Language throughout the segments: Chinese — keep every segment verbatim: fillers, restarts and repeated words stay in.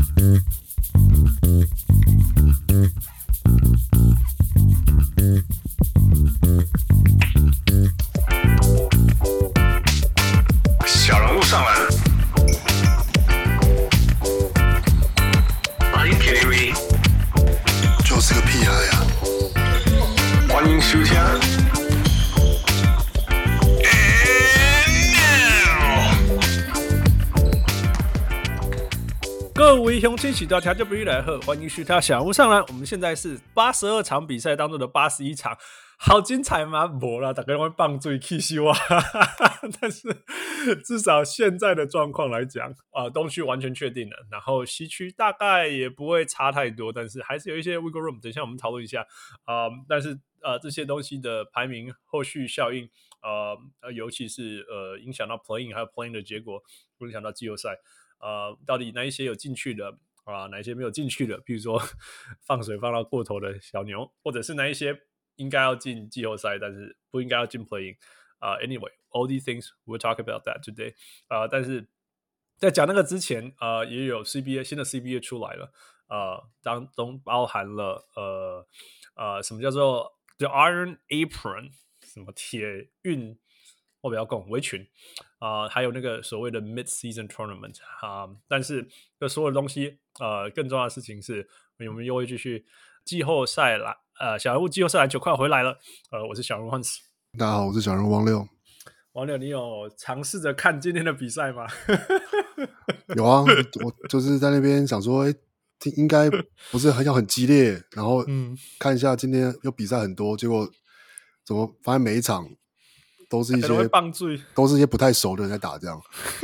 小人物上篮。Are you kidding me？ 就是个屁孩呀！ 歡迎收聽。 各位鄉親喜多調就不易來喝，歡迎收聽小人物上籃。我們現在是八十二場比賽當中的八十一場，好精彩嗎？沒啦，大家會放水氣死我。但是至少現在的狀況來講，呃，東區完全確定了，然後西區大概也不會差太多，但是還是有一些 wiggle room。等一下我們討論一下，呃，但是呃這些東西的排名後續效應，呃，尤其是呃影響到 playing 還有 playing 的結果，會影響到季後賽。呃，到底哪一些有進去的啊、呃？哪一些沒有進去的？比如說放水放到過頭的小牛，或者是哪一些應該要進季後賽，但是不應該要進 play-in 啊、呃、？Anyway, all these things we'll talk about that today。呃，但是在講那個之前，呃，也有 C B A 新的 C B A 出來了，呃，當中包含了呃呃什麼叫做 The Iron Apron， 什麼鐵運。我不要講圍裙啊、呃，還有那個所謂的 mid-season tournament 啊、呃，但是這所有的東西，呃，更重要的事情是，我們又會繼續季後賽來，呃，小人物季後賽籃球快回來了，呃，我是小人物 Hans， 大家好，我是小人物王六。 王六，你有嘗試着看今天的比賽嗎？ 有啊，我就是在那邊想說，哎，應該不是很要很激烈，然後看一下今天有比賽很多，結果怎麼發現每一場。都是一些都是一些不太熟的人在打這樣，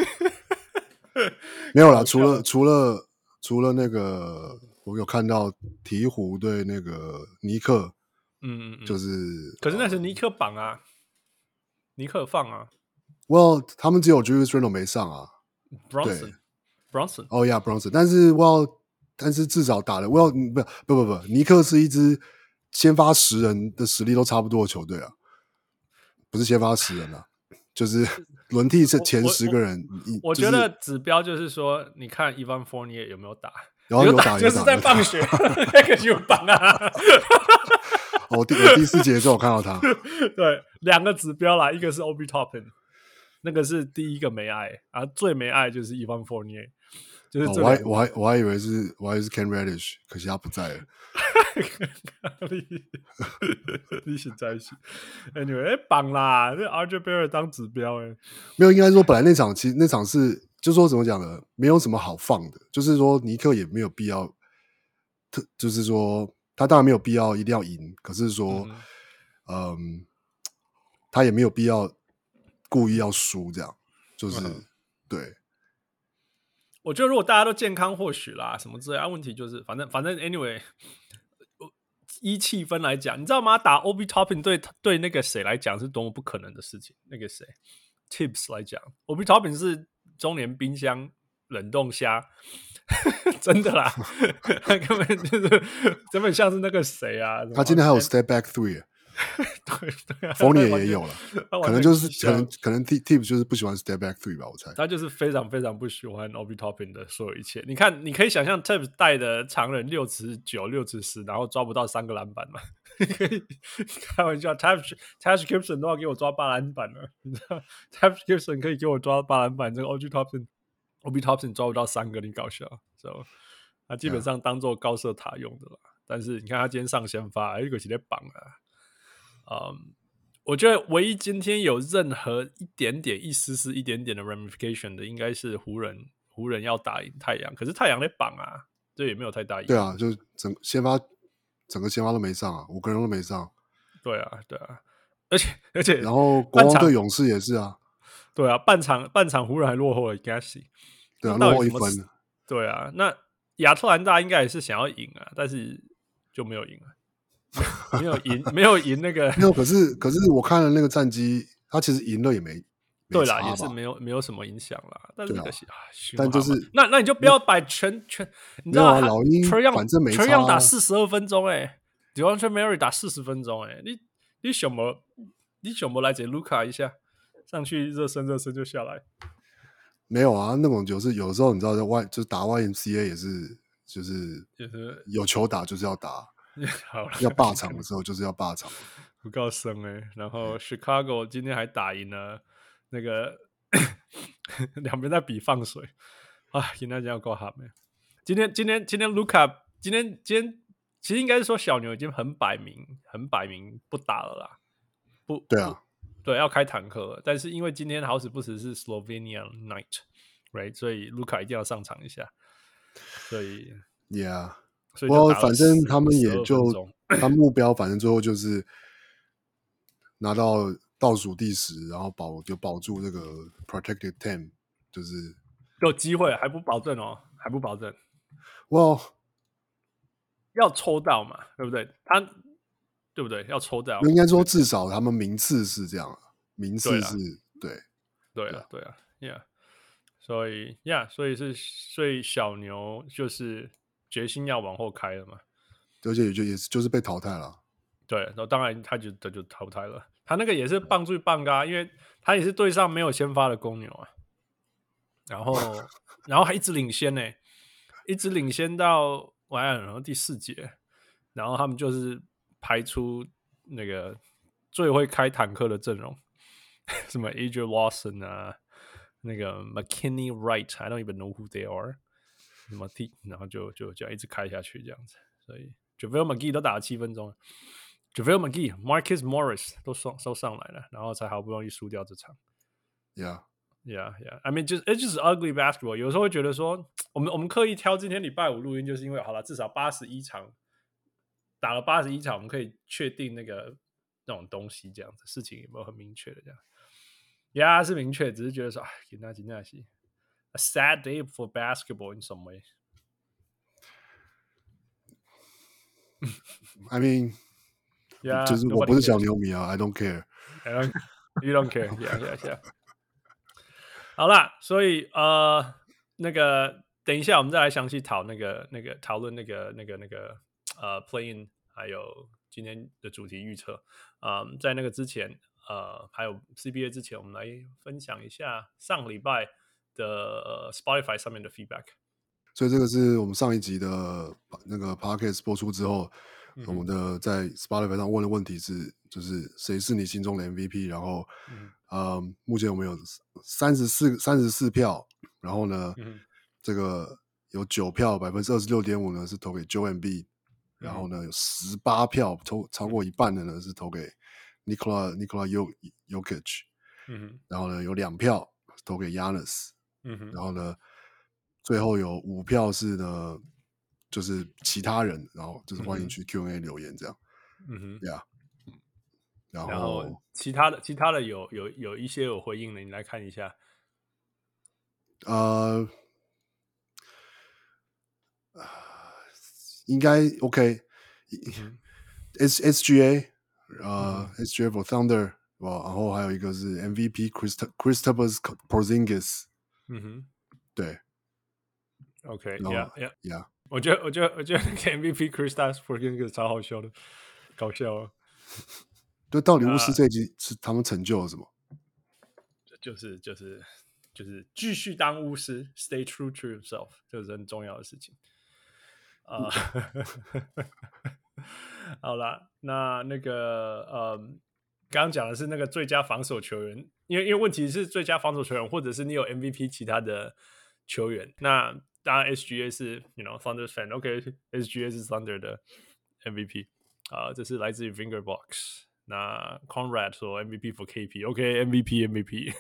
沒有啦，除了除了除了那個，我有看到鹈鶘對那個尼克，嗯嗯，就是可是那是尼克綁啊，尼克放啊 ，Well， 他們只有 Julius Randle 沒上啊 ，Bronson Bronson， 哦呀 Bronson， 但是 Well， 但是至少打了 Well， 不不不不，尼克是一支先發十人的實力都差不多的球隊啊。不是先發十人啊，就是輪替是前十個人。 我, 我, 我覺得指標就是說，你看 Evan Fournier 有沒有打？ 然後有打， 就是在放學那個就棒啊！ 我第我第四節的時候我看到他， 對，兩個指標啦，一個是 Obi Toppin， 那個是第一個沒愛啊，最沒愛就是 Evan Fournier， 就是、哦、 我還我還我還以為是我還以為是 Cam Reddish， 可惜他不在了。 你是在一起 ，Anyway， 哎，綁啦，這 R J Barrett 當指標哎， 沒有，應該說本來那場其實那場是，就說怎麼講呢，沒有什麼好放的，就是說尼克也沒有必要，特就是說他當然沒有必要一定要贏，可是說，嗯，嗯，他也沒有必要故意要輸，這樣就是、嗯、對。 我覺得如果大家都健康，或許啦，什麼之類的、啊，問題就是反正反正 anyway。依氣氛來講，你知道嗎？打 Obi Toppin 對對那個誰來講是多麼不可能的事情。那個誰 Tibbs 來講 ，Obi Toppin 是中年冰箱冷凍蝦，真的啦，他根本就是根本像是那個誰啊。 他今天還有 Step Back Three， 對對啊 Fournier 也有了，可能就是可能可能 Tibbs 就是不喜歡 Step Back Three 吧，我猜。 他就是非常非常不喜歡 Obi Toppin 的所有一切。你看，你可以想象 Tibbs 帶的長人六尺九、六尺十，然後抓不到三個籃板嘛？你可以開玩笑 ，Taj Taj Gibson 都要給我抓八籃板了，你知道 ？Taj Gibson 可以給我抓八籃板，這個 Obi Toppin Obi Toppin 抓不到三個，你搞笑。So, 他基本上當做高射塔用的了。Yeah. 但是你看他今天上先發，一個是在綁啊。嗯，我覺得唯一今天有任何一點點、一絲絲、一點點的 ramification 的，應該是湖人。湖人要打贏太陽，可是太陽在綁啊，這也沒有太大意義。 對啊，就整先發，整個先發都沒上啊，五個人都沒上。 對啊，對啊，而且而且， 然後國王對勇士也是啊。 對啊，半場半場湖人還落後了 Gassy， 對啊，落後一分。 對啊，那亞特蘭大應該也是想要贏啊，但是就沒有贏啊。沒有贏，沒有贏那個。 沒有，可是可是我看了那個戰績，他其實贏了也沒。 對啦，也是沒有沒有什麼影響啦。但是可惜啊， 但就是那那你就不要擺全全，你知道啊，老鷹反正沒差。 全樣打四十二分鐘哎 ，DeAndre Murray 打四十分鐘哎，你你想麼？你想麼來這盧卡一下，上去熱身熱身就下來。 沒有啊，那種就是有時候你知道在外就是打 Y M C A 也是就是就是有球打就是要打， 好了， 要霸場的時候就是要霸場。 不夠生哎、欸，然後 Chicago 今天還打贏了那個兩邊在比放水啊，今天要夠好沒？今天今天今天盧卡今天今天其實應該是說小牛已經很擺明很擺明不打了啦，不對啊， 對，要開坦克了，但是因為今天好死不死是 Slovenia Night，right， 所以盧卡一定要上場一下，所以 ，Yeah。 不過反正他們也就他目標，反正最後就是拿到倒數第十，然後保就保住這個 protected ten， 就是有機會還不保證哦，還不保證。 哇， well, 要抽到嘛，對不對？他對不對？要抽到， 應該說至少他們名次是這樣，名次是對， 對啊，對啊 ，Yeah， 所以 Yeah， 所以是所以小牛就是決心要往後開了嘛， 而且也就也是就是被淘汰了。 對，然後當然他就他就淘汰了，他那個也是棒最棒啊，因為他也是對上沒有先發的公牛啊，然後然後還一直領先呢、欸，一直領先到完然後第四節，然後他們就是排出那個最會開坦克的陣容，什麼 Adrian Lawson 啊，那個 McKinney Wright，I don't even know who they are， 什麼 T， 然後就就這樣一直開下去這樣子，所以 JaVale McGee 都打了七分鐘了。JaVale McGee、Marcus Morris 都上都上來了，然後才好不容易輸掉這場。 Yeah, yeah, yeah. I mean, just it's just ugly basketball. 有時候會覺得說，我們我們刻意挑今天禮拜五錄音，就是因為好了，至少八十一場打了八十一場，我們可以確定那個那種東西，這樣子事情有沒有很明確的這樣？Yeah， 是明確，只是覺得說，哎，那那那是 a sad day for basketball in some way. I mean.Yeah, 就是我不是小牛迷啊 ，I don't care. I don't, you don't care. Yeah, yeah, yeah. 好啦，所以呃，那個等一下我們再來詳細討那個那個討論那個那個那個呃 play-in， 還有今天的主題預測。嗯，在那個之前，呃，還有 C B A 之前，我們來分享一下上禮拜的、呃、Spotify 上面的 feedback。 所以這個是我們上一集的那個 podcast 播出之後。我們的在 Spotify 上問的問題是，就是誰是你心中的 M V P？ 然後，嗯，呃、目前我們有三十四三十四票，然後呢，嗯、這個有九票，百分之二十六點五呢是投給 Joel Embiid，然後呢有十八票，超超過一半的呢是投給 Nikola Nikola Jokic，嗯，然後呢有兩票投給 Giannis，嗯，然後呢最後有五票是呢。就是其他人，然後就是歡迎去 Q and A 留言這樣，嗯哼，呀、yeah ，然後，然後其他的其他的有有有一些有回應的，你來看一下， 呃，應該 OK，S、嗯、S G A， 呃、嗯、，S G A for Thunder， 哇，然後還有一個是 M V P Kristaps Porzingis， 嗯哼，對 ，OK，Yeah Yeah Yeah。 我覺得，我覺得，我覺得那個 M V P Kristaps Porzingis超好笑的，搞笑啊！ 對，到底巫師這一季是他們成就了什麼？ 就是就是就是繼續當巫師 ，Stay true to yourself， 這是很重要的事情啊。Uh, 好啦，那那個呃，剛剛講的是那個最佳防守球員，因為因為問題是最佳防守球員，或者是你有 M V P 其他的球員，那。當然 ，S G A 是 ，you know Thunder fan，OK，S G A 是 Thunder 的 M V P 啊、呃，這是來自於 Fingerbox。那 Conrad 說 M V P for K P，OK，M V P M V P。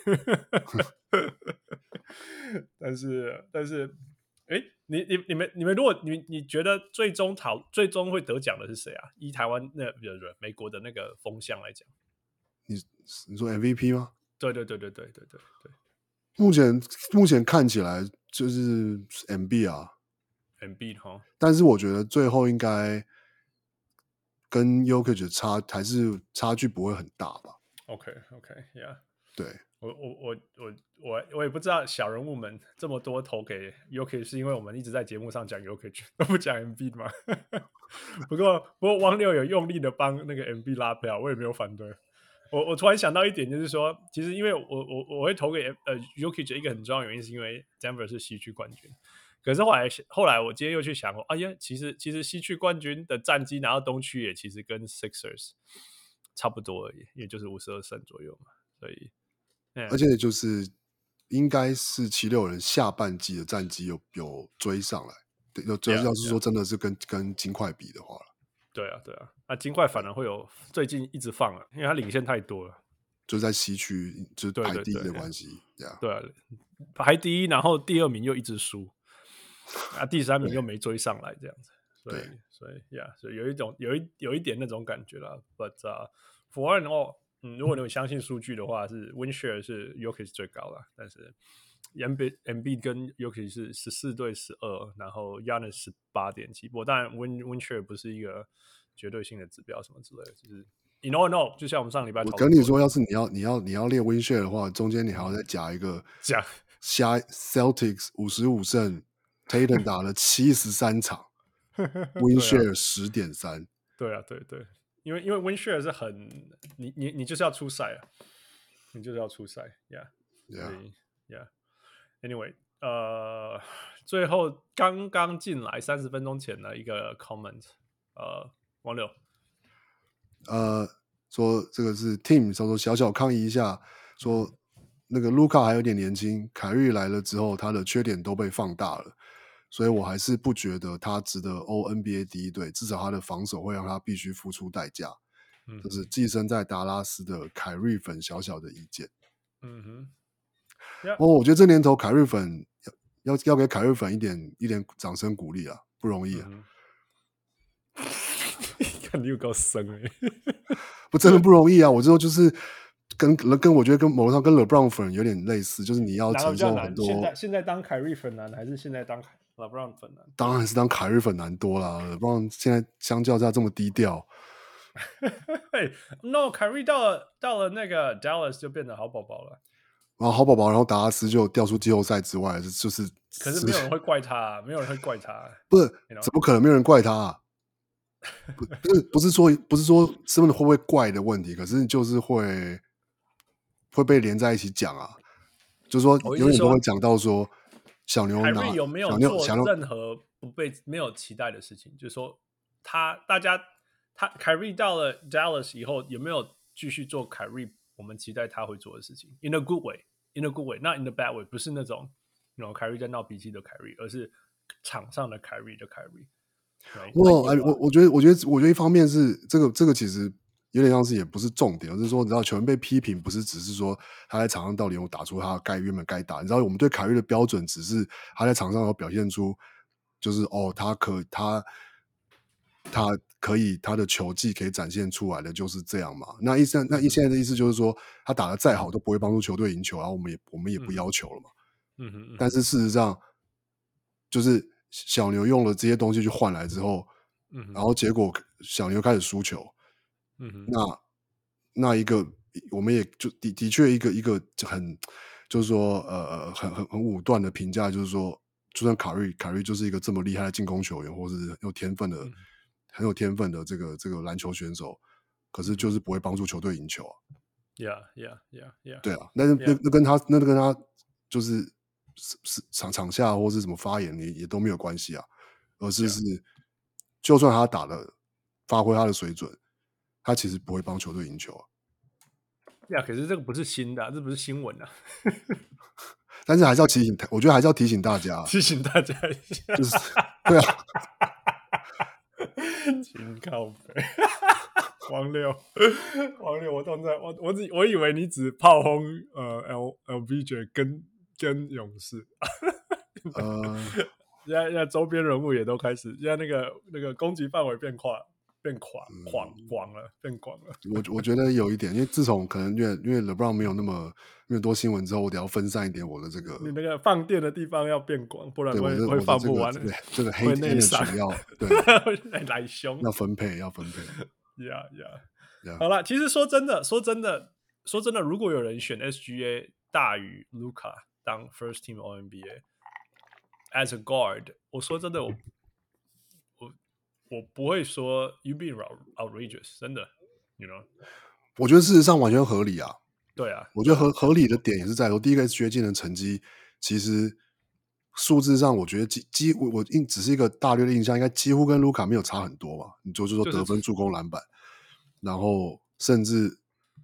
但是但是，哎，你你你們你們如果你你覺得最終討最終會得獎的是誰啊？以台灣那不是美國的那個風向來講， 你你說 M V P 嗎？ 對對對對對對對對。 目前目前看起來就是 Embiid 啊 ，Embiid 哈， 但是我覺得最後應該跟 Jokic 差還是差距不會很大吧 ？OK OK，Yeah，、okay, 對我我我我我我也不知道小人物們這麼多投給 Jokic 是因為我們一直在節目上講 Jokic 都不講 Embiid 嗎？不過不過汪六有用力的幫那個 Embiid 拉票，我也沒有反對。 我我突然想到一點，就是說，其實因為我我我會投給呃 Jokic 一個很重要的原因，是因為 Denver 是西區冠軍。可是後來後來我今天又去想，哎呀，其實其實西區冠軍的戰績拿到東區也其實跟 Sixers 差不多而已，也就是五十二勝左右嘛。所以，嗯、 而且就是應該是七六人下半季的戰績有有追上來，對，有追。要是說真的是跟 yeah, yeah. 跟金塊比的話，對啊，對啊，那金塊反而會有最近一直放了，因為他領先太多了， 就在西區就是排第一的關係， 對啊，對啊，排第一，然後第二名又一直輸。啊，第三名又沒追上來，這樣子，所以，所以，呀，所以有一種，有一有一點那種感覺啦。But 啊、uh, ，for all，嗯，如果你有相信數據的話，是 win share 是 Jokic 最高啦，但是 Embiid 跟 Jokic 是十四對十二，然後 Giannis 十八點七。不過當然 win win share 不是一個絕對性的指標，什麼之類的，就是 you know no，就像我們上禮拜， 我跟你說，要是你要你要你要練 win share 的話，中間你還要再加一個加加 Celtics 五十五勝。Tatum 打了七十三場，win share 十點三。 對啊，對對，因為因為 win share 是很，你你你就是要出賽啊，你就是要出賽 ，Yeah，Yeah，Yeah。Anyway， 呃，最後剛剛進來三十分鐘前的一個 comment， 呃，王六， 呃，說這個是 Team， 說說小小抗議一下，說那個盧卡還有點年輕，凱瑞來了之後，他的缺點都被放大了。所以我還是不覺得他值得 All N B A 第一隊，至少他的防守會讓他必須付出代價。嗯，這是寄生在達拉斯的凱瑞粉小小的意見。嗯哼，哦，我覺得這年頭凱瑞粉要要要給凱瑞粉一點一點掌聲鼓勵啊，不容易啊。 看你有夠深哎， 不真的不容易啊！我之後就是跟跟我覺得跟某種上跟 LeBron 粉有點類似，就是你要承受很多。 現在現在當凱瑞粉難，還是現在當LeBron 粉難？ 當然是當凱瑞粉難多啦。LeBron 現在相較之下這麼低調。 hey, No， 凱瑞到了到了那個 Dallas 就變得好寶寶了。 然後好寶寶，然後達拉斯就掉出季後賽之外，就是。 可是沒有人會怪他、啊，沒有人會怪他、啊。 不是， you know? 怎麼可能沒有人怪他、啊？不不是不是說不是說是不是會不會怪的問題，可是就是會會被連在一起講啊。就是說永遠都會講到說。小牛拿， 凱瑞有沒有做任何不被沒有期待的事情？就是說他，他大家他凱瑞到了 Dallas 以後，有沒有繼續做凱瑞我們期待他會做的事情 ？In a good way, in a good way, not in a bad way。不是那種那種凱瑞在鬧脾氣的凱瑞，而是場上的凱瑞的凱瑞。 我哎，我我覺得，我覺得，我覺得一方面是這個，這個其實。有點像是也不是重點，而是說，你知道球員被批評不是只是說他在場上到底有打出他該原本該打，你知道我們對凱瑞的標準只是他在場上有表現出，就是哦，他可他他可以他的球技可以展現出來的就是這樣嘛。那意思那現在的意思就是說，他打得再好都不會幫助球隊贏球，然後我們也我們也不要求了嘛。嗯哼。但是事實上，就是小牛用了這些東西去換來之後，嗯，然後結果小牛開始輸球。嗯，那那一個，我們也就的的確一個一個很，就是說呃很很很武斷的評價，就是說，就算凱瑞凱瑞就是一個這麼厲害的進攻球員，或是很有天分的、嗯、很有天分的這個這個籃球選手，可是就是不會幫助球隊贏球啊。 Yeah, yeah, yeah, yeah. 對啊，那那那跟他那跟他就是是場場下或是什麼發言也也都沒有關係啊，而是是、yeah. 就算他打的發揮他的水準。他其實不會幫球隊贏球啊！ 呀、yeah, 可是這個不是新的、啊，這不是新聞啊！ 但是還是要提醒，我覺得還是要提醒大家， 提醒大家一下， 就是對啊， 請靠北，王六，王六，我正在，我我只我以為你只炮轟呃 L L B J 跟跟勇士，呃，現在現在周邊人物也都開始，現在那個那個攻擊範圍變快。變廣廣廣了，變廣了。 我我覺得有一點，因為自從可能因為因為 LeBron 沒有那麼那麼多新聞之後，我得要分散一點我的這個。 你那個放電的地方要變廣，不然會會放不完。 對，這個黑內傷要對來兇， 要分配要分配。 呀呀，好了，其實說真的，說真的，說真的，如果有人選 S G A 大於 Luka 當 First Team All N B A as a guard， 我說真的我。我不會說 you being outrageous， 真的 ，you know， 我覺得事實上完全合理啊。 對啊， 我覺得合合理的點也是在說，第一個 S G A 今年的成績其實數字上，我覺得幾幾乎我印只是一個大略的印象，應該幾乎跟盧卡沒有差很多吧。你就就說得分、助攻、籃板，然後甚至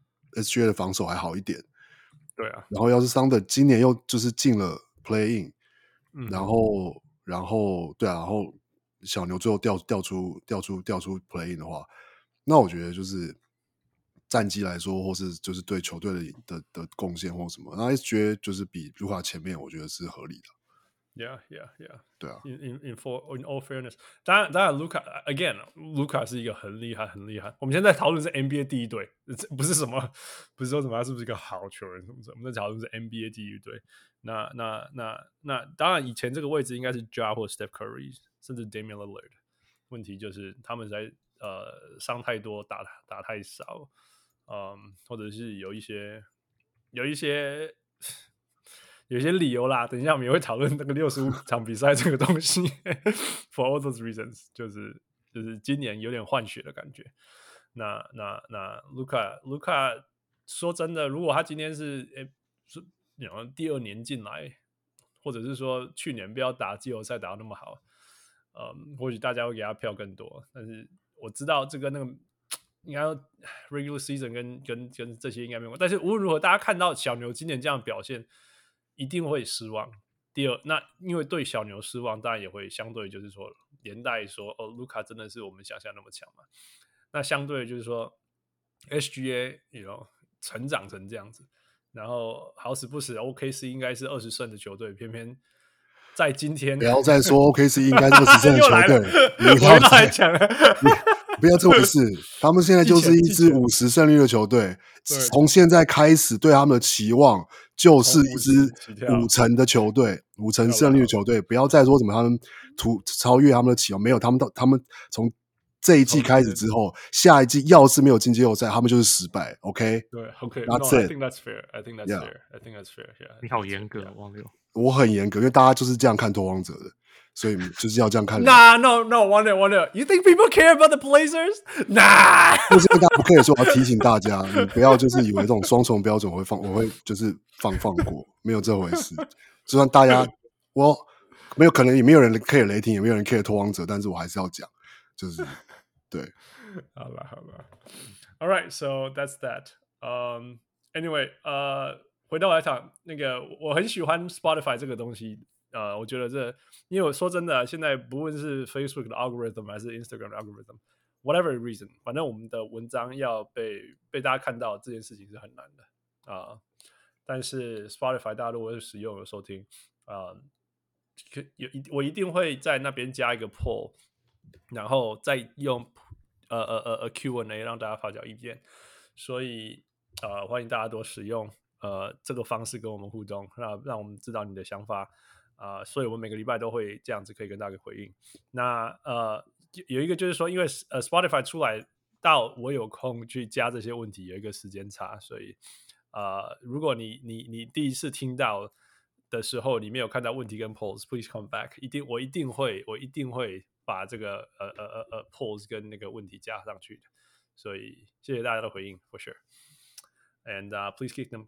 S G A 的防守還好一點。 對啊， 然後要是桑德今年又就是進了 Play In， 嗯， 然後然後對啊，然後小牛最後掉掉出掉出掉出 Play In 的話，那我覺得就是戰績來說，或是就是對球隊的的的貢獻或什麼，那 S G A 就是比盧卡前面，我覺得是合理的。 Yeah, yeah, yeah. 對啊 In in in for in all fairness， 當然當然，盧卡 again， 盧卡是一個很厲害很厲害。我們現在討論是 N B A 第一隊，不是什麼不是說什麼他是不是一個好球員什麼什麼，我們在討論是 N B A 第一隊。那那那那當然，以前這個位置應該是 Ja 或 Steph Curry， 甚至 Damian Lillard。問題就是他們在呃傷太多，打打太少，嗯，或者是有一些有一些。有些理由啦，等一下我們也會討論那個六十五場比賽這個東西。For all those reasons， 就是就是今年有點換血的感覺。那那那盧卡盧卡說真的，如果他今天是誒是第二年進來，或者是說去年不要打季後賽打得那麼好，嗯，或許大家會給他票更多。但是我知道這個那個應該 regular season 跟跟跟這些應該沒有關係。但是無論如何，大家看到小牛今年這樣的表現，一定會失望。第二，那因為對小牛失望，當然也會相對就是說連帶說，哦，盧卡真的是我們想象那麼強嘛？那相對就是說 ，S G A，you know， 成長成這樣子，然後好死不死 ，O K C 應該是二十勝的球隊，偏偏在今天不要再說 O K C 應該是二十勝的球隊， 你不要再講了。 不要這回事，他們現在就是一支五十勝率的球隊，從現在開始對他們的期望就是一支五成的球隊，五成勝率的球隊，不要再說什麼他們突超越他們的期望，沒有，他們到他們從這一季開始之後，下一季要是沒有進季後賽，他們就是失敗。OK， 對 ，OK， That's no, I it. think that's fair. I think that's Yeah. fair. I think that's fair. Yeah. 你好嚴格，王六。 我很嚴格，因為大家就是這樣看拓荒者的。所以就是要這樣看。 Nah, no, no, wonder, wonder. You think people care about the Blazers? Nah. 就是大家不可以说，我要提醒大家，你不要就是以為這種雙重標準我會放，我會就是放放過，沒有這回事。就算大家我沒有可能也沒有人 care 雷霆，也沒有人 care 拓荒者，但是我還是要講，就是對。 好了好了 ，All right, so that's that. Um, anyway, 呃，回到來場，那個我很喜歡 Spotify 這個東西。呃，我覺得這，因為我說真的，現在不論是 Facebook 的 algorithm 還是 Instagram 的 algorithm，whatever reason，反正我們的文章要被被大家看到這件事情是很難的啊、呃。但是 Spotify 大家如果是使用有收聽啊、呃，有我一定會在那邊加一個 poll，然後再用呃呃呃呃 Q and A 讓大家發表意見。所以呃，歡迎大家多使用呃這個方式跟我們互動，讓讓我們知道你的想法。啊、呃，所以我們每個禮拜都會這樣子可以跟大家回應。那呃，有一個就是說，因為呃 Spotify 出來到我有空去加這些問題，有一個時間差，所以呃，如果你你你第一次聽到的時候，你沒有看到問題跟 polls，please come back， 一定我一定會我一定會把這個呃呃呃呃 polls 跟那個問題加上去的。所以謝謝大家的回應 ，for sure，and、uh, please keep them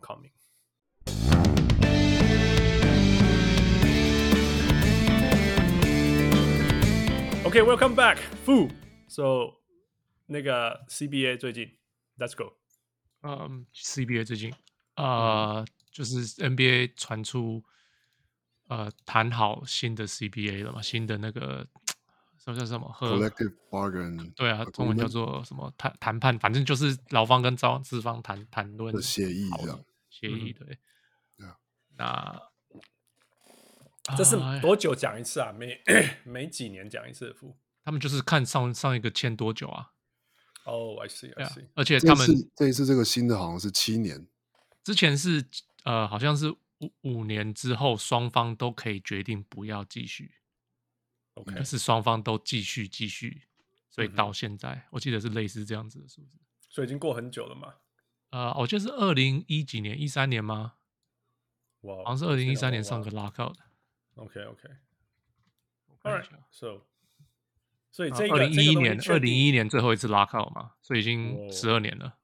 coming。Okay, welcome back, Fu. So, 那個 C B A 最近 ，Let's go. 嗯、um, ，C B A 最近，呃，嗯、就是 N B A 傳出，呃，談好新的 C B A 了嘛，新的那個什麼叫什麼 Collective Bargain？ 對啊，中文叫做什麼談談判，反正就是勞方跟資資方談談論的協議這樣， 協議對。 嗯、 那這是多久講一次啊？每每幾年講一次的付？ 他們就是看上上一個簽多久啊？ 哦、oh, ，I see, I see。 而且他們這，這一次這個新的好像是七年， 之前是呃好像是五五年之後雙方都可以決定不要繼續。OK， 可是雙方都繼續繼續，所以到現在、嗯、我記得是類似這樣子的數字。 所以已經過很久了嘛？ 呃，我記得是二零一幾年，一三年嗎？哇，好像是二零一三年上個 lockout 的。 OK OK，All right，so， 所以這個二零一一年，二零一一年年最後一次 lockout 嘛，所以已經十二年了。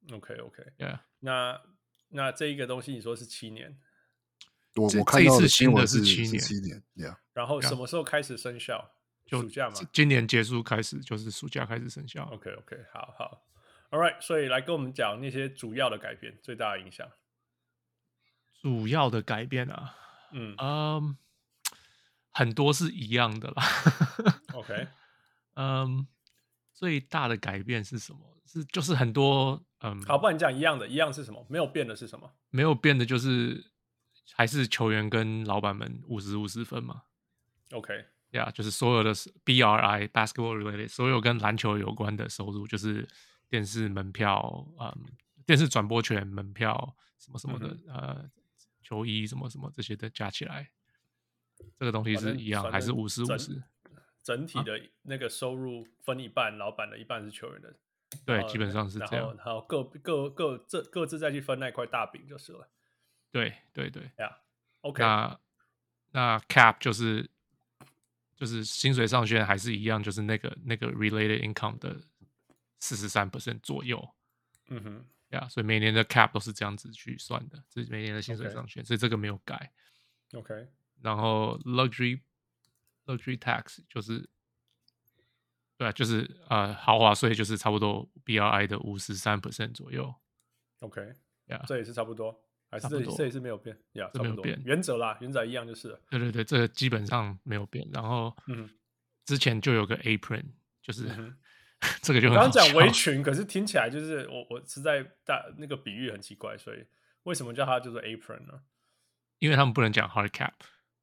OK OK，yeah， yeah. 那那這一個東西你說是七年， 我我看到的新聞是七年， 七年 ，yeah。 然後什麼時候開始生效？ 就暑假嘛， 今年結束開始就是暑假開始生效。 OK OK， 好好 ，All right， 所以來跟我們講那些主要的改變，最大的影響。 主要的改變啊， 嗯嗯，很多是一樣的啦。 OK， 嗯，最大的改變是什麼？是就是很多嗯， 好，不然你講一樣的，一樣是什麼？沒有變的是什麼？ 沒有變的就是還是球員跟老闆們五十五十分嘛。 OK， 呀、yeah, 就是所有的 B R I basketball related 所有跟籃球有關的收入，就是電視門票、嗯，電視轉播權、門票什麼什麼的，嗯、呃，球衣什麼什麼這些的加起來，這個東西是一樣還是五十五十？整體的那個收入分一半，啊、老闆的一半是球員的。 對，基本上是這樣。然後， 然後各各各各各自再去分那塊大餅就是了。 對對對， 呀、yeah, ，OK。 那那 cap 就是就是薪水上限還是一樣，就是那個那個 related income 的四十三 percent 左右。 嗯哼， 呀、yeah, 所以每年的 cap 都是這樣子去算的，這是每年的薪水上限， okay. 所以這個沒有改。 OK。 然後 luxury luxury tax 就是對啊，就是呃豪華稅就是差不多 B R I 的五十三 percent 左右。 OK， 呀、yeah, 這也是差不多，還是這這也是沒有變，呀、yeah, 這沒有變， 原則啦，原則一樣就是了。 對對對，這個基本上沒有變。然後，嗯，之前就有個 apron， 就是、嗯、這個就很好笑。 剛剛講圍裙，可是聽起來就是我我實在大那個比喻很奇怪，所以為什麼叫它就是 apron 呢？ 因為他們不能講 hard cap。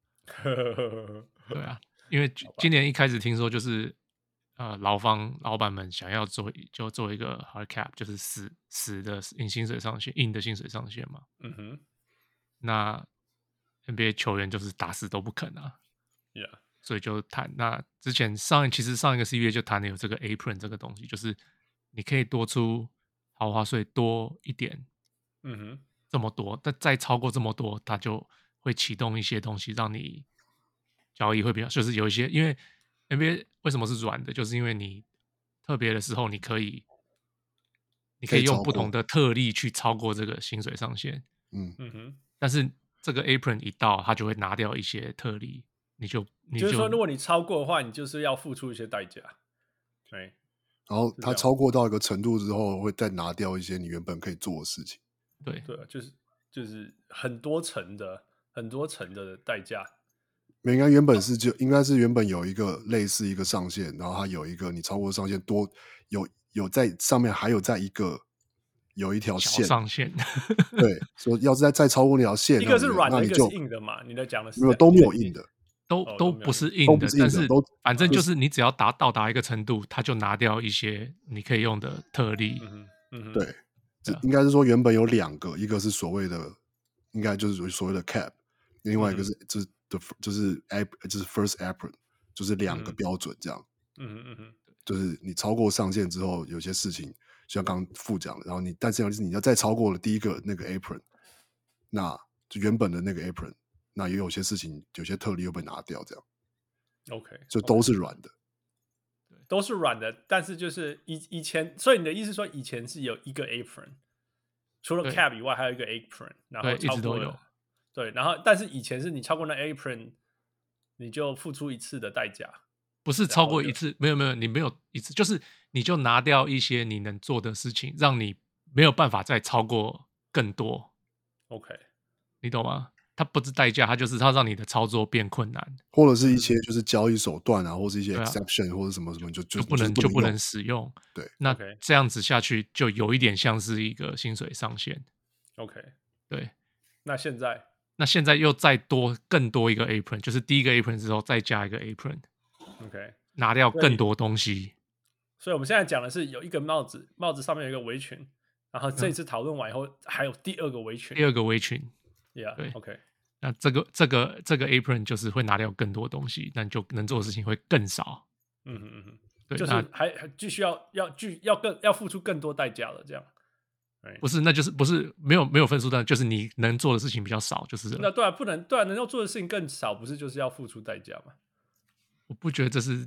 對啊，因為今年一開始聽說就是呃勞方老闆們想要做就做一個 hard cap， 就是死死的硬薪水上限，硬的薪水上限嘛。嗯哼。那 N B A 球員就是打死都不肯啊。 Yeah。 所以就談，那之前上其實上一個 C B A 就談了有這個 apron 這個東西，就是你可以多出豪華稅多一點。嗯哼。這麼多，但再超過這麼多，它就會啟動一些東西，讓你交易會比較，就是有一些，因為 N B A 為什麼是軟的，就是因為你特別的時候，你可以，你可以用不同的特例去超過這個薪水上限，嗯嗯哼，但是這個 apron 一到，它就會拿掉一些特例，你就，你就，就是說，如果你超過的話，你就是要付出一些代價，對， 然後它超過到一個程度之後，會再拿掉一些你原本可以做的事情。 對對，就是就是很多層的很多層的代價。 應該原本是就應該是原本有一個類似一個上限，然後它有一個你超過上限多有有在上面還有在一個有一條線上限。 對，說要是再再超過那條線， 一個是軟的，一個是硬的嘛？你在講的是沒有都沒有硬的， 都都不是硬的，但是反正就是你只要達到達一個程度，它就拿掉一些你可以用的特例。 嗯嗯， 對。應該是說原本有兩個，一個是所謂的，應該就是所謂的 cap， 另外一個是、嗯、就是就是 ap 就是 first apron， 就是兩個標準這樣。嗯嗯嗯，就是你超過上限之後，有些事情像剛剛副講的，然後你但是要是你要再超過了第一個那個 apron， 那就原本的那個 apron， 那也有些事情有些特例又被拿掉這樣。 OK， 就都是軟的。 都是軟的，但是就是以以前，所以你的意思是說以前是有一個 apron， 除了 cap 以外還有一個 apron， 然後超過了，對，然後但是以前是你超過那 apron， 你就付出一次的代價， 不是超過一次，沒有沒有，你沒有一次，就是你就拿掉一些你能做的事情，讓你沒有辦法再超過更多。 OK， 你懂嗎？它不是代價，它就是它讓你的操作變困難， 或者是一些就是交易手段啊，或是一些 exception、啊、或者什麼什麼就就就不能就不能使用。 對， 那這樣子下去就有一點像是一個薪水上限。 OK， 對。 那現在， 那現在又再多更多一個 apron， 就是第一個 apron 之後再加一個 apron。OK， 拿掉更多東西。 所以我們現在講的是有一個帽子，帽子上面有一個圍裙，然後這次討論完以後、嗯、還有第二個圍裙， 第二個圍裙。 Yeah， 對 ，OK。 那這個這個這個 apron 就是會拿掉更多東西，那你就能做的事情會更少。 嗯嗯嗯，對，就是還還繼續要要繼要更要付出更多代價了，這樣。 不是，那就是不是沒有沒有分數的，就是你能做的事情比較少，就是那對啊，不能對啊，能夠做的事情更少，不是就是要付出代價嗎？ 我不覺得這是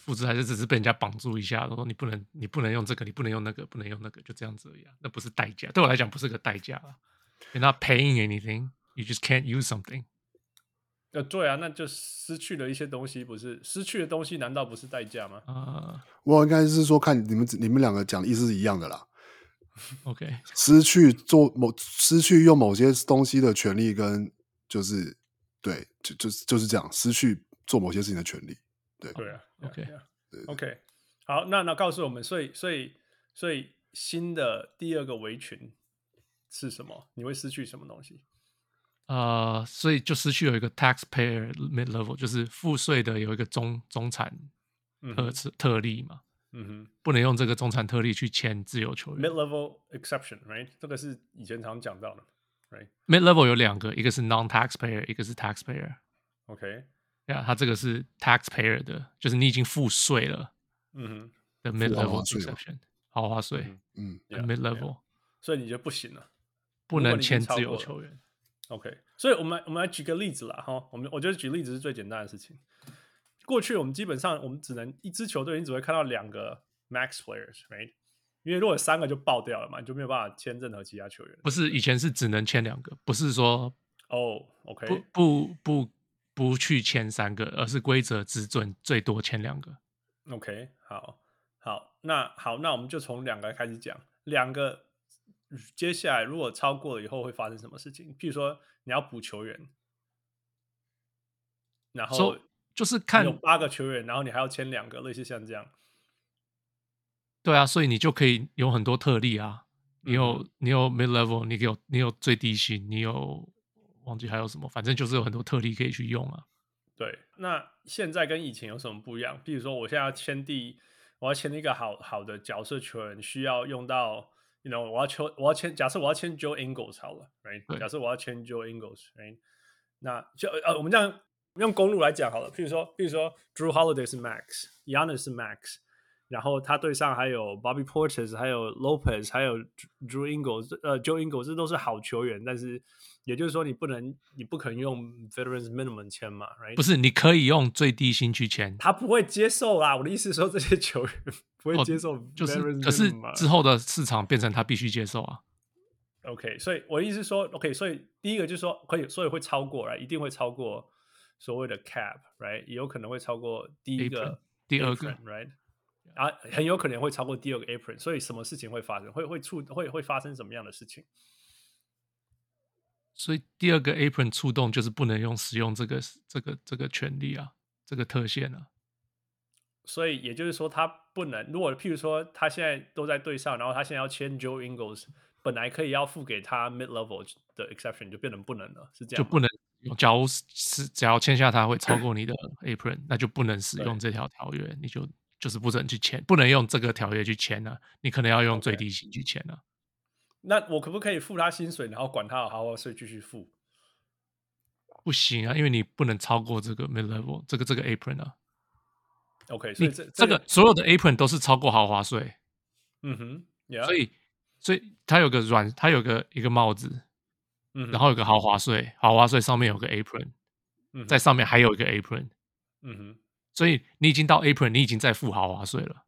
複製還是只是被人家綁住一下，說你不能你不能用這個，你不能用那個，不能用那個，就這樣子而已啊。那不是代價，對我來講不是個代價啊。You're not paying anything, you just can't use something。 呃，對啊，那就失去了一些東西，不是失去的東西，難道不是代價嗎？ 呃， 我應該是說，看你們你們兩個講的意思是一樣的啦。 OK， 失去做某失去用某些東西的權利，跟就是對，就就是就是這樣，失去做某些事情的權利。對對啊 ，OK， 對 OK， 好，那那告訴我們，所以所以所以新的第二個圍群是什麼？你會失去什麼東西？ 呃，所以就失去有一個 taxpayer mid level，就是付稅的有一個中中產特、嗯、特例嘛，嗯哼，不能用這個中產特例去簽自由球員。 mid level exception，right？ 這個是以前常講到的 ，right？mid level 有兩個，一個是 non taxpayer， 一個是 taxpayer。OK， 呀、yeah, 它這個是 taxpayer 的，就是你已經付稅了，嗯哼的 mid level exception， 豪華稅，嗯，嗯 ，mid level， yeah, 所以你就不行了， 不能簽自由球員。 OK， 所以我們我們來舉個例子啦，哈，我們我覺得舉例子是最簡單的事情。過去我們基本上我們只能一支球隊，你只會看到兩個 max players，right？ 因為如果有三個就爆掉了嘛，你就沒有辦法簽任何其他球員。 不是以前是只能簽兩個，不是說哦、oh, ，OK， 不不不不去簽三個，而是規則只准最多簽兩個。 OK， 好，好，那好，那我們就從兩個開始講，兩個。接下來如果超過了以後會發生什麼事情？譬如說你要補球員，然後 so, 就是看有八個球員，然後你還要簽兩個，類似像這樣。 對啊，所以你就可以有很多特例啊。你有、嗯、你有 mid level， 你有你有最低薪，你有忘記還有什麼，反正就是有很多特例可以去用啊。 對，那現在跟以前有什麼不一樣？譬如說我現在要簽第，我要簽一個好好的角色球員，需要用到。You know, 我要簽，我要簽。假設我要簽 Joe Ingles 好了 ，right？ 假設我要簽 Joe Ingles，right？ 那就呃，我們這樣用公路來講好了。譬如說，譬如說 Drew Holiday 是 Max，Giannis 是 Max， 然後他隊上還有 Bobby Portis， 還有 Lopez， 還有 Drew Ingles， 呃 ，Joe Ingles， 這都是好球員。但是也就是說，你不能，你不可能用 Veterans Minimum 簽嘛 ，right？ 不是，你可以用最低薪去簽， 他不會接受啦。我的意思是說，這些球員。不會接受、哦， 就是可是之後的市場變成他必須接受啊。 OK， 所以我的意思是說 ，OK， 所以第一個就是說可以，所以會超過，right？ 一定會超過所謂的 cap，right？ 也有可能會超過第一個 apron, 第二個 ，right？ 啊，很有可能會超過第二個 apron。所以什麼事情會發生？會會觸會會發生什麼樣的事情？ 所以第二個 apron 觸動就是不能用使用這個這個這個權利啊，這個特限啊。 所以也就是說，他不能。如果譬如說，他現在都在隊上，然後他現在要簽 Joe Ingles， 本來可以要付給他 mid level 的 exception， 就變成不能了，是這樣嗎？就不能。 假如是只要簽下他會超過你的 apron， 那就不能使用這條條約，你就就是不准去簽，不能用這個條約去簽啊。你可能要用最低薪去簽啊。 Okay. 那我可不可以付他薪水，然後管他的豪華稅繼續付？ 不行啊，因為你不能超過這個 mid level 這個這個 apron 啊。 OK， 所以這這個所有的 apron 都是超過豪華稅， 嗯哼， yeah. 所以所以它有個軟，它有個一個帽子， 嗯， 然後有個豪華稅，豪華稅上面有個 apron，嗯，在上面還有一個 apron，嗯哼，所以你已經到 apron，你已經在付豪華稅了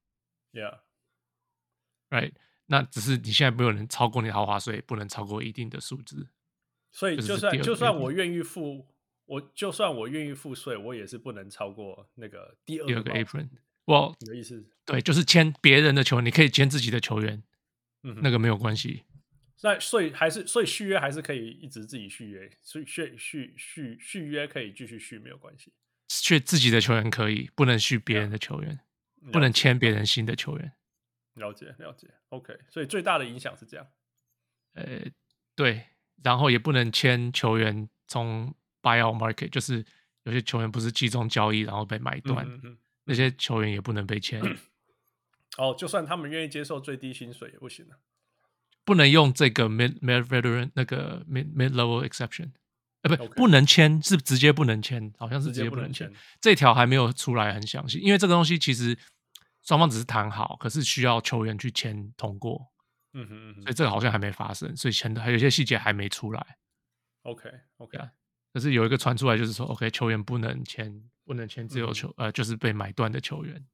，yeah，right， 那只是你現在沒有人超過你豪華稅，不能超過一定的數字， 所以就算就算我願意付。我就算我願意付稅，我也是不能超過那個第二個 apron。我你的意思對，就是簽別人的球員，你可以簽自己的球員，嗯，那個沒有關係。 那所以還是所以續約還是可以一直自己續約，所以續續續續約可以繼續續沒有關係。 續自己的球員可以，不能續別人的球員，不能簽別人新的球員。 了解了解 ，OK。所以最大的影響是這樣。 呃，對，然後也不能簽球員從。buyout market 就是有些球員不是季中交易然後被買斷，嗯嗯，那些球員也不能被簽。 哦，就算他們願意接受最低薪水也不行了， 不能用這個 mid mid veteran 那個 mid mid level exception，呃，不， okay. 不能簽，是直接不能簽，好像是直接不能簽。這條還沒有出來很詳細，因為這個東西其實雙方只是談好，可是需要球員去簽通過。嗯哼嗯哼，所以這個好像還沒發生，所以簽的還有一些細節還沒出來。 OK OK。 可是有一個傳出來，就是說 ，OK， 球員不能簽，不能簽自由球，嗯，呃，就是被買斷的球員。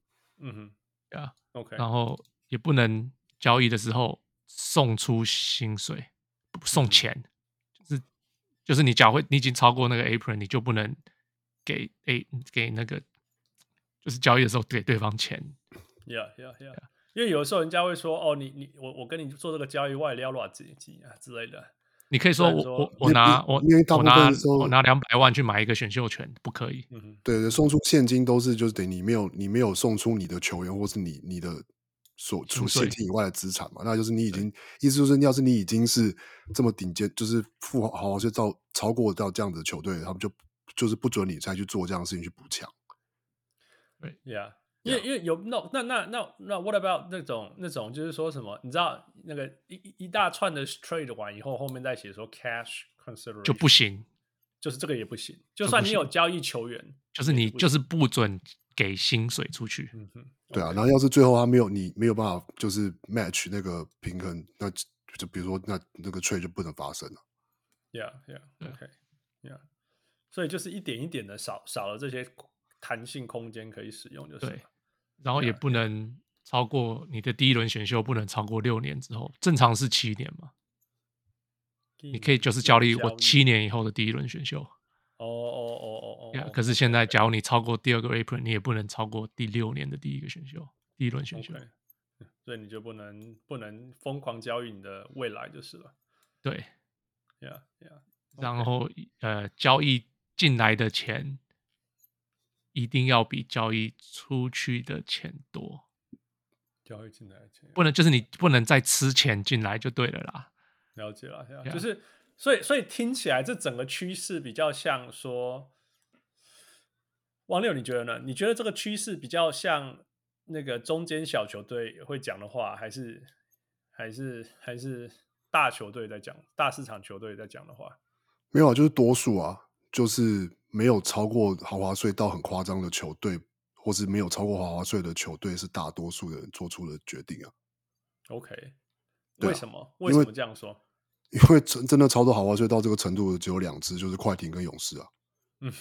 嗯哼， 對啊 ，OK， 然後也不能交易的時候送出薪水，送錢，嗯、就是就是你假會你已經超過那個 apron， 你就不能給 A 給那個，就是交易的時候給對方錢。 Yeah, yeah, yeah. 因為有的時候人家會說，哦，你你我我跟你做這個交易，我也要多少錢啊之類的。 你可以說我說我我拿我因為大部分我拿的時候我拿兩百萬去買一個選秀權，不可以。 嗯、 對對，送出現金都是就是等於你沒有你沒有送出你的球員或是你你的所除现金以外的資產嘛，那就是你已經意思就是要是你已經是這麼頂尖，就是富豪豪就到超過到這樣的球隊，他們就就是不准你再去做這樣的事情去補強。 對 ，Yeah。因為因為有 no 那那那那 what about 那種那種就是說什麼？你知道那個一一大串的 trade 完以後，後面再寫說 cash consideration 就不行， 就是這個也不行。就算你有交易球員， 就是你就是不准給薪水出去。 嗯哼， 對啊。然後要是最後他沒有你沒有辦法就是 match 那個平衡，那就比如說那那個 trade 就不能發生了。 Yeah, yeah, OK, yeah。所以就是一點一點的少少了這些彈性空間可以使用，就是對。然後也不能超過你的第一輪選秀，不能超過六年之後，正常是七年嘛。你可以就是交易我七年以後的第一輪選秀。 哦哦哦哦哦。 可是現在，假如你超過第二個 apron， 你也不能超過第六年的第一個選秀，第一輪選秀。 Okay. 所以你就不能不能瘋狂交易你的未來就是了。 對。 Yeah, yeah. 然後呃，交易進來的錢。一定要比交易出去的錢多， 交易進來的錢不能就是你不能再吃錢進來就對了啦。 了解了，了解 Yeah. 就是所以所以聽起來這整個趨勢比較像說，王六你覺得呢？你覺得這個趨勢比較像那個中間小球隊會講的話，還是還是還是大球隊在講，大市場球隊在講的話？ 沒有啊，就是多數啊，就是沒有超過豪華稅到很誇張的球隊，或是沒有超過豪華稅的球隊，是大多數的人做出的決定啊。 OK， 對啊， 為什麼？為什麼這樣說？ 因為真真的超多豪華稅到這個程度的只有兩支，就是快艇跟勇士啊。嗯，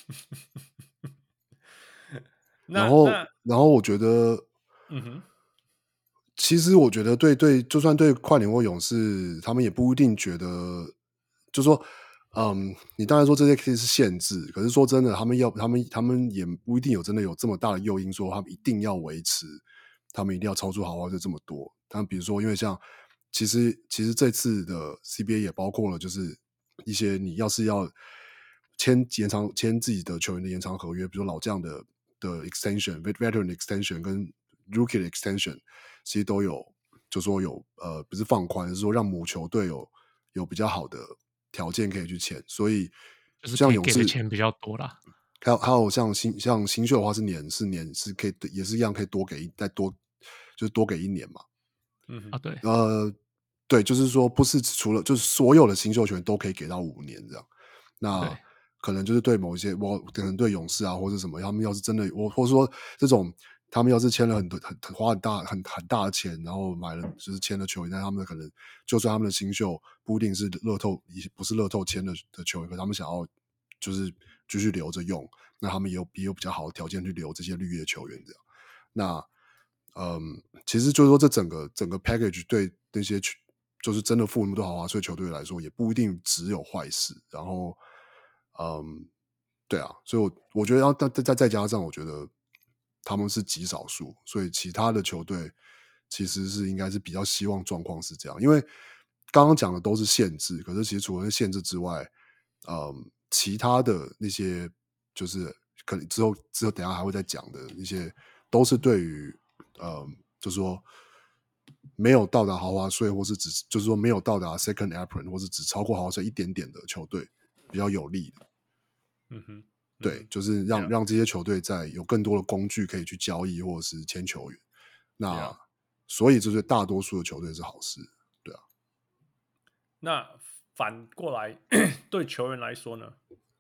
然後然後我覺得，嗯哼。其實我覺得對對，就算對快艇或勇士，他們也不一定覺得，就說。嗯，你當然說這些可以是限制，可是說真的，他們要他們他們也不一定有真的有這麼大的誘因，說他們一定要維持，他們一定要超出豪華稅這麼多。但比如說，因為像其實其實這次的 C B A 也包括了，就是一些你要是要簽延長簽自己的球員的延長合約，比如說老將的的 extension、veteran extension 跟 rookie 的 extension， 其實都有，就說有呃不是放寬，是說讓母球隊有有比較好的條件可以去簽，所以像勇士給的錢比較多啦。 還有還有像新像新秀的話是年是年是可以也是一樣可以多給再多就是多給一年嘛。 嗯啊對呃對，就是說不是除了就是所有的新秀權都可以給到五年這樣。那可能就是對某一些我可能對勇士啊或者什麼，他們要是真的我或者說這種。他們要是簽了很多很花很大很很大的錢，然後買了就是簽了球員，但他們可能就算他們的新秀不一定是樂透，不是樂透簽的的球員，可他們想要就是繼續留着用，那他們也有也有比較好的條件去留這些綠葉球員這樣。那嗯，其實就是說這整個整個 package 對那些就是真的付那麼多豪華稅球隊來說，也不一定只有壞事。然後嗯，對啊，所以我我覺得要再再再加上，我覺得。他們是極少數，所以其他的球隊其實是應該是比較希望狀況是這樣，因為剛剛講的都是限制，可是其實除了限制之外，嗯，其他的那些就是可能之後之後等一下還會再講的一些，都是對於嗯，就是說沒有到達豪華稅，或是只就是說沒有到達 second apron， 或是只超過豪華稅一點點的球隊比較有利的， 嗯哼。 對，就是讓、yeah. 讓這些球隊在有更多的工具可以去交易或者是簽球員，那、yeah. 所以這對大多數的球隊是好事，對啊。 那反過來對球員來說呢？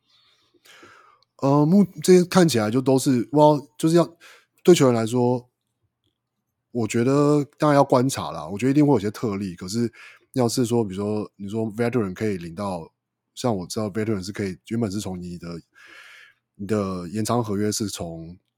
呃，目這些看起來就都是哇，就是要對球員來說，我覺得當然要觀察啦。我覺得一定會有些特例，可是要是說，比如說你說 veteran 可以領到，像我知道 veteran 是可以原本是從你的。你的延長合約是從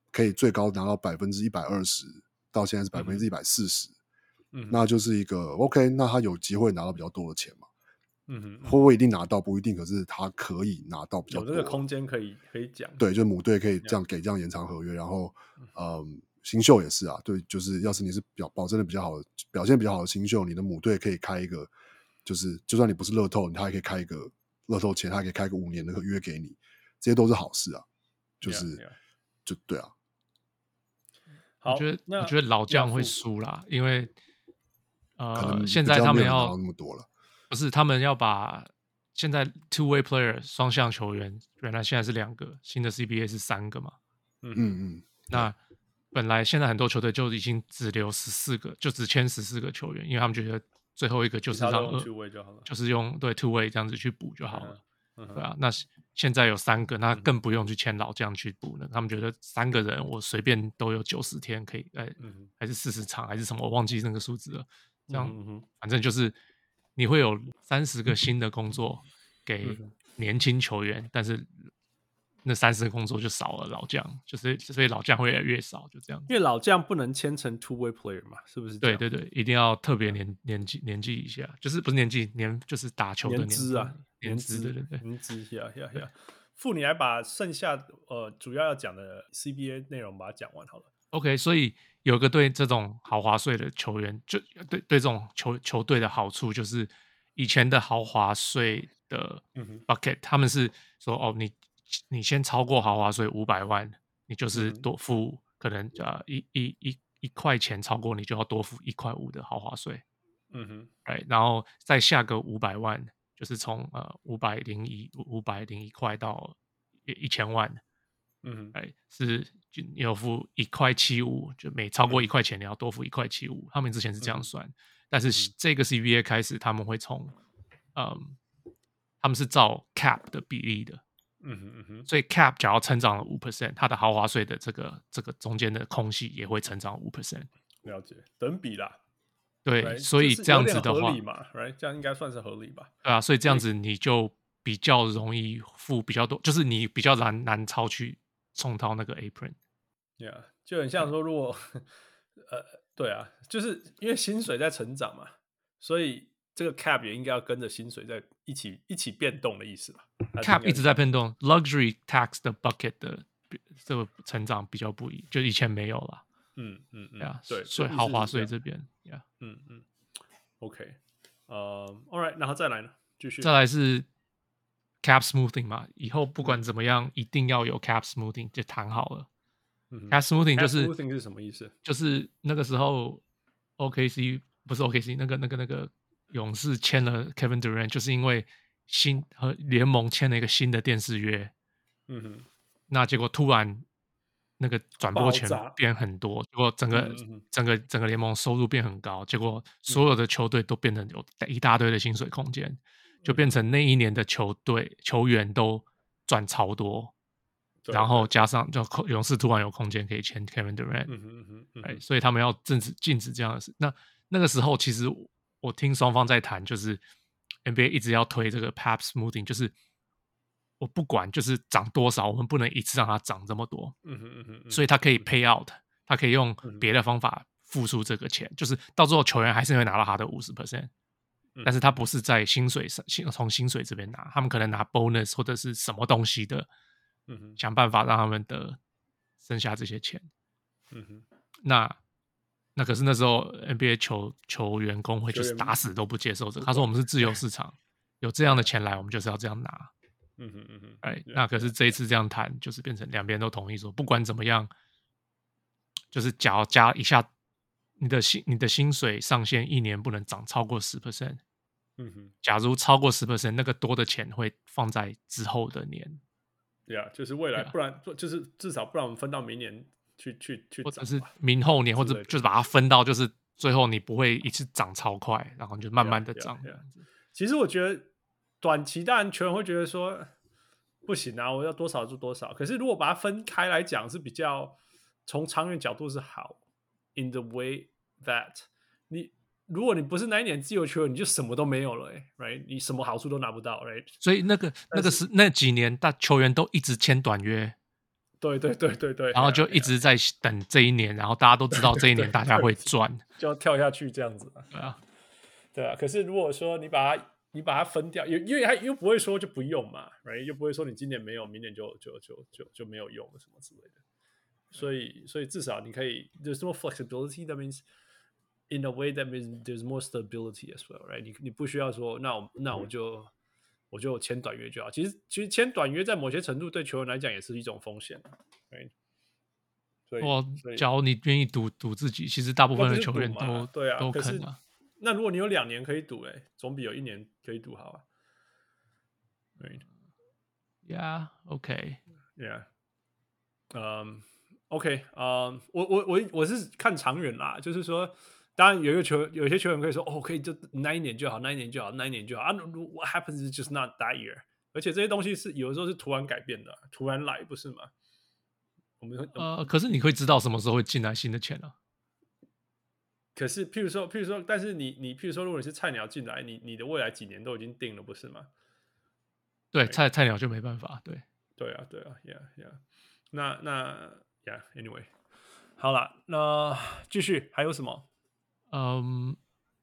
可以最高拿到百分之一百二十，到現在是百分之一百四十，那就是一個 OK， 那他有機會拿到比較多的錢嘛？嗯哼，會不會一定拿到不一定，可是他可以拿到比較多， 有這個空間可以可以講。對， 就母隊可以這樣給這樣延長合約，然後嗯，新秀也是啊，對，就是要是你是表保證的比較好的表現比較好的新秀，你的母隊可以開一個，就是就算你不是樂透，他還可以開一個樂透錢，他還可以開一個五年的合約給你，這些都是好事啊，就是 yeah, yeah. 就對啊。 好，我覺得我覺得老將會輸啦，因為呃，現在他們要那麼多了， 不是他們要把現在 two way player 雙向球員，原來現在是兩個，新的 C B A 是三個嘛， 嗯嗯， 那本來現在很多球隊就已經只留十四個，就只簽十四個球員，因為他們覺得最後一個就是讓 two way 就好了， 就是用對 two way 這樣子去補就好了。嗯對啊，那現在有三個，那更不用去簽老將去補了。他們覺得三個人我隨便都有九十天可以，哎，還是四十場還是什麼，我忘記那個數字了。這樣，反正就是你會有三十個新的工作給年輕球員，但是那三十個工作就少了老將，就是所以老將會越來越少，就這樣。 因為老將不能簽成 two way player 嘛，是不是？ 對對對，一定要特別年年紀年紀以下，就是不是年紀年就是打球的年資啊。 年資，對對對， 年資，呀呀呀！傅，你來把剩下呃主要要講的 C B A 內容把它講完好了。 OK， 所以有一個對這種豪華稅的球員，就對對這種球球隊的好處就是，以前的豪華稅的 bucket，、嗯、他們是說哦，你你先超過豪華稅五百萬，你就是多付、嗯、可能呃一一一一塊錢超過，你就要多付一塊五的豪華稅。嗯哼，哎，然後再下個五百萬。就是從呃五百零一五百零一塊到一千萬，嗯，哎，是就你要付一塊七五，就每超過一塊錢你要多付一塊七五。他們之前是這樣算，嗯、但是這個 C B A 開始他們會從，嗯，他們是照 cap 的比例的，嗯哼嗯哼，所以 cap 假如成長了五 percent， 它的豪華稅的這個這個中間的空隙也會成長五 percent。 了解，等比啦。 對， right? 所以這樣子的話， 合理嘛 right? 這樣應該算是合理吧？ 對啊，所以這樣子你就比較容易付比較多，就是你比較難難超去衝到那個 apron。Yeah， 就很像說，如果呃，對啊，就是因為薪水在成長嘛，所以這個 cap 也應該要跟着薪水在一起一起變動的意思吧 ？cap 一直在變動 ，luxury tax 的 bucket 的這個成長比較不一，就以前沒有了。嗯嗯嗯，啊、yeah, 對，所以豪華稅這邊，呀， 嗯嗯 ，OK， 呃、uh, ，All right， 然後再來呢，繼續， 再來是 cap smoothing 嘛，以後不管怎麼樣，嗯、一定要有 cap smoothing 就談好了。嗯、cap smoothing 就是 cap smoothing 是什麼意思？ 就是那個時候 O K C 不是 O K C， 那個那個那個勇士簽了 Kevin Durant， 就是因為新和聯盟簽了一個新的電視約，嗯哼，那結果突然。那個轉播權變很多，結果整個嗯嗯整個整個聯盟收入變很高，結果所有的球隊都變成有一大堆的薪水空間，就變成那一年的球隊球員都賺超多，然後加上就勇士突然有空間可以簽 Kevin Durant，嗯嗯嗯嗯哎，所以他們要禁止禁止這樣的事。那那個時候其實我聽雙方在談，就是 N B A 一直要推這個 cap smoothing， 就是。我不管就是漲多少，我們不能一次讓它漲這麼多。嗯哼嗯哼嗯，所以它可以 pay out，它可以用別的方法付出這個錢，嗯、就是到最後球員還是會拿到他的五十 percent，但是他不是在薪水上，從薪水這邊拿，他們可能拿 bonus 或者是什麼東西的，嗯哼，想辦法讓他們的剩下這些錢。嗯哼，那那可是那時候 N B A 球球員工會就是打死都不接受這個，他說我們是自由市場，有這樣的錢來，我們就是要這樣拿。嗯哼嗯哼，哎、right, ，那可是這一次這樣談，就是變成兩邊都同意說，不管怎麼樣，就是假如加一下你的薪你的薪水上限一年不能漲超過十 percent。嗯哼，假如超過十 percent， 那個多的錢會放在之後的年。 對啊，就是未來，不然就是至少不然我們分到明年去去去， 或者是明後年，或者就是把它分到，就是最後你不會一次漲超快，然後就慢慢的漲。Yeah, yeah, yeah. 其實我覺得。短期當然球員會覺得說不行啊，我要多少就多少。可是如果把它分開來講，是比較從長遠角度是好。In the way that 你如果你不是那一年自由球員，你就什麼都沒有了、欸、，right？ 你什麼好處都拿不到 ，right？ 所以那個那個是那幾年，大球員都一直簽短約， 對對對對對， 然後就一直在等這一年，然後大家都知道這一年大家會賺， 就要跳下去這樣子。 對啊， 對啊。可是如果說你把它你把它分掉，因為它又不會說就不用嘛 ，right？ 又不會說你今年沒有，明年就就就就就沒有用了什麼之類的。所以所以至少你可以 there's more flexibility. That means in a way that means there's more stability as well, right? 你你不需要說那我那我就。我就簽短約就好。其實，其實簽短約在某些程度對球員來講也是一種風險。對，所以， 我假如你願意賭賭自己，其實大部分的球員都對啊， 都肯啊。 那如果你有兩年可以賭，哎，總比有一年可以賭好啊。對 ，Yeah, OK, Yeah, 嗯、um, OK, 嗯、um, 我我我我是看長遠啦，就是說。當然，有一個球，有些球員可以說，哦，可以就那一年就好，那一年就好，那一年就好啊。What happens is just not that year。而且這些東西是有的時候是突然改變的，突然來，不是嗎？我們呃，可是你會知道什麼時候會進來新的錢啊？ 可是，譬如說，譬如說，但是你你譬如說，如果你是菜鳥進來，你你的未來幾年都已經定了，不是嗎？ 對，菜菜鳥就沒辦法。對， 對啊，對啊 ，Yeah, Yeah。那那 Yeah，Anyway， 好了，那繼續還有什麼？ 嗯、um,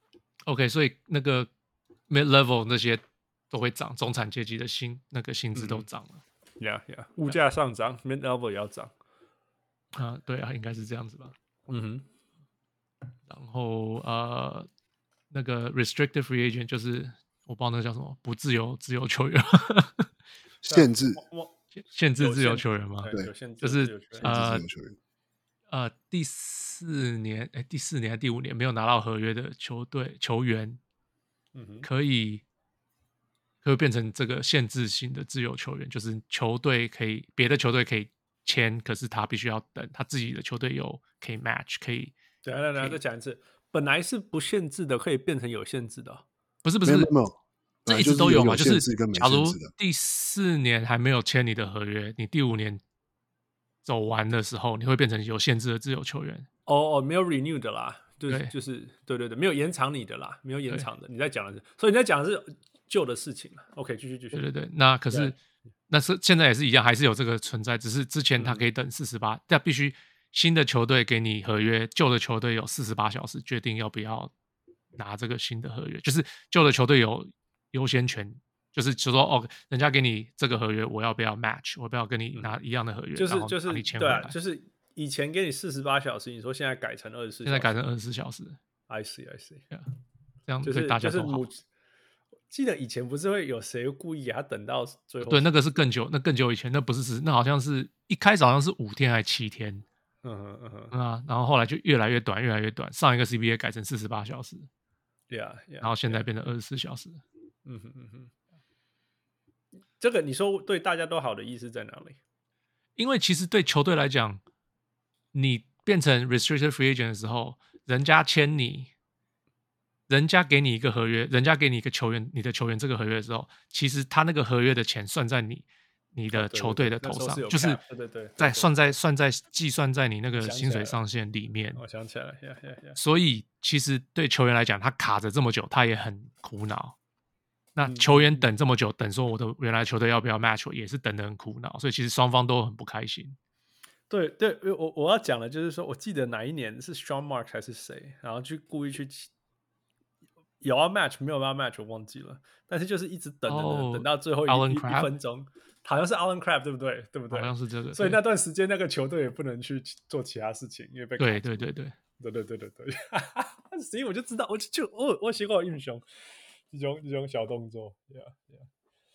，OK， 所以那個 mid level 那些都會漲，中產階級的薪那個薪資都漲了。 嗯、yeah, Yeah，物價上漲 ，mid level 也要漲。 啊，對啊，應該是這樣子吧。 嗯哼。 然後呃，那個 restricted free agent 就是我不知道那個叫什麼，不自由自由球員， 限制限制自由球員嗎？ 對，有限制就是呃球員呃第四年哎第四年還是第五年沒有拿到合約的球隊球員，嗯，可以可以變成這個限制性的自由球員，就是球隊可以別的球隊可以簽，可是他必須要等他自己的球隊有可以 match 可以。 對，來來來，再講一次，本來是不限制的，可以變成有限制的、哦， 不是不是， 沒有沒有， 這一直都有嘛， 就是假如第四年還沒有簽你的合約，你第五年走完的時候，你會變成有限制的自由球員。 哦哦，沒有 renew 的啦，就是對就是對對對，沒有延長你的啦，沒有延長的，你在講的是，所以你在講的是舊的事情了。OK， 繼續繼續。對對對，那可是那是現在也是一樣，還是有這個存在，只是之前他可以等四十八，但必須。新的球隊給你合約，舊的球隊有四十八小時決定要不要拿這個新的合約，就是舊的球隊有優先權，就是就說哦，人家給你這個合約，我要不要 match， 我要不要跟你拿一樣的合約， 就是然後就是你簽回來， 對啊，就是以前給你四十八小時，你說現在改成二十四， 現在改成二十四小時 ，I see I see，yeah, 這樣對大家都好。 就是記得以前不是會有誰故意給他等到最後？ 對，那個是更久，那更久以前，那不是那好像是一開始好像是五天還是七天。嗯哼嗯哼嗯啊，然後後來就越來越短，越來越短。上一個 C B A 改成四十八小時 ，Yeah, yeah, 然後現在變成二十四小時。 嗯哼嗯哼，這個你說對大家都好的意思在哪裡？ 因為其實對球隊來講，你變成 restricted free agent 的時候，人家簽你，人家給你一個合約，人家給你一個球員，你的球員這個合約的時候，其實他那個合約的錢算在你。你的球隊的頭上， 哦、 就是在算在算在計算在你那個薪水上限裡面。 我想起來了，yeah, yeah, yeah. 所以其實對球員來講，他卡着這麼久，他也很苦惱。那球員等這麼久，等說我的原來球隊要不要 match， 也是等得很苦惱。所以其實雙方都很不開心。 對對，我我要講的就是說，我記得哪一年是 Sean Marks 還是誰，然後去故意去有要 match 沒有要 match，我忘記了。但是就是一直等等等、oh, 等到最後一, 一, 一分鐘。好像是 Alan Crabb 對不對？對不對？ 好像是這個。 所以那段時間那個球隊也不能去做其他事情，因為被對對對對對對對對對。所以我就知道，我就就我我喜歡英雄這種這種小動作。Yeah, yeah.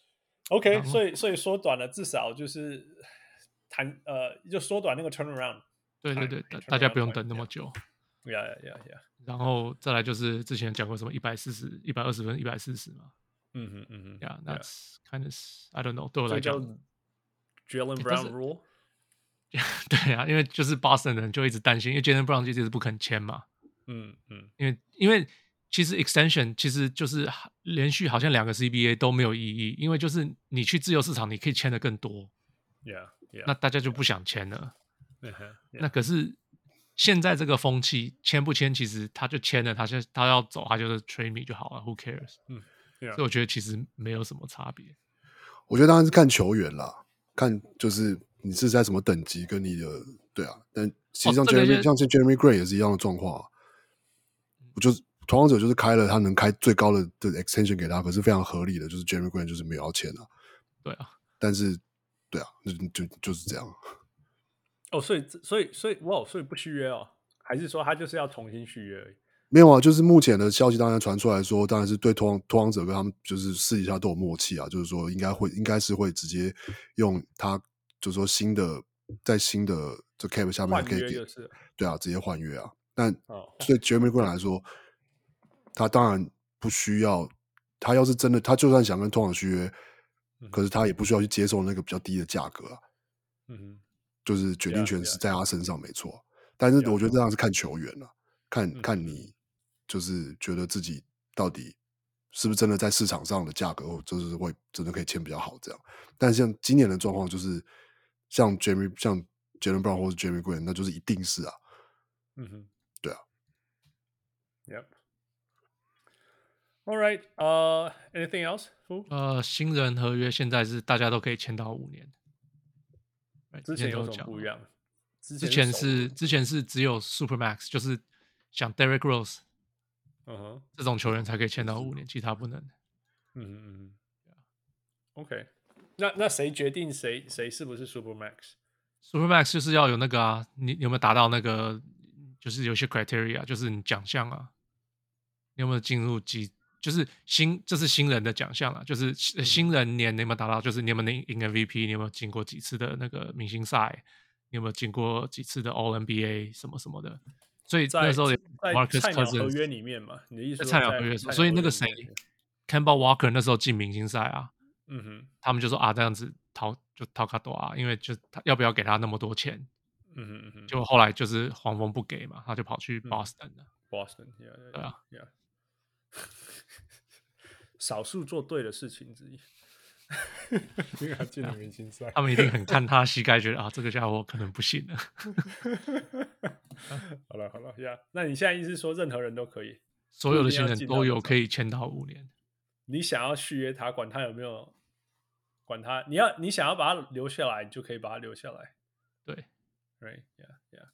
OK， 所以所以縮短了，至少就是談呃，就縮短那個 turnaround。 對對對，大家不用等那麼久。 Yeah, yeah, yeah, yeah. 然後再來就是之前講過什麼一百四十、一百二十分、一百四十嘛。 嗯哼嗯哼 ，Yeah, that's kind of I don't know。對我來講 ，Jaylen Brown rule。 對啊，因為就是 Boston 的人就一直擔心，因為 Jaylen Brown 就一直不肯簽嘛。 嗯嗯， 因為因為其實 extension 其實就是連續好像兩個 C B A 都沒有意義，因為就是你去自由市場你可以簽的更多。 Yeah, yeah。 那大家就不想簽了。 Yeah, yeah. 那可是現在這個風氣，簽不簽其實他就簽了，他就他要走，他就是 trade me 就好了 ，Who cares？ 嗯。Yeah. 所以我覺得其實沒有什麼差別。 我覺得當然是看球員啦，看就是你是在什麼等級跟你的對啊，但其實像哦這個 Jeremy、像 Jeremy Grant 也是一樣的狀況、啊。我就是拓荒者就是開了他能開最高的的 extension 給他，可是非常合理的，就是 Jeremy Grant 就是沒有要簽啊。 對啊， 但是對啊，就就就是這樣。 哦，所以所以所以哇，所以不續約哦，還是說他就是要重新續約而已？ 沒有啊，就是目前的消息當然傳出來說，當然是對拓荒拓荒者跟他們就是私底下都有默契啊，就是說應該會應該是會直接用他，就是說新的在新的這 cap 下面可以給， 就是對啊，直接換約啊。但哦， 對 Jeremy Grant 來說，他當然不需要，他要是真的，他就算想跟拓荒者續約，嗯、可是他也不需要去接受那個比較低的價格啊。 嗯哼， 就是決定權是在他身上沒錯， yeah, yeah. 但是我覺得這樣是看球員了、啊，看、 嗯、 看你就是覺得自己到底是不是真的在市場上的價格，就是會真的可以簽比較好這樣。但像今年的狀況就是像 Jeremy 像 Jaylen Brown 或者 Jeremy Grant， 那就是一定是啊， 嗯哼， 對啊 ，Yep。All right， 呃、uh, ，anything else？ 呃，新人合約現在是大家都可以簽到五年。 之前有什麼不一樣？ 之前是之前是只有 Supermax， 就是像 Derrick Rose， 嗯哼， 這種球員才可以簽到五年，其他不能。 嗯嗯嗯 ，OK， 那那誰決定誰誰是不是 Supermax？Supermax 就是要有那個啊，你有沒有達到那個？就是有些 criteria， 就是你獎項啊，你有沒有進入幾？就是新，這是新人的獎項啊，就是新人年你有沒有達到？就是你有沒有贏 M V P？ 你有沒有進過幾次的那個明星賽？你有沒有進過幾次的 All N B A 什麼什麼的？所以那時候 Marcus 在菜鳥合約裡面嘛，你的意思在菜鳥合約，所以那個誰 Kemba Walker 那時候進明星賽啊， 嗯哼， 他們就說啊，這樣子掏就掏卡多啊，因為就他要不要給他那麼多錢？ 嗯哼嗯哼， 就後來就是黃蜂不給嘛，他就跑去 Boston 了。 Boston，yeah, yeah, 對啊 ，yeah. 少數做對的事情之一，因為他進了明星賽， 他們一定很看他膝蓋，覺得啊，這個家伙可能不行了。 好了好了呀， yeah. 那你現在意思是說，任何人都可以， 所有的新人都有可以簽到五年。 你想要續約他，管他有沒有，管他，你要你想要把他留下來，你就可以把他留下來。 對 ，right, yeah, yeah.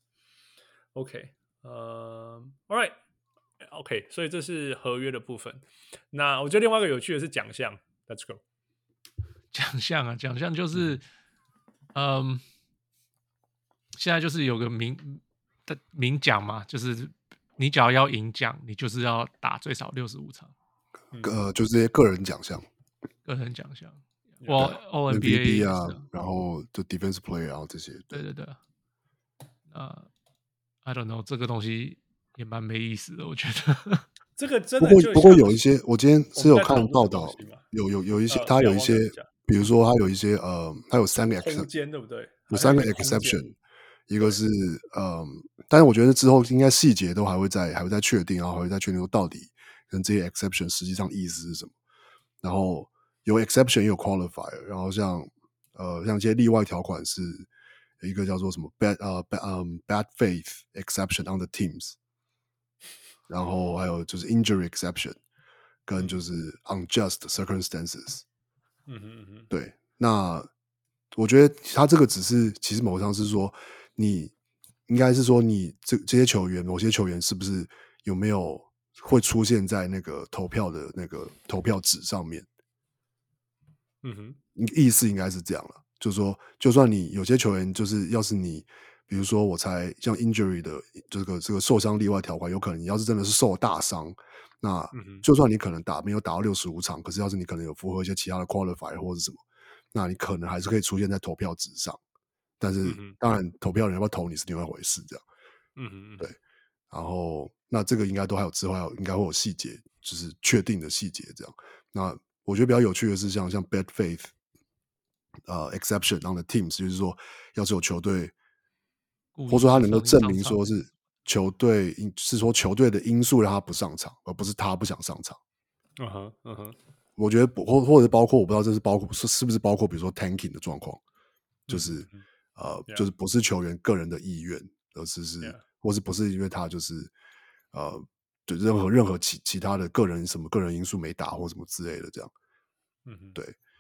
OK， 呃、uh, ，All right。OK， 所以這是合約的部分。那我覺得另外一個有趣的是獎項 ，Let's go。 獎項啊，獎項就是，嗯，現在就是有個明的明獎嘛，就是你只要要贏獎，你就是要打最少六十五場。 呃，就這些個人獎項， 個人獎項，我 All N B A 啊，然後就 Defensive Player，然後這些。 對對對。啊、uh, ，I don't know， 這個東西。也蠻沒意思的，我覺得。 這個真的不過不過有一些，我今天是有看報道，有有有一些，他有一些，比如說他有一些呃，他有三個 exception，對不對？有三個 exception，一個是嗯，但是我覺得之後應該細節都還會再還會再確定，然後還會再確定說到底跟這些 exception 實際上意思是什麼。然後有 exception 也有 qualifier，然後像呃像一些例外條款是有一個叫做什麼 bad 呃 bad 嗯 bad faith exception on the teams。然後還有就是 injury exception， 跟就是 unjust circumstances。 嗯哼嗯哼，對。 那我覺得他這個只是，其實某個上是說，你應該是說你這這些球員，某些球員是不是有沒有會出現在那個投票的那個投票紙上面？ 嗯哼， 意思應該是這樣了，就是說，就算你有些球員，就是要是你。比如說，我猜像 injury 的這個這個受傷例外條款，有可能你要是真的是受了大傷，那就算你可能打沒有打到六十五場，可是要是你可能有符合一些其他的 qualifier 或者什麼，那你可能還是可以出現在投票紙上。但是當然，投票人要不要投你是另外一回事，這樣。嗯哼，對。然後那這個應該都還有之後還有應該會有細節，就是確定的細節這樣。那我覺得比較有趣的是像像 bad faith 呃 exception on the teams，就是說要是有球隊。或者說他能夠證明說是球隊是說球隊的因素讓他不上場，而不是他不想上場。 嗯哼，嗯哼， 我覺得或或者包括我不知道這是包括是是不是包括比如說 tanking 的狀況，就是、嗯、呃、yeah. 就是不是球員個人的意願，而是是、yeah. 或是不是因為他就是呃就任何任何其其他的個人什麼個人因素沒打或什麼之類的這樣。嗯哼，對。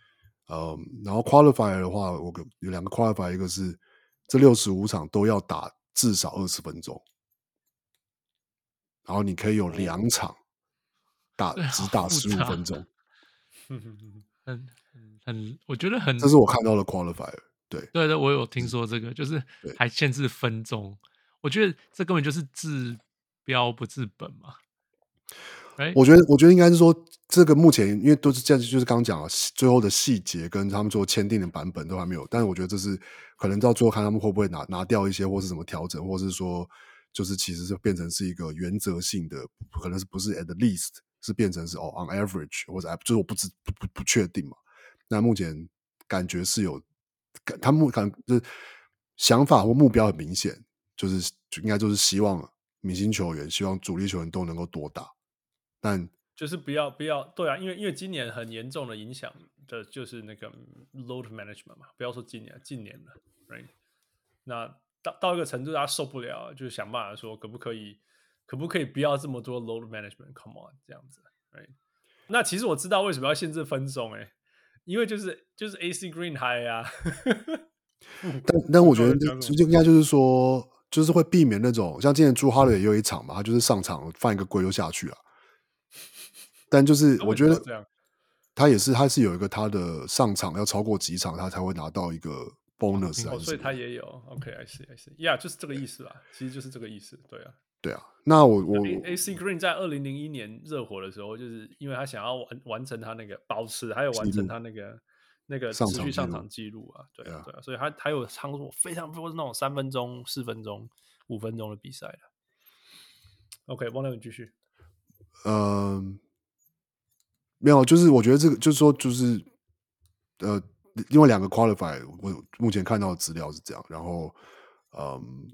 呃，然後 qualifier 的話，我有兩個 qualifier，一個是這六十五場都要打至少二十分鐘，然後你可以有兩場打只打十五分鐘， 很很，我覺得很， 這是我看到的 qualifier。對對對，我有聽說這個，就是還限制分鐘，我覺得這根本就是治標不治本嘛。Right? 我覺得，我覺得應該是說，這個目前因為都是這樣，就是剛剛講了最後的細節跟他們做簽訂的版本都還沒有，但是我覺得這是可能到最後看他們會不會拿拿掉一些，或是怎麼調整，或是說就是其實是變成是一個原則性的，可能是不是 at least 是變成是哦 on average 或者就是我不知不不不確定嘛。那目前感覺是有，他們可能就是想法或目標很明顯，就是就應該就是希望明星球員、希望主力球員都能夠多打。但就是不要不要對啊，因為因為今年很嚴重的影響的就是那個 load management 嘛，不要說今年，近年了 ，right？ 那到到一個程度，大家受不了，就是想辦法說可不可以，可不可以不要這麼多 load management？Come on， 這樣子 ，right？ 那其實我知道為什麼要限制分鐘，哎，因為就是就是 A C Green high 啊， 但但我覺得就應該就是說，就是會避免那種像今年朱哈勒也有一場嘛，他就是上場犯一個規就下去了。但就是我覺得他也是，他是有一個他的上場要超過幾場，他才會拿到一個 bonus， 哦，所以他也有 OK，I see，I see，Yeah， 就是這個意思啦，其實就是這個意思，對啊， 對啊。那我我 A C Green 在二零零一年熱火的時候，就是因為他想要完完成他那個保持，還有完成他那個那個持續上場記錄啊，對啊，對啊，所以他還有唱過非常多那種三分鐘、四分鐘、五分鐘的比賽的。OK， 王亮你繼續。 嗯。沒有，就是我覺得這個就是說，就是呃，另外兩個 qualify， 我目前看到的資料是這樣。然後，嗯，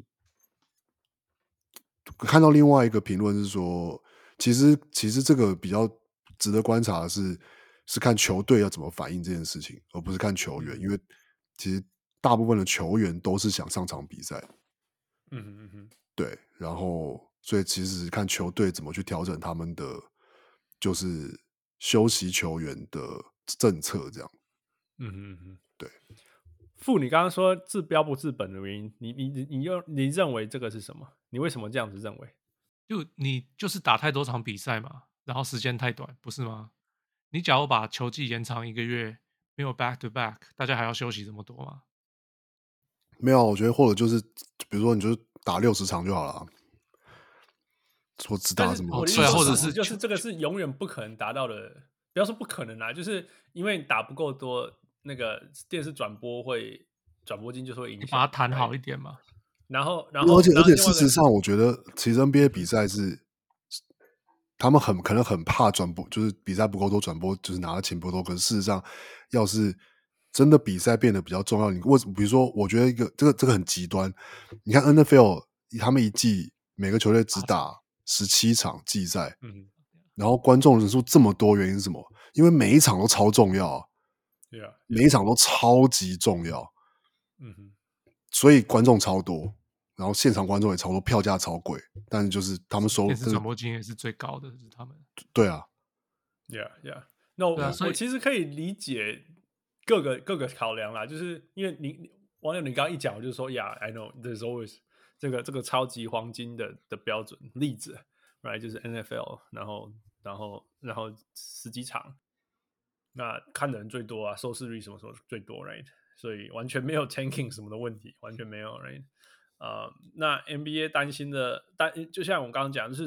看到另外一個評論是說，其實其實這個比較值得觀察的是，是看球隊要怎麼反應這件事情，而不是看球員，因為其實大部分的球員都是想上場比賽。 嗯哼嗯哼，對。 然後，所以其實看球隊怎麼去調整他們的，就是。休息球員的政策，這樣， 嗯哼嗯哼， 對。 傅，你剛剛說治標不治本的原因，你你你你又你認為這個是什麼？你為什麼這樣子認為？ 就你就是打太多場比賽嘛，然後時間太短，不是嗎？你假如把球季延長一個月，沒有 back to back， 大家還要休息這麼多嗎？ 沒有，我覺得或者就是，比如說你就打六十場就好了。說只打什麼？ 我的意思或者是就是這個是永遠不可能達到的，不要說不可能啊，就是因為打不夠多，那個電視轉播會轉播金就是會影響， 把它談好一點嘛。 然後，然後， 而且而且事實上，我覺得其實 N B A 比賽是他們很可能很怕轉播，就是比賽不夠多，轉播就是拿的錢不夠多。可是事實上，要是真的比賽變得比較重要，你為什麼？比如說，我覺得一個這個這個很極端，你看 N F L 他們一季每個球隊只打十七場季賽，嗯，然後觀眾人數這麼多，原因是什麼？因為每一場都超重要，對啊，每一場都超級重要，嗯哼，所以觀眾超多，然後現場觀眾也超多，票價超貴，但是就是他們收電視轉播金也是最高的，是他們， 對啊 ，Yeah Yeah，那我、啊、我其實可以理解各個各個考量啦，就是因為你網友你剛剛一講，我就說 Yeah，I know there's always。這個這個超級黃金的的標準例子 ，right 就是 N F L， 然後然後然後十幾場，那看的人最多啊，收視率什麼什麼最多 ，right？ 所以完全沒有 tanking 什麼的問題，完全沒有 ，right？ 啊、uh, 那 N B A 擔心的，但就像我剛剛講，就是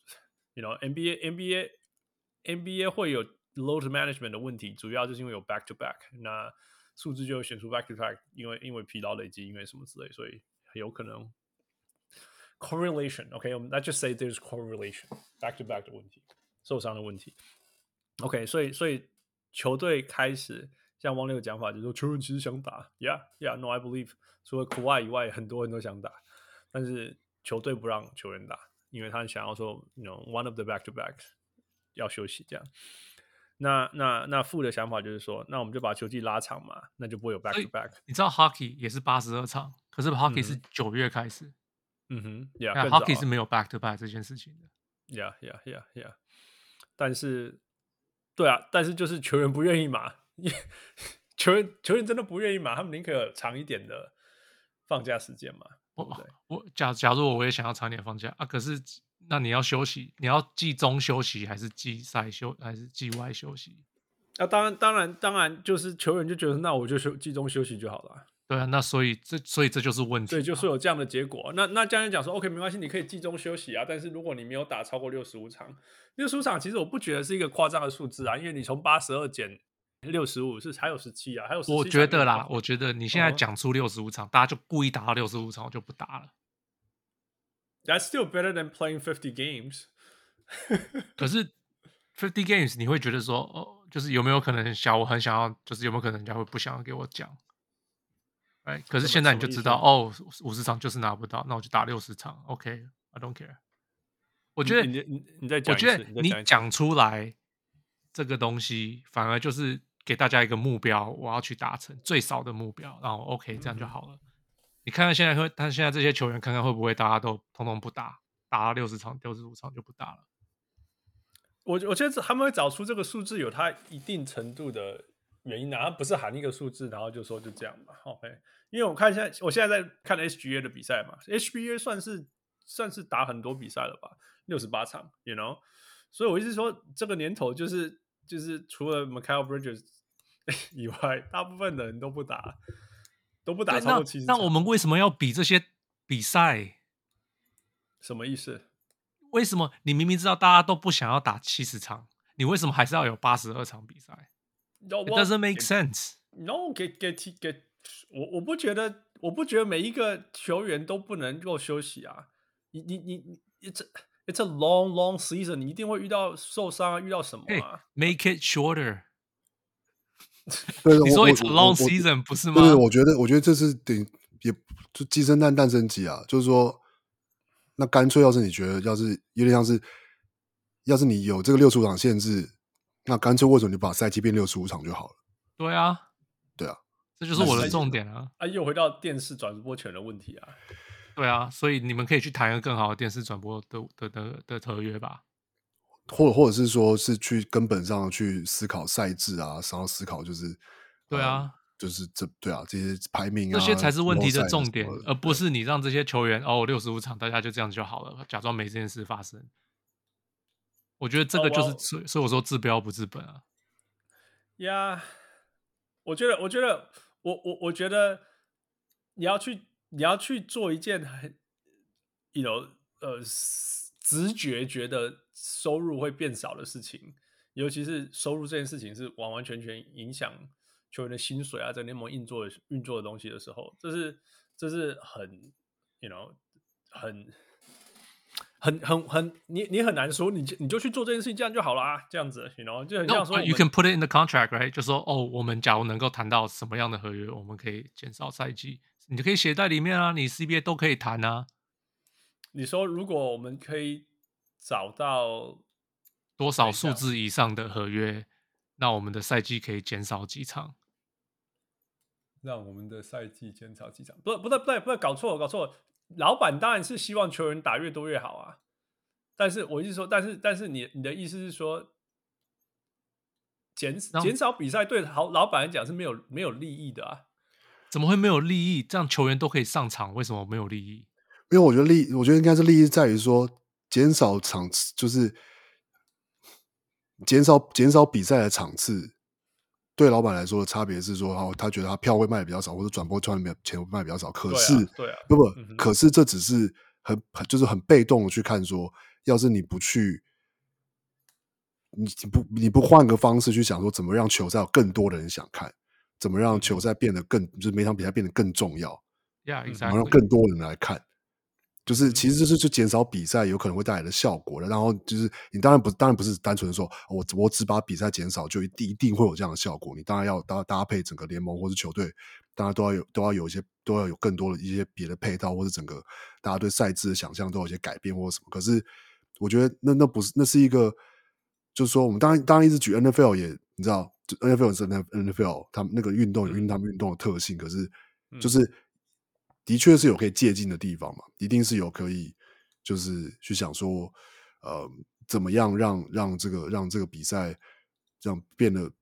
you know N B A N B A N B A 會有 load management 的問題，主要就是因為有 back to back， 那數字就會選出 back to back， 因為因為疲勞累積，因為什麼之類，所以有可能。Correlation, OK, let's just say there's correlation, back to back 的問題，受傷的問題。OK, 所以所以球隊開始像汪六的講法，就是說球員其實想打 ，Yeah, Yeah, No, I believe。除了苦外以外，很多人都想打，但是球隊不讓球員打，因為他想要說，you know, one of the back to back 要休息這樣。那那那副的想法就是說，那我們就把球季拉長嘛，那就不會有 back to back。 你知道 hockey 也是八十二場，可是 hockey 是九月開始。 嗯哼 ，Yeah， hockey 是沒有 back to back 這件事情的。 Yeah, yeah, yeah, yeah。但是，對啊，但是就是球員不願意嘛， 球員球員真的不願意嘛？他們寧可有長一點的放假時間嘛？對不對？ 我我假假如我也想要長一點放假啊，可是那你要休息，你要季中休息還是季賽休還是季外休息？ 啊，當然當然當然，就是球員就覺得那我就休季中休息就好了。對啊，那所以這所以這就是問題， 所以就是有這樣的結果。那那教練講說 ，OK， 沒關係，你可以季中休息啊。但是如果你沒有打超過六十五場，六十五場其實我不覺得是一個誇張的數字啊，因為你從八十二減六十五是還有十七啊，還有十七。我覺得啦，我覺得你現在講出六十五場，嗯、大家就故意打到六十五場，我就不打了。 That's still better than playing fifty games 。 可是 fifty games 你會覺得說，哦，就是有沒有可能想我很想要，就是有沒有可能人家會不想要給我講？Right? 可是現在你就知道哦，五十場就是拿不到，那我就打六十場。OK，I don't care。我覺得你你你再講， 我覺得你講出來這個東西，反而就是給大家一個目標，我要去達成最少的目標，然後 OK 這樣就好了。嗯、你看看現在會，他現在這些球員，看看會不會大家都通通不打，打到六十場、六十五場就不打了。 我我覺得他們會找出這個數字有它一定程度的原因啊，他不是喊一個數字，然後就說就這樣嘛。OK。因為我看現在，我現在在看 H G A 的比賽嘛 ，H B A 算是算是打很多比賽了吧，六十八場 ，you know， 所以我一直說這個年頭就是就是除了 Mikal Bridges 以外，大部分的人都不打，都不打超過七十場。 那我們為什麼要比這些比賽？ 什麼意思？ 為什麼你明明知道大家都不想要打七十場，你為什麼還是要有八十二場比賽 ？It doesn't make sense. No, get get get. 我我不覺得，我不覺得每一個球員都不能夠休息啊！你你你，it's a, it's a long long season， 你一定會遇到受傷啊，遇到什麼啊 ？Hey, make it shorter 對。 你說 it's a long season 不是嗎？ 對，我覺得我覺得這是等也就雞生蛋，蛋生雞啊！就是說，那乾脆要是你覺得，要是有點像是，要是你有這個六十五場限制，那乾脆為什麼你把賽季變六十五場就好了？ 對啊， 對啊。 這就是我的重點啊！ 啊，又回到電視轉播權的問題啊！ 對啊，所以你們可以去談一個更好的電視轉播的的的的合約吧， 或者或者是說是去根本上去思考賽制啊，然後思考就是對啊、 呃，就是這對啊，這些排名啊， 這些才是問題的重點，而不是你讓這些球員哦六十五場大家就這樣就好了，假裝沒這件事發生。我覺得這個就是、oh, well, 所以我說治標不治本啊。 呀、yeah, 我覺得，我覺得。我我我覺得你要去你要去做一件很，you know， 呃，直覺覺得收入會變少的事情，尤其是收入這件事情是完完全全影響球員的薪水啊，在聯盟運作的運作的東西的時候，這是這是很 ，you know， 很很很很你你很難說，你你就去做這件事情，這樣就好了啊，這樣子 ，you know， 就很像說 ，no, you can put it in the contract, right？ 就說哦，我們假如能夠談到什麼樣的合約，我們可以減少賽季，你就可以寫在裡面啊，你 C B A 都可以談啊。 你說如果我們可以找到多少數字以上的合約，那我們的賽季可以減少幾場？ 讓我們的賽季減少幾場？不，不對，不對，不對，搞錯了，搞錯了。老闆當然是希望球員打越多越好啊，但是我意思說，但是但是你你的意思是說，減減少比賽對好老闆來講是沒有沒有利益的啊？ 怎麼會沒有利益？這樣球員都可以上場，為什麼沒有利益？ 因為我覺得利，我覺得應該是利益在於說，減少場次，就是減少減少比賽的場次。對老闆來說的差別是說，哦，他覺得他票會賣的比較少，或者轉播賺的錢會賣的比較少。可是，對啊，對啊，不不，嗯，可是這只是很就是很被動的去看說，要是你不去，你不你不換個方式去想說，怎麼讓球賽有更多的人想看，怎麼讓球賽變得更，就是每場比賽變得更重要 ，Yeah, exactly. 怎麼讓更多人來看。就是其實這是就減少比賽有可能會帶來的效果，然後就是你當然不當然不是單純的說我我只把比賽減少就一定一定會有這樣的效果，你當然要搭搭配整個聯盟或是球隊，當然都要有都要有一些都要有更多的一些別的配套，或是整個大家對賽制的想象都有一些改變或者什麼。可是我覺得那那不是那是一個，就是說我們當然當然一直舉 N F L 也你知道 N F L 是 N F L 他們那個運動有他們運動的特性，可是就是。嗯的確是有可以借鑑的地方嘛，一定是有可以就是去想說，呃，怎麼樣讓讓這個讓這個比賽這樣變得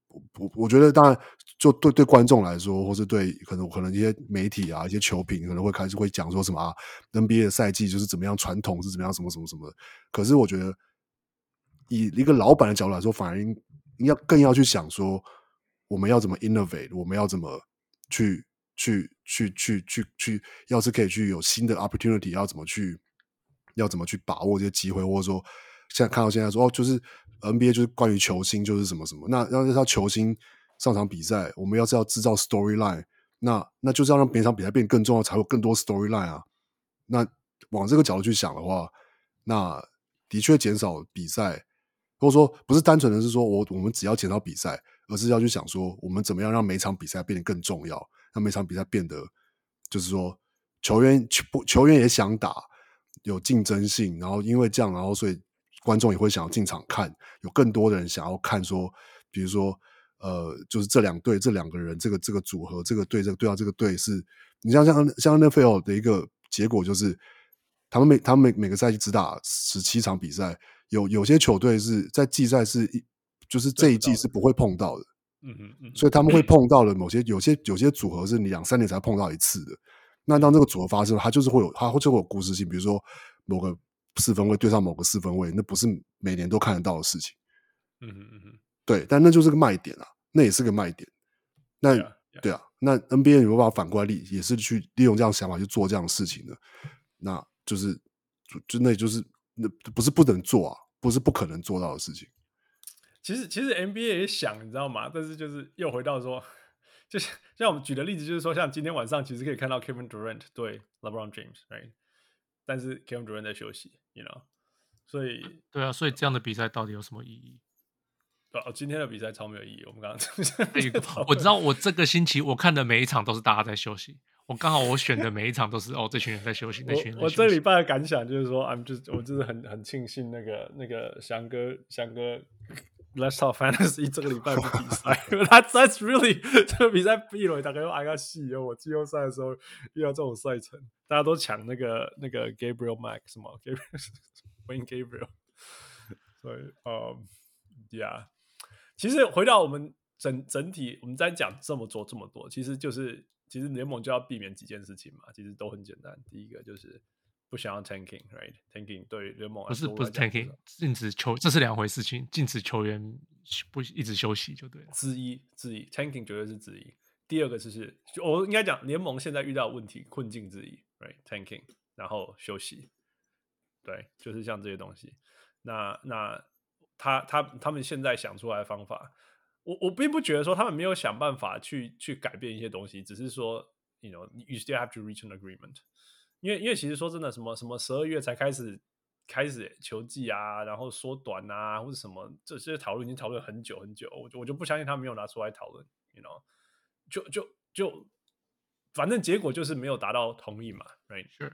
我我覺得當然就對對觀眾來說，或是對可能可能一些媒體啊、一些球評可能會開始會講說什麼啊 ，N B A 的賽季就是怎麼樣，傳統是怎麼樣，什麼什麼什麼的。可是我覺得以一個老闆的角度來說，反而應要更要去想說，我們要怎麼 innovate， 我們要怎麼去去去去去去，要是可以去有新的 opportunity， 要怎麼去要怎麼去把握這些機會，或者說現在看到現在說哦，就是 N B A 就是關於球星就是什麼什麼，那要要球星上場比賽，我們要是要制造 storyline， 那那就是要讓每場比賽變得更重要，才會有更多 storyline 啊。那往這個角度去想的話，那的確減少比賽，或者說不是單純的是說我我們只要減少比賽，而是要去想說我們怎麼樣讓每場比賽變得更重要，讓每場比賽變得就是說球員球球員也想打，有競爭性，然後因為這樣，然後所以觀眾也會想要進場看，有更多的人想要看說，比如說呃，就是這兩隊這兩個人這個這個組合，這個隊這個隊到這個隊是，你像像像 N F L 的一個結果就是，他們每他們每每個賽季只打十七場比賽，有有些球隊是在季賽是一就是這一季是不會碰到的， 嗯嗯嗯， 所以他們會碰到的某些有些有些組合是你兩三年才碰到一次的。那當這個組合發生，它就是會有它就會有故事性，比如說某個四分位對上某個四分位，那不是每年都看得到的事情。 嗯嗯嗯， 對，但那就是個賣點啊，那也是個賣點。那 yeah, yeah. 對啊，那 N B A 有沒有辦法反過來也是去利用這樣的想法去做這樣的事情的？那就是就就那就是那不是不能做啊，不是不可能做到的事情。 其實其實 N B A 也想，你知道嗎？但是就是又回到說。就像像我們舉的例子，就是說，像今天晚上其實可以看到 Kevin Durant 對 LeBron James，right？ 但是 Kevin Durant 在休息 ，you know， 所以對啊，所以這樣的比賽到底有什麼意義？ 對啊，今天的比賽超沒有意義。我們剛剛我知道，我這個星期我看的每一場都是大家在休息，我剛好我選的每一場都是哦，這群人在休息，那群人在休息。 我，我這禮拜的感想就是說 ，I'm just 我就是很很慶幸那個那個翔哥翔哥。Let's talk fantasy 這個禮拜不比賽，That's that's really 這個比賽閉了，大概又挨個戲哦。我季後賽的時候遇到這種賽程，大家都搶那個那個 Gabriel Max 什麼 Gabriel Wayne Gabriel， 所以嗯 ，Yeah， 其實回到我們整整體，我們在講這麼多這麼多，其實就是其實聯盟就要避免幾件事情嘛，其實都很簡單。第一個就是不想要 tanking，right？ tanking 對聯盟來說不是不是 tanking， 禁止球，這是兩回事情，禁止球員不一直休息就對了。 之一之一 ，tanking 絕對是之一。第二個就是我應該講聯盟現在遇到的問題困境之一 ，right？tanking， 然後休息，對，就是像這些東西。那那他他他們現在想出來的方法，我我並不覺得說他們沒有想辦法去去改變一些東西，只是說 ，you know，you still have to reach an agreement。因為因為其實說真的，什麼什麼十二月才開始開始球季啊，然後縮短啊，或者什麼這些討論已經討論很久很久，我就我就不相信他沒有拿出來討論 ，you know， 就就就反正結果就是沒有達到同意嘛 ，right？ 是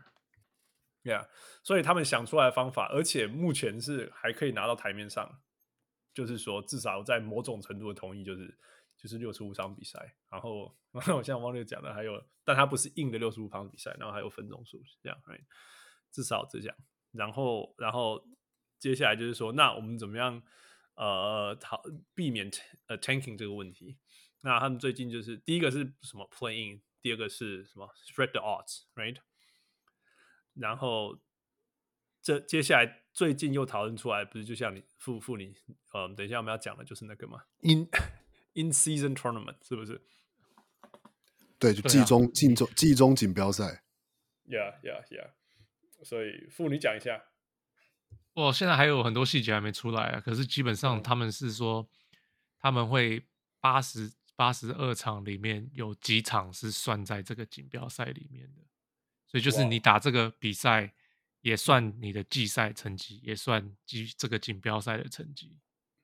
，yeah， 所以他們想出來的方法，而且目前是還可以拿到台面上，就是說至少在某種程度的同意，就是就是六十五場比賽，然後然後像汪六講的還有。但它不是硬的六十五場比賽，然後還有分鐘數這樣 ，right？ 至少這樣。然後，然後接下來就是說，那我們怎麼樣呃避免呃 tanking 這個問題？那他們最近就是第一個是什麼 play in， 第二個是什麼 spread the odds，right？ 然後這接下來最近又討論出來，不是就像你傅傅你呃，等一下我們要講的就是那個嘛 ，in in season tournament 是不是？ 對，就季中、季中、季中錦標賽。 Yeah, yeah, yeah. 所以，傅你講一下。 我現在還有很多細節還沒出來啊，可是基本上他們是說，他們會八十八十二場裡面有幾場是算在這個錦標賽裡面的，所以就是你打這個比賽也算你的季賽成績，也算季這個錦標賽的成績，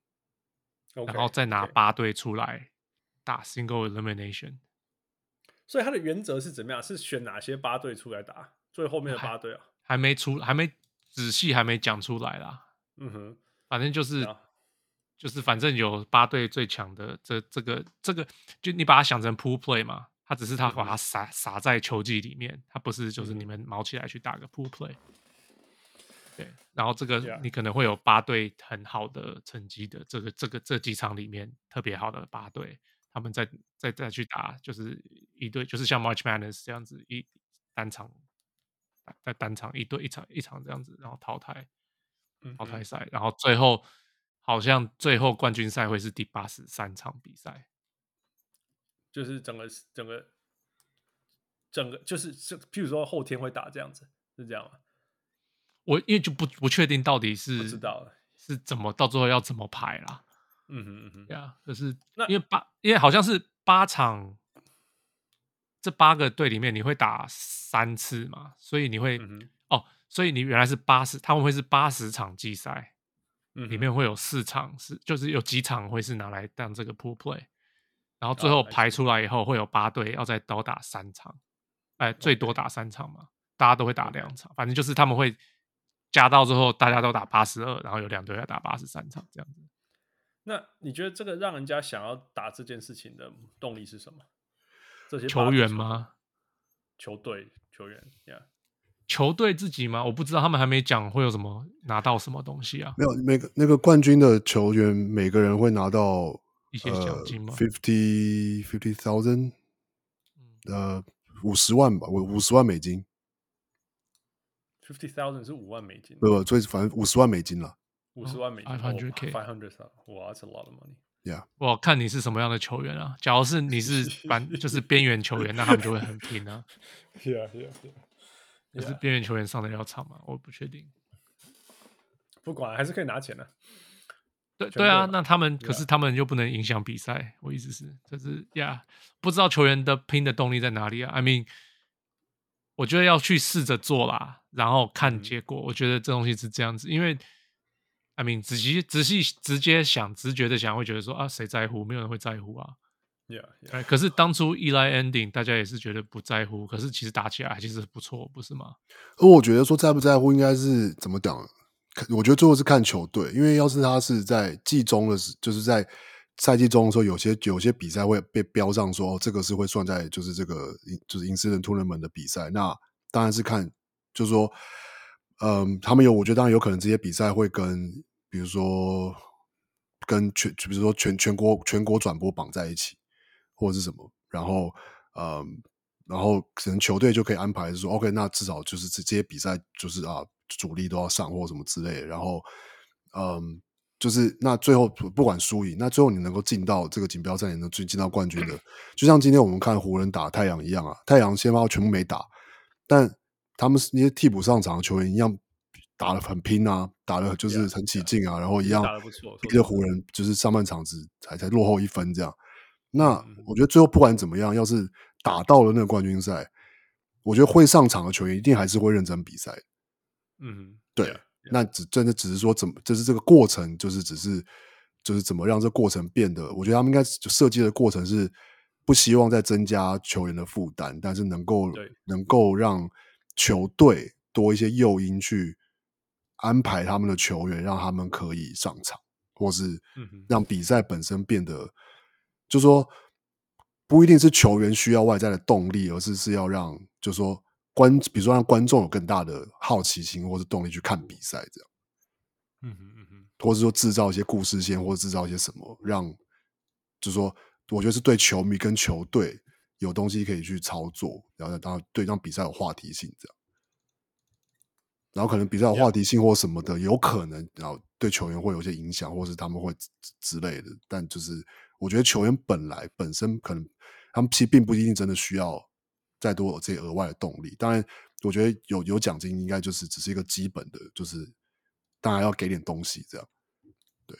okay, 然後再拿八隊出來打 single elimination。 所以它的原則是怎麼樣？是選哪些八隊出來打？最後面的八隊啊， 還沒出，還沒仔細，還沒講出來啦。 嗯哼， 反正就是、 啊、 就是反正有八隊最強的，這這個這個，就你把它想成 pool play 嘛，它只是它把它撒、嗯、撒在球季裡面，它不是就是你們卯起來去打個 pool play。對， 然後這個你可能會有八隊很好的成績的，這個這個這幾場裡面特別好的八隊，他們再再再去打，就是一隊就是像 March Madness 這樣子一單場在單場一隊一場一場這樣子，然後淘汰淘汰賽，然後最後好像最後冠軍賽會是第八十三場比賽， 就是整個整個整個就是譬如說後天會打這樣子，是這樣嗎？ 我因為就不不確定到底是不知道了是怎麼到最後要怎麼排啦。 嗯哼嗯哼， 對啊，就是那因為八因為好像是八場，這八個隊裡面你會打三次嘛，所以你會、嗯、哦，所以你原來是八十，他們會是八十場季賽，嗯、裡面會有四場是就是有幾場會是拿來當這個 pool play， 然後最後排出來以後會有八隊要再多打三場，哎，最多打三場嘛， okay. 大家都會打兩場，反正就是他們會加到最後大家都打八十二，然後有兩隊要打八十三場這樣子。 那你覺得這個讓人家想要打這件事情的動力是什麼？這些球員嗎？ 球隊球員、yeah. 球隊自己嗎？我不知道，他們還沒講會有什麼拿到什麼東西啊？ 沒有，每個那個冠軍的球員每個人會拿到一些獎金嗎？ fifty fifty thousand， 呃，五十萬吧，五五十萬美金。 fifty thousand 是五萬美金， 不不，所以反正五十萬美金了。 五十萬美金 ，five hundred k， five hundred thousand， 哇 ，that's a lot of money。Yeah， 我看你是什麼樣的球員啊？假如是你是反就是邊緣球員，那他們就會很拼啊。 Yeah yeah yeah。 可是邊緣球員上得了場嗎？我不確定。 不管還是可以拿錢的、啊。 對對啊，那他們可是他們又不能影響比賽。我意思是，就是呀， yeah, 不知道球員的拼的動力在哪裡啊 ？I mean， 我覺得要去試着做啦，然後看結果。嗯、我覺得這東西是這樣子，因為。I mean， 仔細仔細直接想，直覺的想，會覺得說啊，誰在乎？沒有人會在乎啊。 Yeah, yeah. 可是當初 Eli ending， 大家也是覺得不在乎，可是其實打起來其實不錯，不是嗎？ 而我覺得說在不在乎，應該是怎麼講？我覺得最後是看球隊，因為要是他是在季中的時，就是在賽季中的時候，有些有些比賽會被標上說，哦，這個是會算在就是這個就是 incident tournament 的比賽，那當然是看，就是說，嗯，他們有，我覺得當然有可能這些比賽會跟。比如說，跟全，比如說全全國全國轉播綁在一起，或者是什麼，然後，嗯，然後可能球隊就可以安排說 ，OK， 那至少就是這些比賽就是啊，主力都要上或什麼之類的，然後，嗯，就是那最後不管輸贏，那最後你能夠進到這個錦標賽，你能進進到冠軍的，就像今天我們看湖人打太陽一樣啊，太陽先發全部沒打，但他們那些替補上場的球員一樣。打得很拼啊，打得就是很起勁啊， yeah, yeah, 然後一樣打得不錯， 逼着湖人就是上半場只才才落後一分這樣。那我覺得最後不管怎麼樣，要是打到了那個冠軍賽，我覺得會上場的球員一定還是會認真比賽。嗯，對。Yeah, yeah. 那只真的只是說怎麼，就是這個過程，就是只是就是怎麼讓這個過程變得，我覺得他們應該設計的過程是不希望再增加球員的負擔，但是能夠能夠讓球隊多一些誘因去。安排他們的球員，讓他們可以上場，或是讓比賽本身變得，嗯、就是說不一定是球員需要外在的動力，而是是要讓，就是說觀，比如說讓觀眾有更大的好奇心或是動力去看比賽，這樣，嗯哼嗯哼，或者說製造一些故事線，或者製造一些什麼，讓，就是說，我覺得是對球迷跟球隊有東西可以去操作，然後讓對讓比賽有話題性，這樣。然後可能比賽有話題性或什麼的， yeah. 有可能，然後對球員會有些影響，或是他們會之類的。但就是我覺得球員本來本身可能他們其實並不一定真的需要再多有這些額外的動力。當然，我覺得有有獎金應該就是只是一個基本的，就是當然要給點東西這樣。對，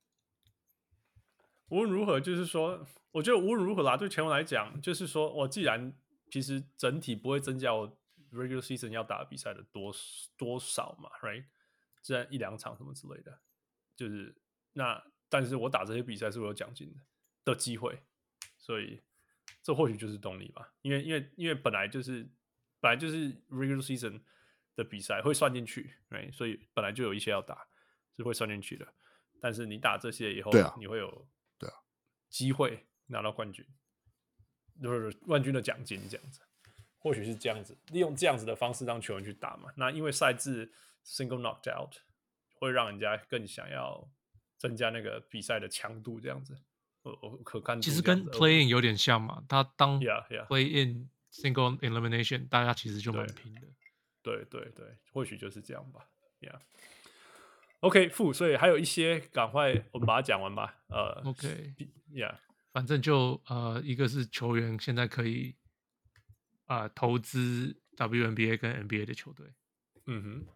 無論如何，就是說，我覺得無論如何啦，對球員來講，就是說我既然其實整體不會增加我。regular season 要打的比賽的多多少嘛 ，right？ 自然一兩場什麼之類的，就是那，但是我打這些比賽是會有獎金的的機會，所以這或許就是動力吧。因為因為因為本來就是本來就是 regular season 的比賽會算進去 ，right？ 所以本來就有一些要打是會算進去的。但是你打這些以後， 對啊， 你會有對啊機會拿到冠軍，就是冠軍的獎金這樣子。或許是這樣子，利用這樣子的方式讓球員去打嘛。那因為賽制 single knocked out， 會讓人家更想要增加那個比賽的強度，這樣子，我我可看其實跟 play in 有點像嘛，他當 yeah, yeah. play in single elimination， 大家其實就蠻拼的。 對對對，或許就是這樣吧。Yeah。OK， 負，所以還有一些，趕快我們把它講完吧。呃，OK，Yeah， 反正就呃，一個是球員現在可以啊、呃、投資 W N B A 跟 N B A 的球隊。 嗯哼，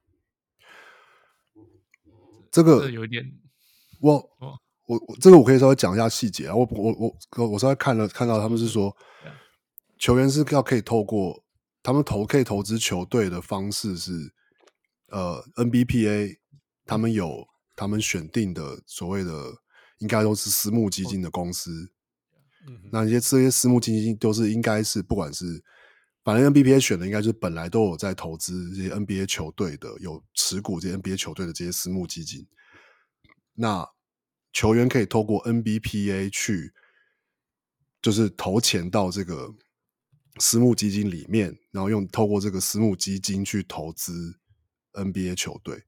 這個這有一點， 我、 哦、 我我這個我可以稍微講一下細節啊。我我我我稍微看了看到他們是說，球員是要可以透過他們投可以投資球隊的方式是呃 N B P A。他們有他們選定的所謂的，應該都是私募基金的公司。嗯、那些這些私募基金都是應該是不管是，反正 N B P A 選的應該就是本來都有在投資這些 N B A 球隊的，有持股這些 N B A 球隊的這些私募基金。那球員可以透過 N B P A 去，就是投錢到這個私募基金裡面，然後用透過這個私募基金去投資 N B A 球隊。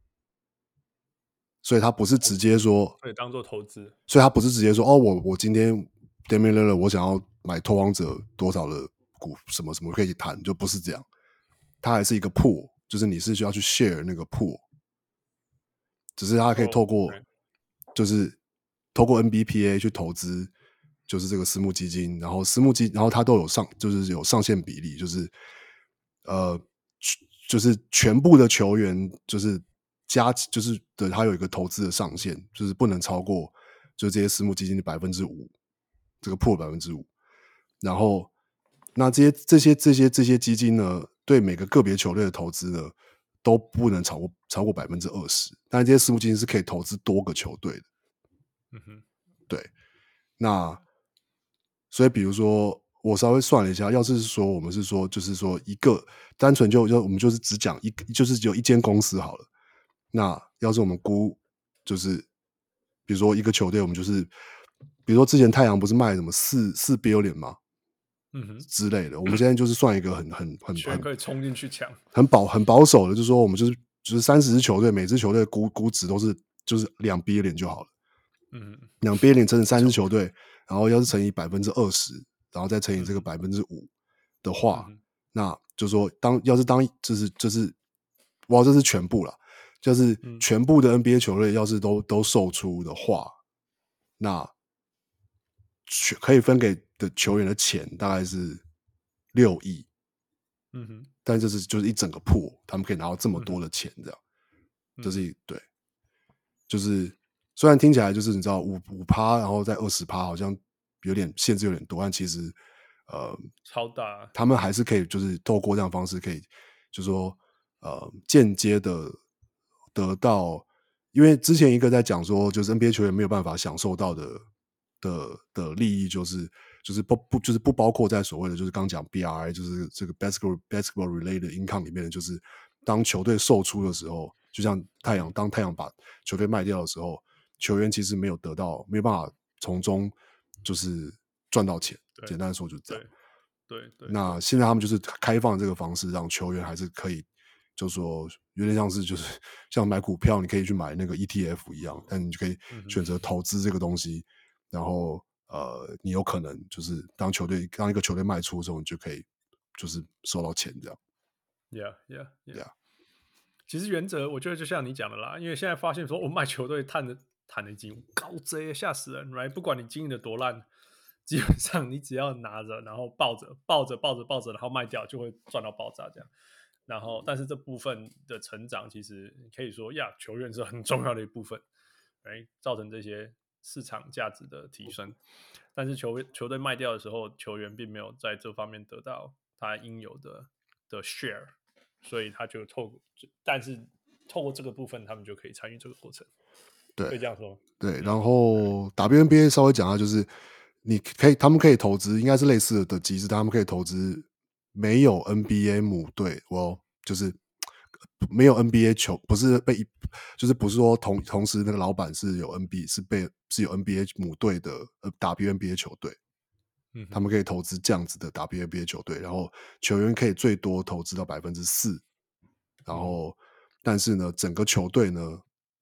所以他不是直接說， 可以當做投資。 所以他不是直接說，哦，我我今天 Damian Lillard 我想要買拓荒者多少的股，什麼什麼可以談，就不是這樣。他還是一個 pool， 就是你是需要去 share 那個 pool， 只是他可以透過， oh, okay. 就是透過 N B P A 去投資，就是這個私募基金，然後私募基，然後他都有上，就是有上限比例，就是呃，就是全部的球員就是。加就是對，它有一個投資的上限，就是不能超過，就是這些私募基金的百分之五，這個破百分之五。然後，那這些這些這些這些基金呢，對每個個別球隊的投資呢，都不能超過超過百分之二十。但是這些私募基金是可以投資多個球隊的。嗯哼，對。那所以，比如說，我稍微算了一下，要是說我們是說，就是說一個單純就就我們就是只講一，就是只有一間公司好了。那要是我們估，就是比如說一個球隊，我們就是比如說之前太陽不是賣什麼四四 billion 嗎？嗯哼之類的。我們現在就是算一個很很很全可以衝進去搶， 很保很保守的，就是說我們就是就是三十支球隊，每支球隊估估值都是就是兩 billion 就好了。嗯，兩 billion 乘以三支球隊，然後要是乘以百分之二十，然後再乘以這個百分之五的話，嗯、那就是說當要是當就是就是哇，這是全部了。就是全部的 N B A 球隊要是都都售出的話，那可以分給的球員的錢大概是六億。嗯哼，但這是就是一整個pool，他們可以拿到這麼多的錢，這樣，嗯、就是對，就是雖然聽起來就是你知道五五趴，然後再二十趴，好像有點限制有點多，但其實呃超大， 他們還是可以就是透過這樣的方式可以，就是說呃間接的。得到，因為之前一個在講說，就是 N B A 球員沒有辦法享受到的的的利益，就是就是不不就是不包括在所謂的就是剛講 B R I， 就是這個 basketball basketball related income 裡面的，就是當球隊售出的時候，就像太陽當太陽把球隊賣掉的時候，球員其實沒有得到，沒有辦法從中就是賺到錢。簡單的說就是這樣。 對 對, 對。 那現在他們就是開放這個方式，讓球員還是可以。就說有點像是就是像買股票，你可以去買那個 E T F 一樣，但你就可以選擇投資這個東西，嗯、然後呃，你有可能就是當球隊當一個球隊賣出的時候，你就可以就是收到錢這樣。 Yeah, yeah, yeah. yeah. 其實原則我覺得就像你講的啦，因為現在發現說我賣球隊談的談的金高賊嚇死人 ，right？ 不管你經營的多爛，基本上你只要拿着，然後抱着抱着抱着抱着，然後賣掉，就會賺到爆炸這樣。然後，但是這部分的成長，其實可以說呀，球員是很重要的一部分，來造成這些市場價值的提升。但是球球隊賣掉的時候，球員並沒有在這方面得到他應有的的 share， 所以他就透過，但是透過這個部分，他們就可以參與這個過程。 對， 可以這樣說。 對，然後 W N B A 稍微講一下，就是你可以，他們可以投資，應該是類似的機制，他們可以投資。沒有 N B A 母隊，我就是沒有 N B A 球，不是被，就是不是說同同時那個老闆是有 N B A 是被是有 N B A 母隊的 W N B A 球隊，嗯，他們可以投資這樣子的 W N B A 球隊，然後球員可以最多投資到百分之四，然後但是呢，整個球隊呢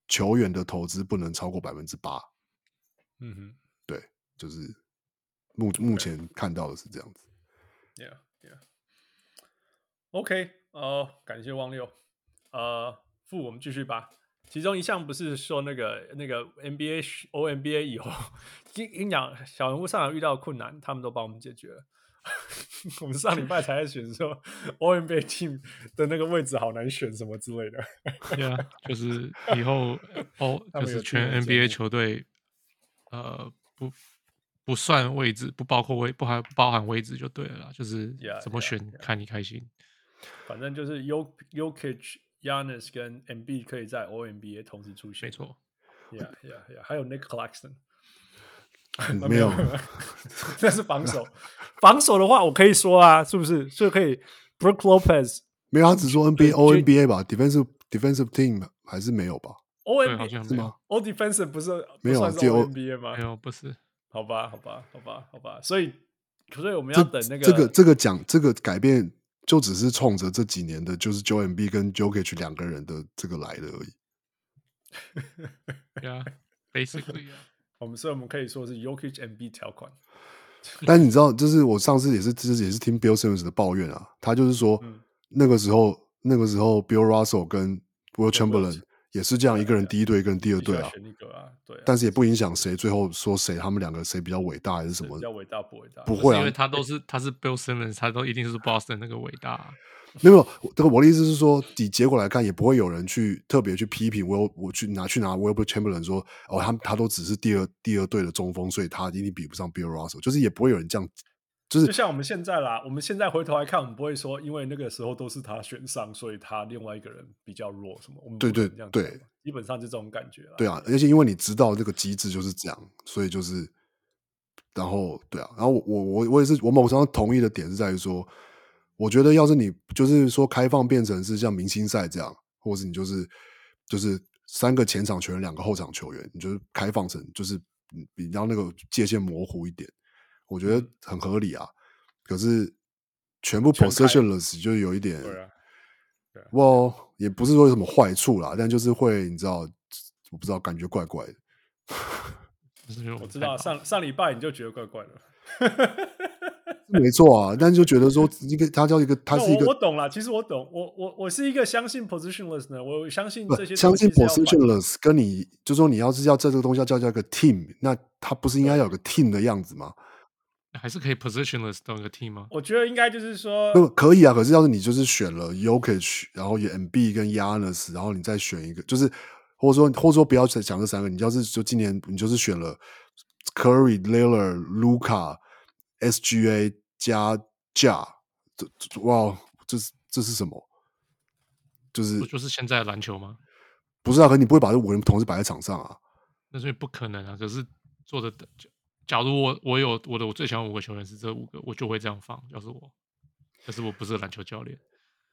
球員的投資不能超過百分之八。 嗯哼， 對，就是目目前看到的是這樣子。 Yeah, yeah. OK， 呃，感謝汪六。呃，副我們繼續吧。其中一項不是說那個那個 N B A、O N B A 以後，跟跟你講，小人物上來遇到困難，他們都幫我們解決了。我們上禮拜才在選說 O N B A team 的那個位置好難選什麼之類的。 對啊，就是以後哦，就是全 N B A 球隊，呃，不不算位置，不包括位，不含包含位置就對了啦，就是怎麼選 yeah, yeah, 看你開心。 反正就是 Jokic、Giannis 跟 Embiid 可以在 O N B A 同時出現。 沒錯。 Yeah, yeah, yeah. 還有 Nick Claxton。 沒有， 那是防守。防守的話，我可以說啊，是不是就可以 Brook Lopez？ 沒有，他只說 N B A、O N B A 吧 ，defensive defensive team 還是沒有吧 ？O N B A 是嗎 ？All defensive 不是沒有， 不算是 O N B A 嗎？ 沒有，不是。 好吧，好吧，好吧，好吧。所以，所以我們要等那個這個這個講這個改變，就只是衝着這幾年的，就是 Joel Embiid 跟 Jokic 兩個人的這個來的而已。 Yeah, basically. 我們所以我們可以說是 Jokic Embiid 條款。 但你知道，就是我上次也是，就是也是聽 Bill Simmons 的抱怨啊，他就是說，嗯、那個時候那個時候 Bill Russell 跟 Will Chamberlain 也是這樣，一個人第一隊，一個人第二隊啊。 啊對啊， 但是也不影響誰最後說誰他們兩個誰比較偉大還是什麼？ 比較偉大不偉大？ 不會啊， 因為他都是他是 Bill Simmons， 他都一定是 Boston 那個偉大、啊。 沒有，這個我的意思是說，以結果來看，也不會有人去特別去批評 Will， 我去拿去拿 Will Chamberlain 說，哦，他他都只是第二第二隊的中鋒，所以他一定比不上 Bill Russell， 就是也不會有人這樣，就是就像我們現在啦，我們現在回頭來看，我們不會說，因為那個時候都是他選上，所以他另外一個人比較弱什麼，我們不會這樣講，對對對，基本上就這種感覺啦。 對啊，而且因為你知道這個機制就是這樣，所以就是，然後對啊，然後我我我也是，我某程度上同意的點是在於說。我覺得，要是你就是說開放變成是像明星賽這樣，或者是你就是就是三個前場球員，兩個後場球員，你就是開放成就是比較那個界限模糊一點，我覺得很合理啊。嗯、可是全部 possessionless 就有一點， 對啊，對啊， 哇，也不是說有什麼壞處啦，但就是會你知道，我不知道，感覺怪怪的。 我知道上上禮拜你就覺得怪怪的。 沒錯啊，但是就覺得說一個他叫一個，他是一個， 我, 我懂了。其實我懂，我我我是一個相信 positionless 的，我相信這些相信 positionless 跟你就說你要是要這個東西要叫叫一個 team， 那他不是應該要有個 team 的樣子嗎？ 還是可以 positionless 當一個 team 嗎？ 我覺得應該就是說， 不可以啊。可是要是你就是選了 Jokic， 然後有 Embiid 跟 Giannis， 然後你再選一個，就是或者說或者說不要講這三個，你要是就今年你就是選了 Curry、Lillard、Luka。S G A 加 Ja， 哇，這是這是什麼？就是不就是現在的籃球嗎？ 不是啊，可是你不會把這五個人同時擺在場上啊？ 那是不可能啊！可是做的，假如我我有我的我最喜歡五個球員是這五個，我就會這樣放。要是我，可是我不是籃球教練。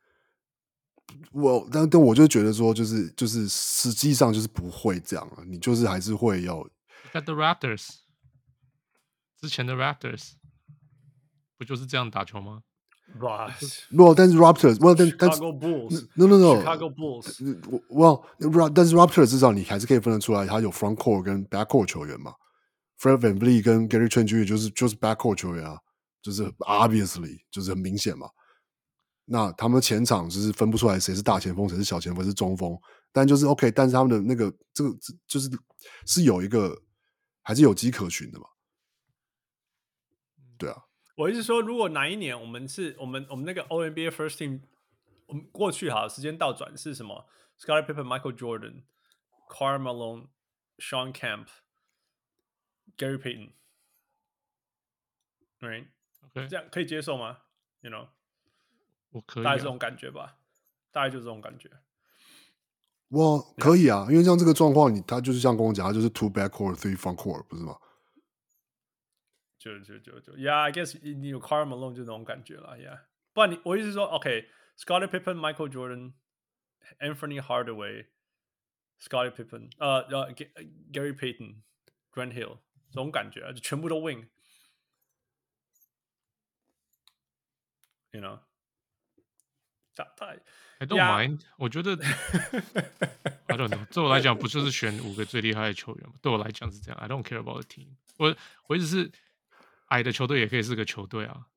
我但但我就覺得說，就是就是實際上就是不會這樣啊，你就是還是會要。 Got the Raptors， 之前的 Raptors。不就是這樣打球嗎？ 哇， 不，但是 Raptors， well，但但 Chicago Bulls，no no no，Chicago Bulls，well，但是 Raptors 至少你還是可以分得出來，他有 front court 跟 back court 球員嘛。Fred VanVleet 跟 Gary Trent Junior 就是就是 back court 球員啊，就是 obviously 就是很明顯嘛。那他們前場就是分不出來誰是大前鋒，誰是小前鋒，誰是中鋒，但就是 OK， 但是他們的那個這個就是是有一個還是有跡可循的嘛。對啊。 我意思說，如果哪一年我們是我們我們那個 O N B A First Team， 我們過去好時間倒轉是什麼 ？Scottie Pippen、Michael Jordan、Karl Malone、Sean Kemp、Gary Payton，right？ Okay. 這樣可以接受嗎 ？You know， 我可以、啊， 大概這種感覺吧，大概就是這種感覺。 我可以啊，因為像這個狀況，你他就是像跟我講，他就是 two back court, three front court， 不是嗎？ 就就就就 ，Yeah，I guess 你有 Karl Malone 就那種感覺了 ，Yeah。不然你我意思是說 ，OK，Scottie Pippen、Michael Jordan、Anthony Hardaway、Scottie Pippen， 呃呃 ，Gary Payton、Grant Hill 這種感覺啊，就全部都 win，you know。太太 I don't mind， 我覺得 I don't know， 對我來講，不就是選五個最厲害的球員嗎？對我來講是這樣。I don't care about the team 我。我我一直是矮的球隊也可以是個球隊啊。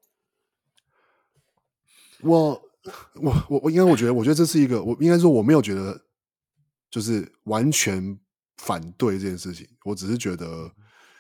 我我我我應該我覺得，我覺得這是一個，我應該說我沒有覺得就是完全反對這件事情，我只是覺得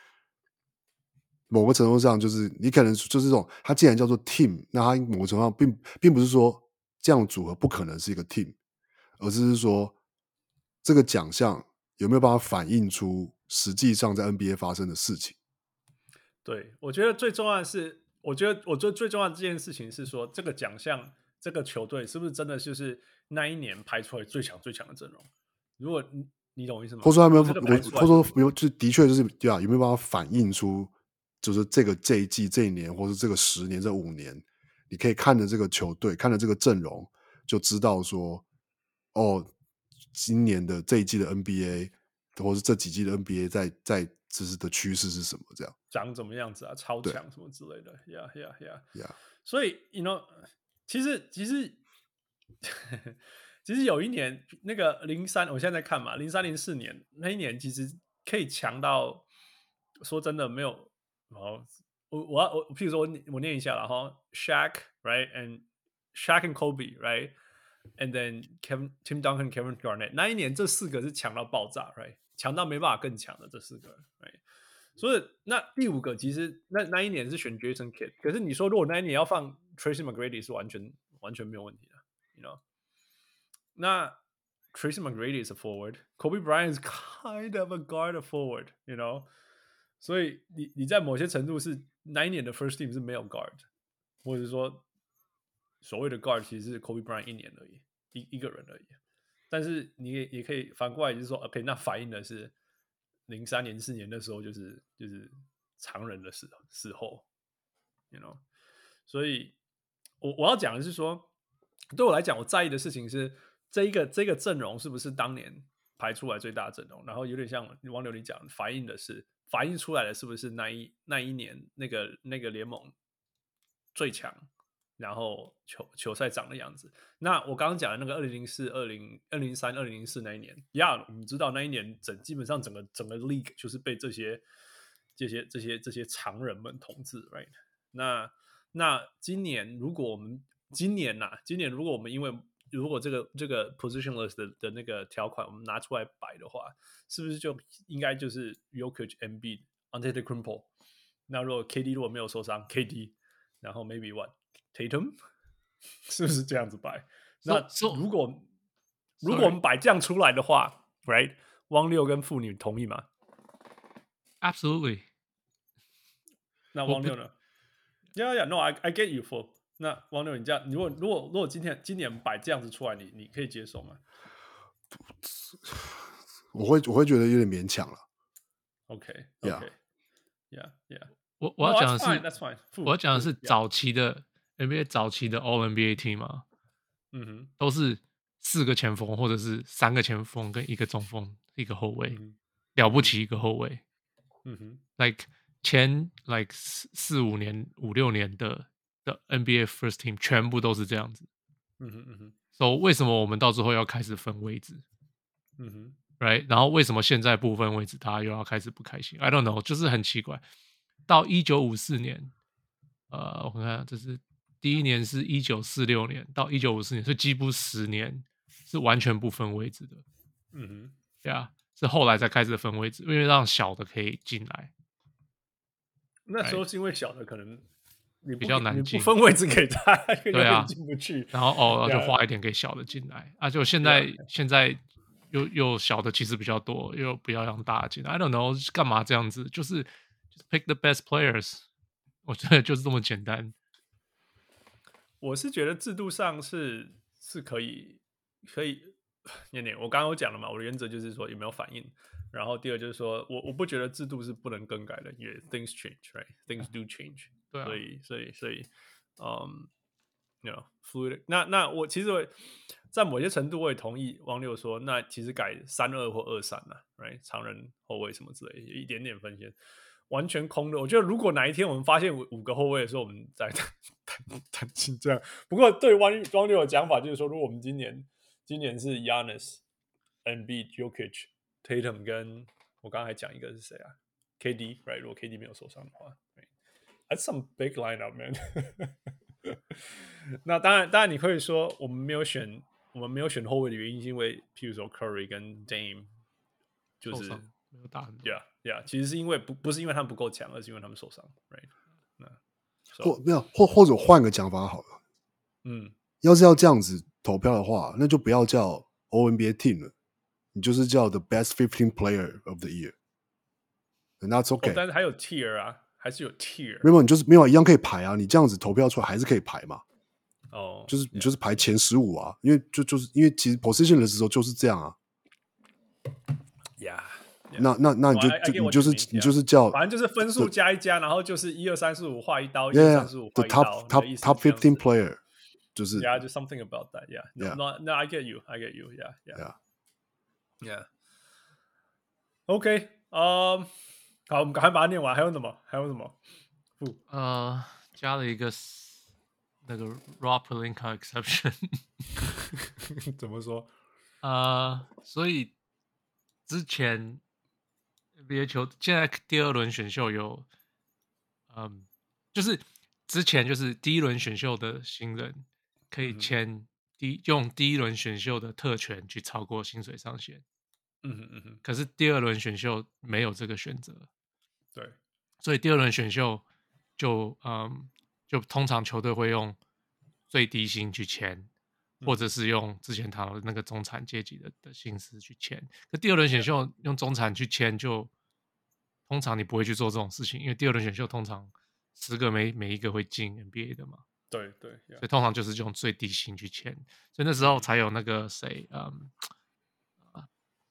某個程度上，就是你可能就是這種，它既然叫做 team， 那它某個程度上並並不是說這樣組合不可能是一個 team， 而是說這個獎項有沒有辦法反映出實際上在 N B A 發生的事情。 對，我覺得最重要的是，我覺得我觉得最重要的這件事情是說，這個獎項這個球隊是不是真的就是那一年排出來最強最強的陣容？如果你你懂我意思嗎？或者說他沒有， 或者說沒有，就的確就是對啊，有沒有辦法反映出，就是這個這一季這一年，或是這個十年這五年，你可以看着這個球隊，看着這個陣容，就知道說，哦，今年的這一季的 N B A， 或是這幾季的 N B A 在在就是的趨勢是什麼？這樣長怎麼樣子啊？超強什麼之類的，Yeah Yeah Yeah Yeah。 所以 you know， 其實其實。其實有一年，那個零三，我現在在看嘛，零三零四年那一年，其實可以強到，說真的沒有。哦，我我要我，譬如說我我念一下了哈 ，Shaq right and Shaq and Kobe right and then Kevin Tim Duncan Kevin Garnett 那一年這四個是強到爆炸 right， 強到沒辦法更強的這四個 right。所以那第五個其實那那一年是選 Jason Kidd， 可是你說如果那一年要放 Tracy McGrady 是完全完全沒有問題的 ，you know。那 Tracy McGrady is a forward, Kobe Bryant is kind of a guard a forward, you know， 所以你你在某些程度是那一年的 first team 是沒有 guard， 或者說所謂的 guard 其實是 Kobe Bryant 一年而已，一一個人而已。但是你也也可以反過來就是說 ，OK， 那反映的是零三年、四年的時候就是就是常人的時時候 ，you know， 所以我我要講的是說，對我來講，我在意的事情是。這一個這個陣容是不是當年排出來最大陣容？然後有點像王流你講，反映的是反映出來的是不是那一那一年那個那個聯盟最強，然後球球賽長的樣子？那我剛剛講的那個二零零四、二零二零三、二零零四那一年，呀、yeah, ，我們知道那一年整基本上整個整個 league 就是被這些這些這些這些常人們統治 ，right？ 那那今年如果我們今年吶、啊，今年如果我們因為如果這個這個 positionless 的的那個條款我們拿出來擺的話，是不是就應該就是 Jokic、Embiid、Antetokounmpo？ 那如果 K D 如果沒有受傷 ，K D， 然後 maybe what Tatum， 是不是這樣子擺？ So, 那如果 so, 如果我們擺這樣出來的話 ，right？ 汪六跟婦女同意嗎 ？Absolutely。 那汪六呢 ？Yeah, yeah, no, I I get you for。那王六，你這樣，如果如果如果今天今年擺這樣子出來，你你可以接受嗎？ 我會我會覺得有點勉強了。 OK，OK，Yeah，Yeah，Yeah。 我我要講的是 no, that's fine, that's fine. 我要講的是早期的 N B A 早期的 All N B A team 嘛，嗯哼，都是四個前鋒或者是三個前鋒跟一個中鋒一個後衛，嗯、了不起一個後衛，嗯哼 ，like 前 like 四四五年五六年的。的 N B A First Team 全部都是這樣子，嗯哼嗯哼，所以、so, 為什麼我們到最後要開始分位置？嗯哼 ，right？ 然後為什麼現在不分位置，大家又要開始不開心 ？I don't know， 就是很奇怪。到一九五四年，呃，我看看，這是第一年是一九四六年到一九五四年，所以幾乎十年是完全不分位置的。嗯哼，對啊，是後來才開始分位置，因為讓小的可以進來。 那時候是因為小的可能。你比較難進， 不分位置給他， 對啊， 進不去。 然後哦，就花一點給小的進來啊。就現在、yeah. 現在又又小的其實比較多，又不要讓大的進來。I don't know， 幹嘛這樣子？就是就是 pick the best players， 我覺得就是這麼簡單。 我是覺得制度上是是可以可以，念念我剛剛有講了嘛，我的原則就是說有沒有反應。然後第二就是說我我不覺得制度是不能更改的，因為 things change，right？Things do change。對啊，所以所以所以，嗯 ，you know fluid。那那我其實在某些程度我也同意汪六說，那其實改三二或二三啊 ，right？ 常人後衛什麼之類的，有一點點分線，完全空的。我覺得如果哪一天我們發現五個後衛的時候，我們再談談談這樣。不過對汪汪六的講法就是說，如果我們今年今年是 Giannis Embiid、Jokic、Tatum 跟我剛才講一個是誰啊 ？K D，right？ 如果 K D 沒有受傷的話 ，That's some big lineup, man 。那當然，當然你可以說我們沒有選，我們沒有選後衛的原因是因為，譬如說 Curry 跟 Dame 就是沒有打很多 ，Yeah Yeah， 其實是因為不不是因為他們不夠強，而是因為他們受傷 ，right？ 那 so, 或沒有或或者換個講法好了， 嗯， 要是要這樣子投票的話，那就不要叫 O N B A Team 了，你就是叫 The Best fifteen Player of the Year。And that's okay，、哦、 但是還有 tier 啊，還是有 tier。 沒有，你就是沒有一樣可以排啊，你這樣子投票出來還是可以排嘛。 哦， 就是你就是排前十五啊，因為就就是因為其實 position 的時候就是這樣啊。 Yeah，, yeah. 那那那你就、 oh, I, I 就你就是 mean, 你就是叫， yeah. 反正就是分數加一加，然後就是一二三四五畫一刀，一 yeah, 二三四五畫一刀。 The top top top fifteen player 就是 Yeah, just something about that. Yeah, no, yeah. no, no, I get you, I get you. Yeah, yeah, yeah, yeah. OK， 嗯、um, ，好，我們趕快把它念完。還有什麼？還有什麼？ 呃，加了一個那個 Rob Pelinka exception 。 怎麼說？ 呃，所以之前 N B A 球現在第二輪選秀有，嗯，就是之前就是第一輪選秀的新人可以簽第、嗯、用第一輪選秀的特權去超過薪水上限。 嗯哼嗯哼。 可是第二輪選秀沒有這個選擇。 對。 所以第二輪選秀就嗯，就通常球隊會用最低薪去簽。或者是用之前談的那個中產階級的的薪資去簽，可第二輪選秀用中產去簽，就通常你不會去做這種事情，因為第二輪選秀通常十個每每一個會進 N B A 的嘛。 對對， 所以通常就是用最低薪去簽，所以那時候才有那個誰，嗯、um,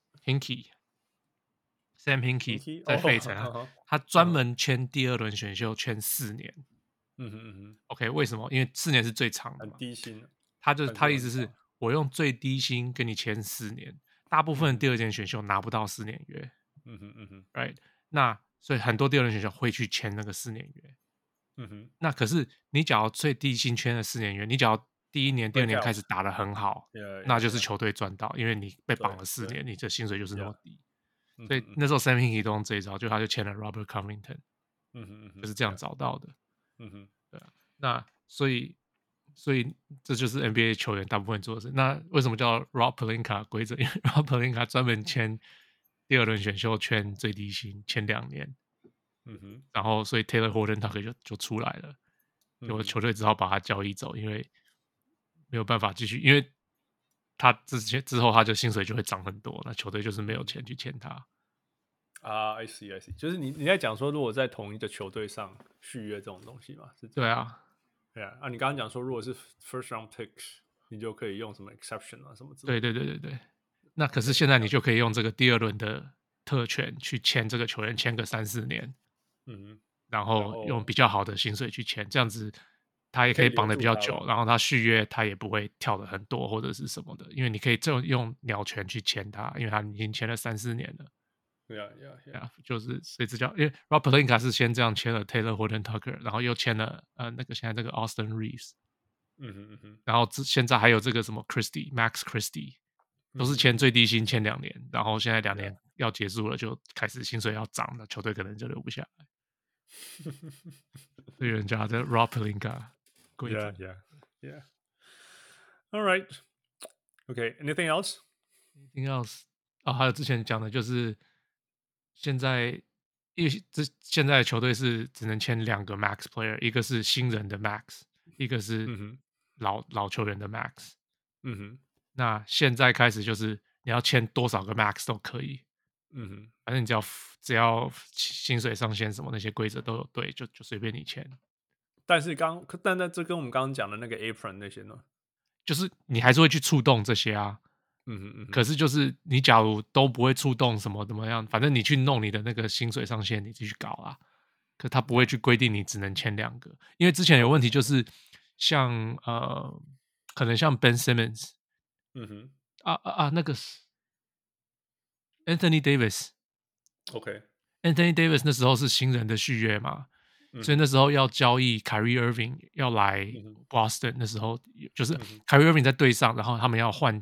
，Hinkie，Sam Hinkie 在費城、啊 oh, 他專門簽第二輪選秀簽四年。 嗯哼嗯哼 OK， 為什麼？因為四年是最長的嘛， 很低薪。 他就是他的意思是我用最低薪跟你簽四年，大部分第二輪選秀拿不到四年約， 嗯哼嗯哼 ，right？ 那所以很多第二輪選秀會去簽那個四年約， 嗯哼。 那可是你假如最低薪簽了四年約，你假如第一年、第二年開始打得很好， yeah, yeah, 那就是球隊賺到，因為你被綁了四年，你的薪水就是那麼低。 Yeah. 所以那時候 Sam Hinkie 都用這一招，就他就簽了 Robert Covington， 嗯哼嗯哼， 就是這樣找到的。 嗯哼， 對啊，那所以。所以這就是 N B A 球員大部分做的事。那為什麼叫 Rob Pelinka 規則？因為 Rob Pelinka 專門簽第二輪選秀簽最低薪，簽兩年。 嗯哼。 然後所以 Taylor Horton Tucker 就就出來了，結果球隊只好把他交易走，因為沒有辦法繼續，因為他之前之後他就薪水就會漲很多，那球隊就是沒有錢去簽他。 啊、uh, ，I see I see， 就是你你在講說，如果在同一個球隊上續約這種東西嘛？是這樣。 對啊。 對啊，啊，你剛剛講說，如果是 first round picks， 你就可以用什麼 exception 啊，什麼之類的。 對對對對對。那可是現在你就可以用這個第二輪的特權去簽這個球員，簽個三四年， 嗯， 然後用比較好的薪水去簽，這樣子他也可以綁得比較久，然後他續約他也不會跳得很多或者是什麼的，因為你可以這用鳥權去簽他，因為他已經簽了三四年了。 對啊，對啊，對啊， 就是所以這叫，因為 Rob Pelinka 是先這樣簽了 Taylor Horton Tucker， 然後又簽了呃那個現在這個 Austin Reeves， 嗯哼嗯哼， 然後現在還有這個什麼 Christie Max Christie， 都是簽最低薪簽兩年，然後現在兩年要結束了，就開始薪水要漲，那球隊可能就留不下來。所以人家的 Rob Pelinka， yeah yeah yeah。All right, okay. Anything else? Anything else? 啊、哦，還有之前講的就是。現在，因為這現在的球隊是只能簽兩個 max player， 一個是新人的 max， 一個是老、嗯、老球員的 max。 嗯哼， 那現在開始就是你要簽多少個 max 都可以。 嗯哼， 反正你只要只要薪水上限什麼那些規則都有對，就就隨便你簽。 但是剛，但那這跟我們剛剛講的那個 apron 那些呢， 就是你還是會去觸動這些啊。 嗯哼嗯哼， 可是就是你假如都不會觸動什麼怎麼樣，反正你去弄你的那個薪水上限，你繼續搞啊。可他不會去規定你只能簽兩個，因為之前有問題就是像呃，可能像 Ben Simmons， 嗯哼， 啊啊啊，那個 Anthony Davis，OK，Anthony Davis 那時候是新人的續約嘛，嗯、所以那時候要交易 Kyrie Irving 要來 Boston，、嗯、那時候就是 Kyrie Irving 在隊上，然後他們要換。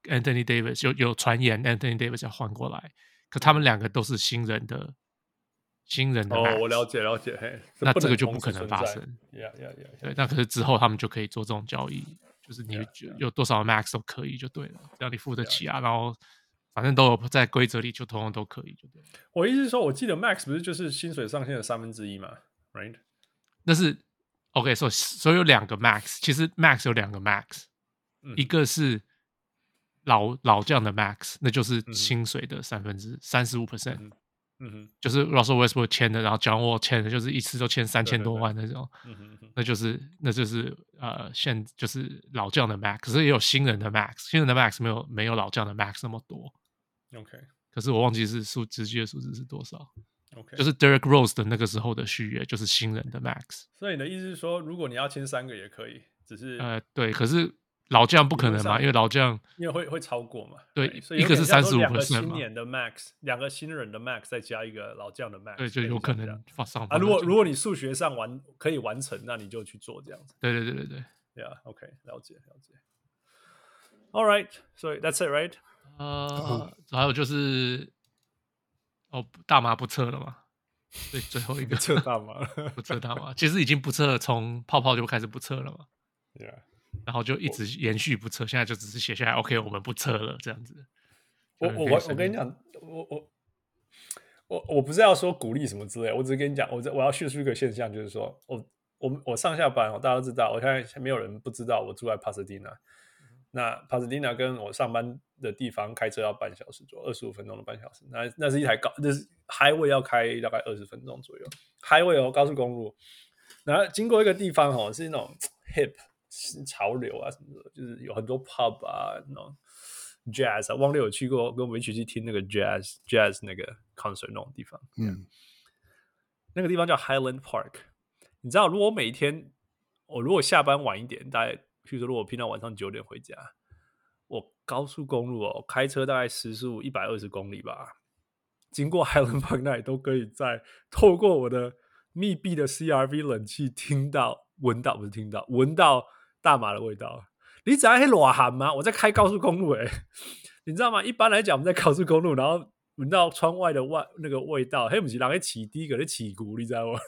Anthony Davis 有有傳言 Anthony Davis 要換過來，可他們兩個都是新人的新人的 Max。 哦，我了解了解，嘿， 那這個就不可能發生。 Yeah, yeah, yeah. 對，那可是之後他們就可以做這種交易，就是你 yeah, yeah. 有多少 Max 都可以就對了，只要你付得起啊， yeah, yeah. 然後反正都有在規則裡，就通通都可以就對了。 我意思是說，我記得 Max 不是就是薪水上限的三分之一嘛 ，right？ 那是 OK， 所以所以有兩個 Max， 其實 Max 有兩個 Max，、嗯、一個是老老將的 Max， 那就是薪水的三分之三十五 percent。嗯哼，就是 Russell Westbrook 簽的，然後 John Wall 簽的，就是一次都簽三千多萬那種，對對對，嗯哼，那就是那就是呃現就是老將的 Max， 可是也有新人的 Max， 新人的 Max 沒有沒有老將的 Max 那麼多 ，OK， 可是我忘記是數直接的數字是多少 ，OK， 就是 Derrick Rose 的那個時候的續約就是新人的 Max， 所以你的意思是說，如果你要簽三個也可以，只是呃對，可是老將不可能嘛，因為老將因為會會超過嘛。 對， 所以一個是三十五 percent 嘛， 兩個新年的 max， 兩個新人的 max 再加一個老將的 max， 對，就有可能發上啊。如果如果你數學上完可以完成，那你就去做這樣子。 對對對對對 ，Yeah， OK， 了解了解。All right， so that's it, right？ 呃，還有就是哦，大麻不測了嘛？對，最後一個不測大麻了， 不測大麻，其實已經不測了，從泡泡就開始不測了嘛。 Yeah。 然後就一直延續不測，現在就只是寫下來 ，OK， 我們不測了這樣子。 我我我跟你講，我我我我不是要說鼓勵什麼之類，我只是跟你講，我我要敘述一個現象，就是說我我我上下班，大家都知道，我現在沒有人不知道我住在帕薩迪納。那帕薩迪納跟我上班的地方開車要半小時左右，二十五分鐘的半小時。那那是一台高，就是 highway 要開大概二十分鐘左右 ，highway 哦，高速公路。然後經過一個地方哦，是那種 hip。潮流啊什麼的，就是有很多 pub 啊，那種 jazz 啊，汪六有去過，跟我們一起去聽那個 jazz jazz 那個 concert 那種地方，嗯，那個地方叫 Highland Park。你知道，如果我每一天我如果下班晚一點，大概譬如說，如果我平常晚上九點回家，我高速公路哦，開車大概時速一百二十公里吧，經過 Highland Park 那裡都可以在透過我的密閉的 C R V 冷氣聽到、聞到，不是聽到，聞到大麻的味道。你知道那多寒嗎？我在開高速公路誒、欸，你知道嗎？一般來講，我們在高速公路，然後聞到窗外的外那個味道，嘿，不是人在起滴，個在起鼓，你知道嗎？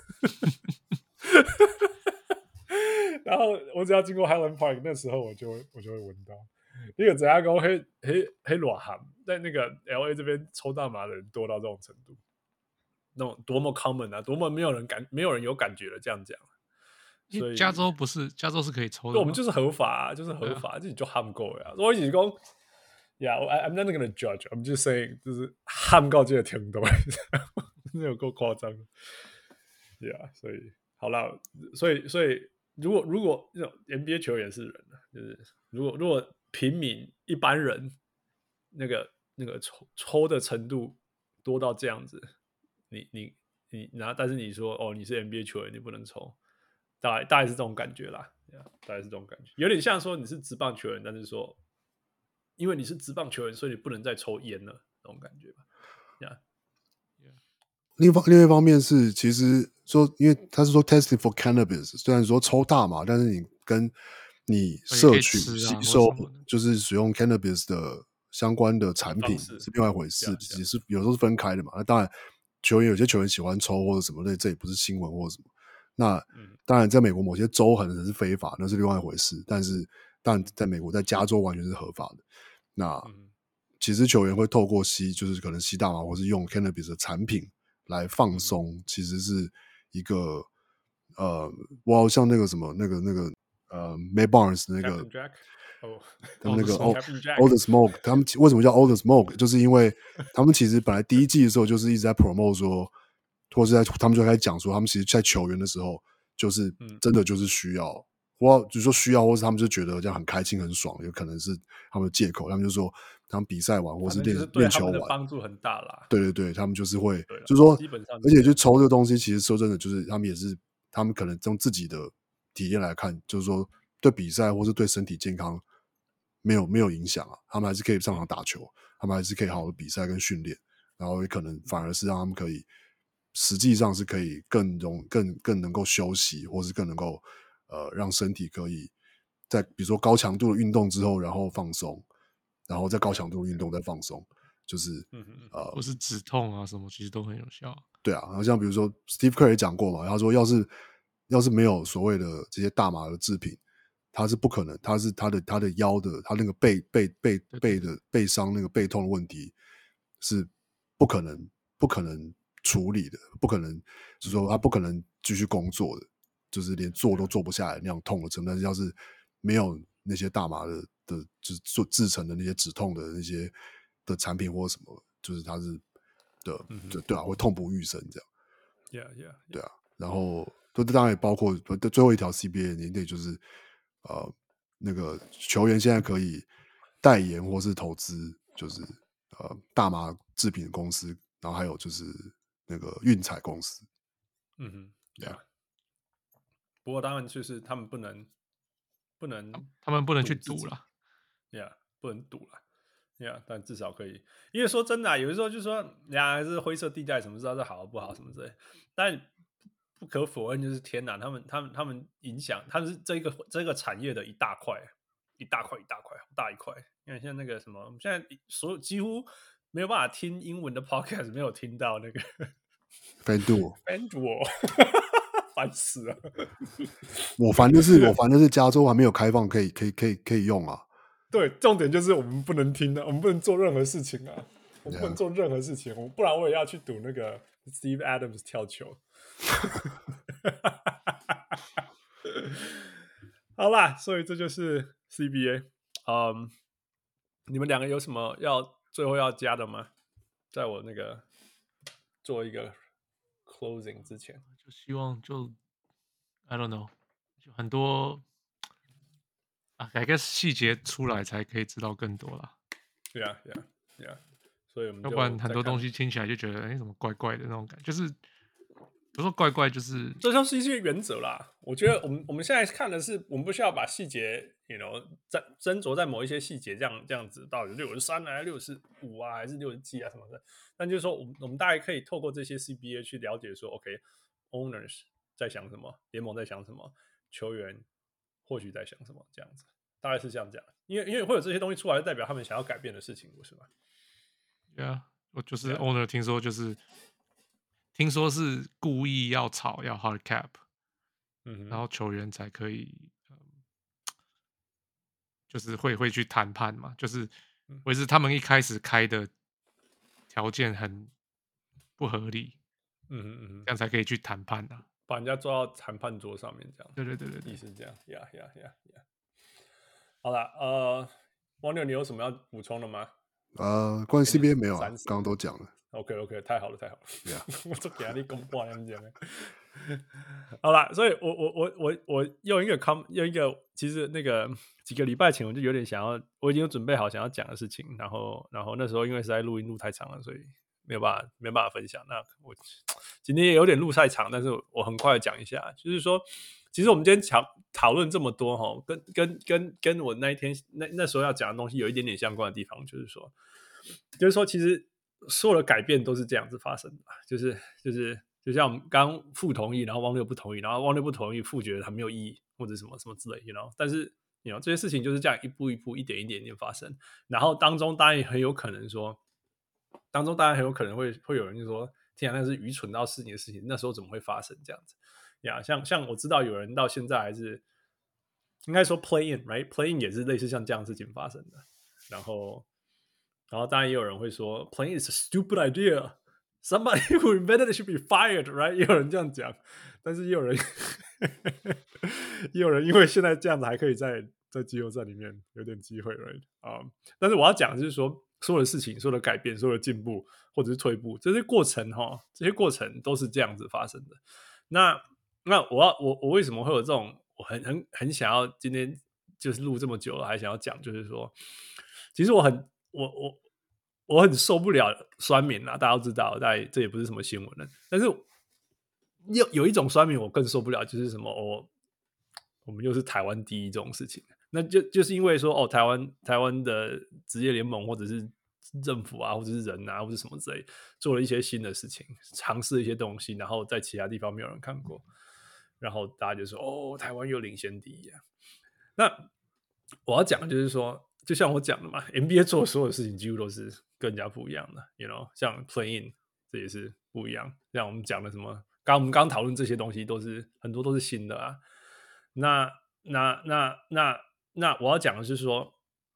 然後我只要經過 Highland Park， 那時候我就會我就會聞到。那個怎樣講？黑黑黑多寒，在那個 L A 這邊抽大麻的人多到這種程度，那種多麼 common 啊，多麼沒有人感沒有人有感覺的這樣講。所以加州不是，加州是可以抽的嗎？ 我們就是合法、啊，就是合法，自己就喊夠呀。我一直講 ，Yeah, I'm not gonna judge. I'm just saying， 就是喊夠這個程度，真的有夠誇張。Yeah， 所以好了，所以所以如果如果那種 N B A 球員是人，就是如果如果平民一般人那個那個抽抽的程度多到這樣子，你你你然後但是你說哦你是 N B A 球員，你不能抽。大概大概是這種感覺啦， yeah, 大概是這種感覺，有點像說你是職棒球員，但是說因為你是職棒球員，所以你不能再抽菸了，那種感覺吧。Yeah. Yeah. 另一方另外一方面是，其實說，因為他是說 testing for cannabis， 雖然說抽大麻，但是你跟你攝取、吸收，就是使用 cannabis 的相關的產品是另外一回事，只是有時候是分開的嘛。那當然，球員有些球員喜歡抽或者什麼類，這也不是新聞或者什麼。那當然，在美國某些州可能是非法，那是另外一回事。但是，但在美國，在加州完全是合法的。那其實球員會透過吸，就是可能吸大麻，或是用 cannabis 的產品來放鬆，其實是一個呃，哇，像那個什麼，那個那個呃 ，May Barnes 那個， 哦， 他們那個 All the Smoke， 他們為什麼叫 All the Smoke？ 就是因為他們其實本來第一季的時候就是一直在 promote 說。或是在他們就開始講說，他們其實在球員的時候，就是真的就是需要，或就是說需要，或是他們就覺得這樣很開心很爽，有可能是他們的借口。他們就說，他們比賽完或是練練球完， 幫助很大啦。 對對對，他們就是會，就是說，而且就抽這個東西，其實說真的，就是他們也是，他們可能從自己的體驗來看，就是說對比賽或是對身體健康沒有沒有影響啊，他們還是可以上場打球，他們還是可以好好的比賽跟訓練，然後也可能反而是讓他們可以。實際上是可以更容更更能夠休息，或是更能夠呃讓身體可以在比如說高強度的運動之後，然後放鬆。 然後在高強度運動再放鬆，就是嗯嗯呃， 或是止痛啊什麼，其實都很有效。 对啊，然後像比如說 Steve Kerr 也講過嘛，他說要是要是沒有所謂的這些大麻的製品，他是不可能，他是他的他的腰的他那個背背背背的背傷那個背痛的問題是不可能不可能處理的，不可能就是說他不可能繼續工作的，就是連坐都坐不下來那樣痛的程度。但是要是沒有那些大麻的的就是做製成的那些止痛的那些的產品或者什麼，就是他是的， 嗯、 对啊，會痛不欲生這樣。 Yeah, yeah, yeah. 對啊，然後這當然也包括最後一條 C B A 年代，就是呃那個球員現在可以代言或是投資，就是呃大麻製品公司，然後還有就是那個運彩公司。 嗯哼， 對啊。 不過當然就是他們不能不能， 他們不能去賭了。 Yeah， 不能賭了。Yeah， 但至少可以，因為說真的、啊，有的時候就說呀，還是灰色地帶，什麼知道這好不好什麼之類。但不可否認，就是天哪，他們他們他們影響，他們是這個這個產業的一大塊，一大塊一大塊，好大一塊。因為像那個什麼，我們現在所有幾乎沒有辦法聽英文的 podcast， 沒有聽到那個 FanDuel，FanDuel， 煩死了。 我煩的是，我煩的是加州還沒有開放，可以可以可以可以用啊。 對，重點就是我們不能聽的，我們不能做任何事情啊，我們不能做任何事情， yeah. 不然我也要去賭那個 Steve Adams 跳球。好啦，所以這就是 C B A。嗯，你們兩個有什麼要最後要加的嗎？在我那個做一個 closing 之前， 就希望就 I don't know， 就很多。啊，改個細節出來才可以知道更多啦。 對啊，對啊，對啊。所以我們要不然很多東西聽起來就覺得，哎、欸，怎麼怪怪的那種感覺，就是不是說怪怪，就是這就是一些原則啦。我覺得我們我們現在看的是，我們不需要把細節，you know，在斟酌在某一些細節，這樣這樣子到底六十三啊、六十五啊，還是六十幾啊什麼的。但就是說，我們我們大概可以透過這些 C B A 去了解說 ，OK，owners、okay, 在想什麼，聯盟在想什麼，球員或許在想什麼，這樣子大概是這樣講。因為因為會有這些東西出來，代表他們想要改變的事情，不是嗎？ 對啊，我就是 owner， 聽說就是聽說是故意要炒要 hard cap，嗯，然後球員才可以，嗯、就是會會去談判嘛，就是或是他們一開始開的條件很不合理，嗯嗯嗯，這樣才可以去談判啊， 把人家抓到談判桌上面這樣。 對對對對對， 意思是這樣，呀呀呀呀。好了，呃，王牛，你有什麼要補充的嗎？ 呃，關於 C B A 沒有啊，剛剛都講了。 OK OK， 太好了太好了。 Yeah. 我都給你公布了，你講的。好了，所以我我我我我用一個 com 用一個，其實那個幾個禮拜前我就有點想要，我已經有準備好想要講的事情，然後然後那時候因為實在錄音錄太長了，所以沒有辦法沒有辦法分享。那我今天也有點錄太長，但是我很快講一下，就是說。其實我們今天討討論這麼多哈，跟跟跟跟我那一天那那時候要講的東西有一點點相關的地方，就是說，就是說，其實所有的改變都是這樣子發生的，就是就是就像我們剛剛傅同意，然後汪六不同意，然後汪六不同意，傅覺得它沒有意義或者什麼什麼之類，you know，但是 you know 這些事情就是這樣一步一步、一點一點一點發生，然後當中當然也很有可能說，當中當然很有可能會會有人就說，天啊，那是愚蠢到死你的事情，那時候怎麼會發生這樣子？呀、yeah, 像像我知道有人到現在還是應該說 play in right play in 也是類似像這樣的事情發生的，然後然後當然也有人會說 play in is a stupid idea somebody who invented it should be fired right 也有人這樣講，但是也有人也有人因為現在這樣子還可以在在季後賽裡面有點機會 right 啊、um, 但是我要講的就是說所有的事情所有的改變所有的進步或者是退步這些過程齁這些過程都是這樣子發生的。那那我要我我為什麼會有這種我很很很想要今天就是錄這麼久了還想要講，就是說其實我很我我我很受不了酸民啦，大家都知道，大概這也不是什麼新聞了。但是有有一種酸民我更受不了，就是什麼哦，我們又是台灣第一這種事情，那就就是因為說哦，台灣台灣的職業聯盟或者是政府啊，或者是人啊，或者什麼之類，做了一些新的事情，嘗試一些東西，然後在其他地方沒有人看過。然後大家就說：“哦，台灣又領先第一啊！”那我要講的就是說， 就像我講的嘛 ，N B A 做的所有事情幾乎都是跟人家不一樣的 ，you know， 像 play in 這也是不一樣。像我們講的什麼，剛我們剛討論這些東西都是很多都是新的啊。那那那那那我要講的是說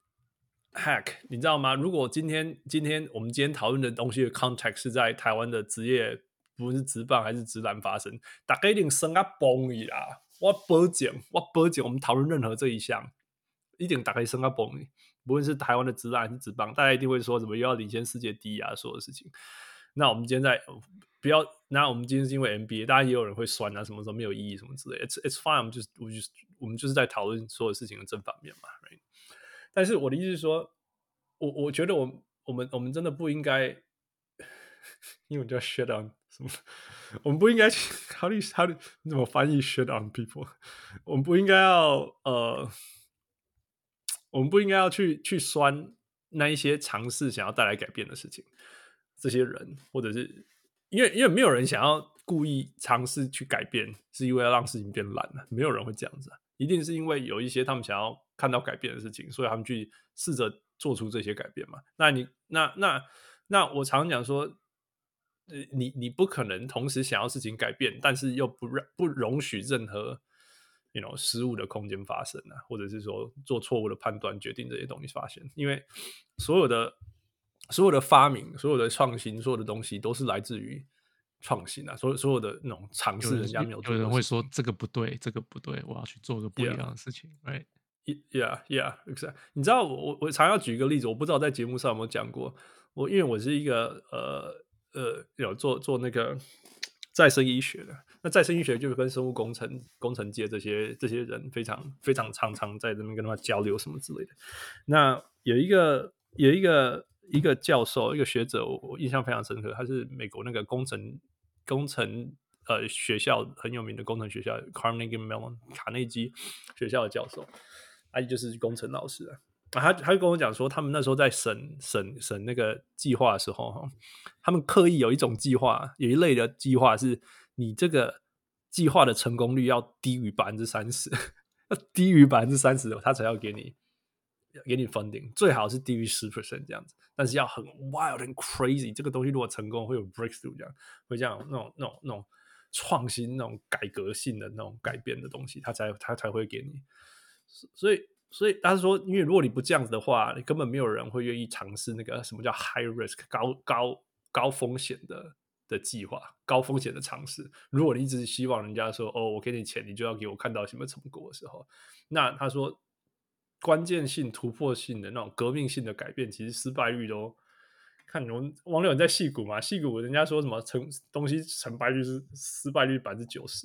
，Hack， 你知道嗎？如果今天今天我們今天討論的東西的 context 是在台灣的職業，不論是職棒還是職籃發生，大家一定生啊崩去啦！我保證，我保證，我們討論任何這一項，一定大家生啊崩去。不論是台灣的職籃還是職棒，大家一定會說什麼又要領先世界第一啊，所有的事情。那我們今天在不要，那我們今天是因為 N B A， 大家也有人會酸啊，什麼什麼沒有意義什麼之類的。It's it's fine， 我們就是我就是我們就是在討論所有事情的正反面嘛。Right? 但是我的意思是說，我我覺得我我們我們真的不應該，因為我叫 shit on 什麼，我們不應該去 how do you how do 你怎麼翻譯 shit on people？ 我們不應該要呃。我們不應該要去去酸那一些嘗試想要帶來改變的事情，這些人，或者是因為因為沒有人想要故意嘗試去改變，是因為要讓事情變爛了，沒有人會這樣子啊，一定是因為有一些他們想要看到改變的事情，所以他們去試着做出這些改變嘛。那你那那那我常講說，你你不可能同時想要事情改變，但是又不讓不容許任何。You know, 失誤的空間發生啊，或者是說做錯誤的判斷決定這些東西發生，因為所有的所有的發明、所有的創新、所有的東西都是來自於創新啊，所有所有的那種嘗試，人家沒有做過。 有人會說這個不對，這個不對，我要去做個不一樣的事情。Yeah. Right? Yeah, yeah, exactly. 你知道我我常要舉一個例子，我不知道在節目上有沒有講過。我因為我是一個呃呃有做做那個再生醫學的。那再生醫學就跟生物工程、工程界這些這些人非常非常常常在這邊跟他們交流什麼之類的。那有一個有一個一個教授，一個學者，我我印象非常深刻，他是美國那個工程工程呃學校很有名的工程學校 Carnegie Mellon 卡內基學校的教授，他就是工程老師啊。他他就跟我講說，他們那時候在審審審那個計劃的時候，他們刻意有一種計劃，有一類的計劃是。你這個計劃的成功率要低於百分之三十，要低於百分之三十，他才要給你給你 funding， 最好是低於十 percent 這樣子，但是要很 wild and crazy。這個東西如果成功，會有 breakthrough 這樣，會這樣那種那種那種創新、那種改革性的那種改變的東西，他才他才會給你。所以所以他說，因為如果你不這樣子的話，你根本沒有人會願意嘗試那個什麼叫 high risk 高高高風險的。的計劃，高風險的嘗試。如果你一直希望人家說哦，我給你錢，你就要給我看到什麼成果的時候，那他說關鍵性、突破性的那種革命性的改變，其實失敗率都看我們網友人在矽谷嘛，矽谷人家說什麼成東西成敗率是失敗率百分之九十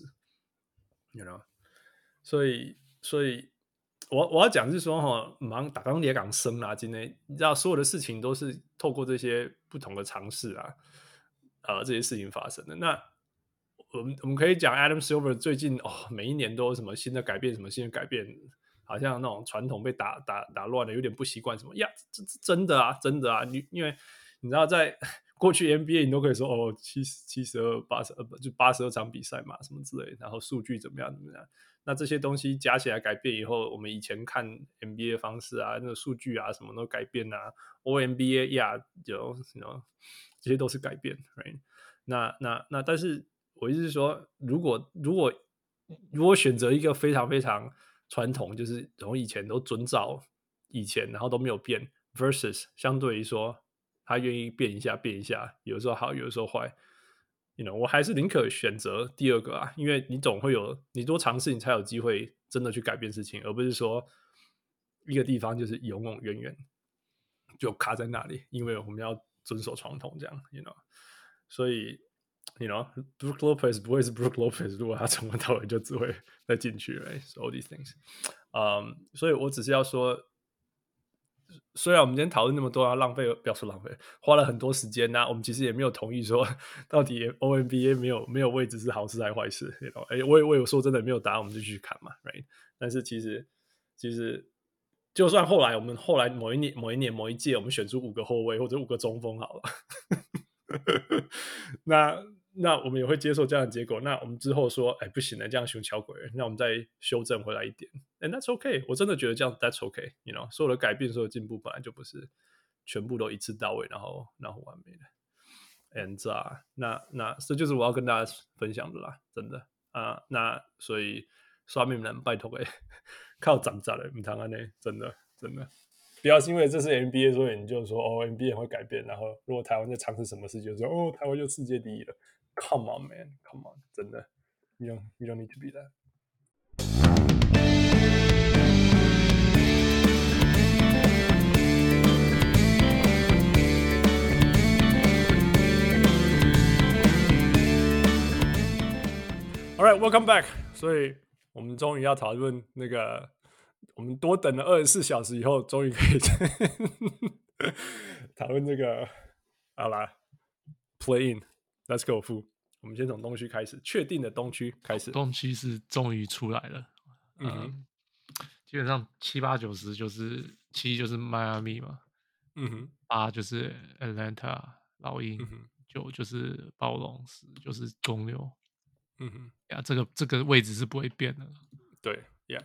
，you know，所以所以我我要講是說哈，忙打鋼鐵港生啊，今天你知道所有的事情都是透過這些不同的嘗試啊。呃，這些事情發生的，那我們我們可以講 Adam Silver 最近哦，每一年都有什麼新的改變，什麼新的改變，好像那種傳統被打打打亂了，有點不習慣什麼呀，這這真的啊，真的啊，你因為你知道在過去 N B A 你都可以說哦，七七十二八十二就八十二場比賽嘛，什麼之類的，然後數據怎麼樣怎麼樣，那這些東西加起來改變以後，我們以前看 N B A 的方式啊，那個數據啊什麼都改變啊 ，O N B A 呀，有 you know。這些都是改變 ，right？ 那那那，但是我意思是說，如果如果如果選擇一個非常非常傳統，就是從以前都遵照以前，然後都沒有變 ，versus 相對於說他願意變一下變一下，有時候好，有的時候壞，you know，我還是寧可選擇第二個啊，因為你總會有你多嘗試，你才有機會真的去改變事情，而不是說一個地方就是永永遠遠就卡在那裡，因為我們要。遵守傳統這樣 ，you know， 所以 ，you know，Brook Lopez 不會是 Brook Lopez， 如果他從頭到尾就只會再進去 ，right？So all these things， 嗯、um, ，所以我只是要說，雖然我們今天討論那麼多，浪費不要說浪費，花了很多時間吶、啊，我們其實也沒有同意說到底 O N B A 沒有沒有位置是好事還是壞事 ，you know， 哎，我也我有說真的沒有答案，我們就繼續看嘛 ，right？ 但是其實其實。就算後來我們後來某一年某一年某一屆我們選出五個後衛或者五個中鋒好了，那那我們也會接受這樣的結果。那我們之後說，哎，不行了，這樣熊巧鬼，那我們再修正回來一點。 ，and that's okay。我真的覺得這樣 that's okay，you know， 所有的改變，所有的進步本來就不是全部都一次到位，然後然後完美的。and 啊，那那這就是我要跟大家分享的啦，真的啊。那所以刷命人拜託誒，靠長長的，唔通安呢，真的真的。不要是因為這是 N B A， 所以你就說哦 N B A 會改變，然後如果台灣在嘗試什麼事，就說哦台灣就世界第一了。Come on man, come on， 真的 ，you don't you don't need to be that。All right, welcome back。所以我們終於要討論那個。我們多等了二十四小時以後，終於可以討論這個。好啦 ，Play in，Let's go， 父。我們先從東區開始，確定的東區開始。 東區是終於出來了，嗯，嗯，基本上七八九十就是七就是邁阿密嘛，嗯哼，八就是 Atlanta 老鷹，嗯，九就是暴龍，十就是公牛，嗯哼，呀，這個這個位置是不會變的， 對，呀。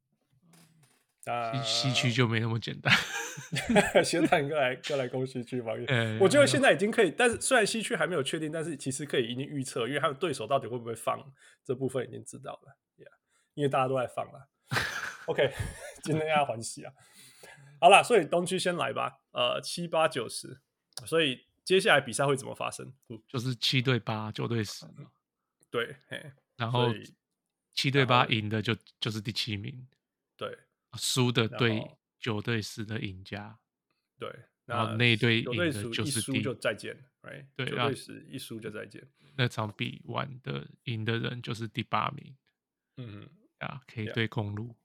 西區就沒那麼簡單。 先談過來，過來攻西區吧。我覺得現在已經可以，但是雖然西區還沒有確定，但是其實可以已經預測，因為他的對手到底會不會放這部分已經知道了。Yeah, 因為大家都在放了。OK， 今天要歡喜啊！好啦，所以東區先來吧。呃，七八九十，所以接下來比賽會怎麼發生？ 就是七對八，九對十。 對，嘿， 然後七對八贏的就就是第七名。 對。 輸的對九對十的贏家， 對， 然後那一隊贏的就是第， 一輸就再見 ，right？ 對，九對十一輸就再見。 那場比完的贏的人就是第八名，嗯啊，可以對公路。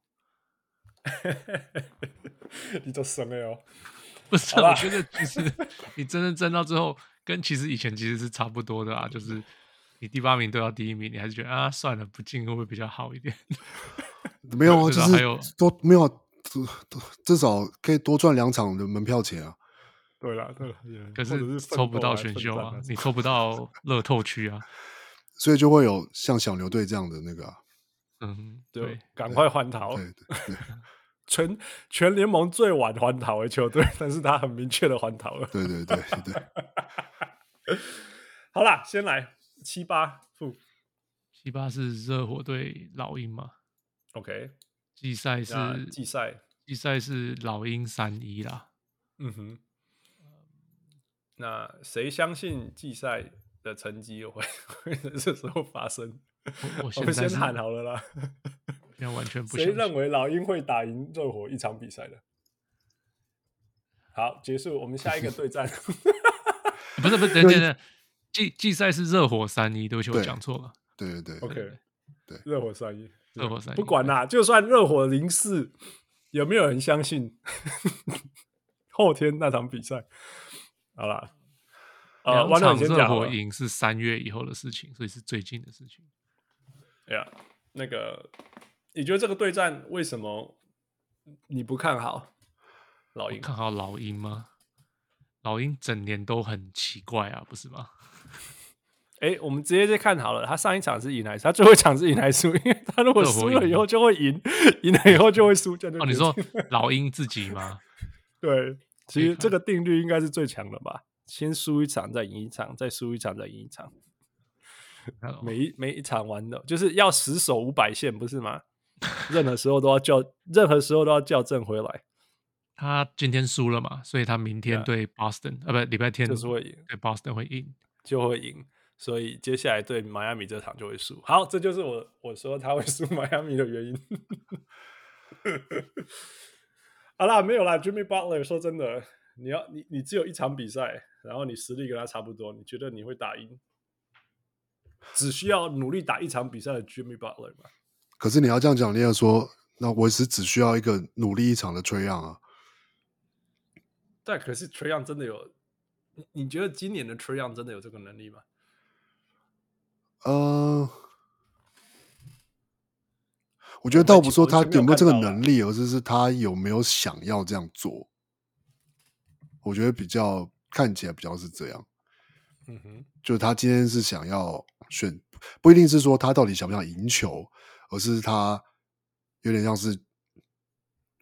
你就生了哦， 不是？我覺得其實你真的爭到最後，跟其實以前其實是差不多的啊，就是你第八名對到第一名，你還是覺得啊，算了，不進會不會比較好一點？ 沒有啊，就是多沒有、啊，至少可以多賺兩場的門票錢啊。 對啦，對啦， 可是抽不到選秀啊，你抽不到樂透區啊， 所以就會有像小牛隊這樣的那個、啊， 嗯， 對，趕快換逃， 對對對， 全全聯盟最晚換逃的球隊，但是他很明確的換逃了， 對對對對。 好啦，先來七八負， 七八是熱火對老鷹嘛？ OK， 季賽是季賽，季賽是老鷹三一啦。 嗯哼，那誰相信季賽的成績會會在這時候發生？ 我, 我, 我們先喊好了啦。 現在完全不相信。 誰認為老鷹會打贏熱火一場比賽的？好，結束，我們下一個對戰。 不是不是，等等等，季季賽是熱火三一，對不起，我講錯了。 對對對 ，OK， 對， 熱火三一。 熱火三一， 不管啦，就算熱火零四，有沒有人相信後天那場比賽？好啦， 呃，兩場熱火贏是三月以後的事情，所以是最近的事情。 哎呀，那個，你覺得這個對戰為什麼你不看好老鷹？ 看好老鷹嗎？老鷹整年都很奇怪啊，不是嗎？ 哎，我們直接就看好了，他上一場是贏還是他最後一場是贏還是輸？因為他如果輸了以後就會贏，贏了以後就會輸。 哦，你說老鷹自己嗎？ 對，其實這個定律應該是最強的吧？先輸一場再贏一場，再輸一場再贏一場。每一每一場玩的就是要死守五百線，不是嗎？任何時候都要校，任何時候都要校正回來。 他今天輸了嘛，所以他明天對 Boston 啊，不，禮拜天就是會贏， 對 Boston 會贏， 就會贏。所以接下來對邁阿密這場就會輸。好，這就是我我說他會輸邁阿密的原因。好啦，沒有啦 ，Jimmy Butler 說真的，你要你你只有一場比賽，然後你實力跟他差不多，你覺得你會打贏？只需要努力打一場比賽的 Jimmy Butler 嗎？ 可是你要這樣講，你要說，那我是只需要一個努力一場的 Trae Young 啊。 但可是 Trae Young 真的有？你你覺得今年的 Trae Young 真的有這個能力嗎？ 呃，我覺得倒不說他有沒有這個能力，而是是他有沒有想要這樣做。我覺得比較看起來比較是這樣。嗯哼，就是他今天是想要選，不一定是說他到底想不想贏球，而是他有點像是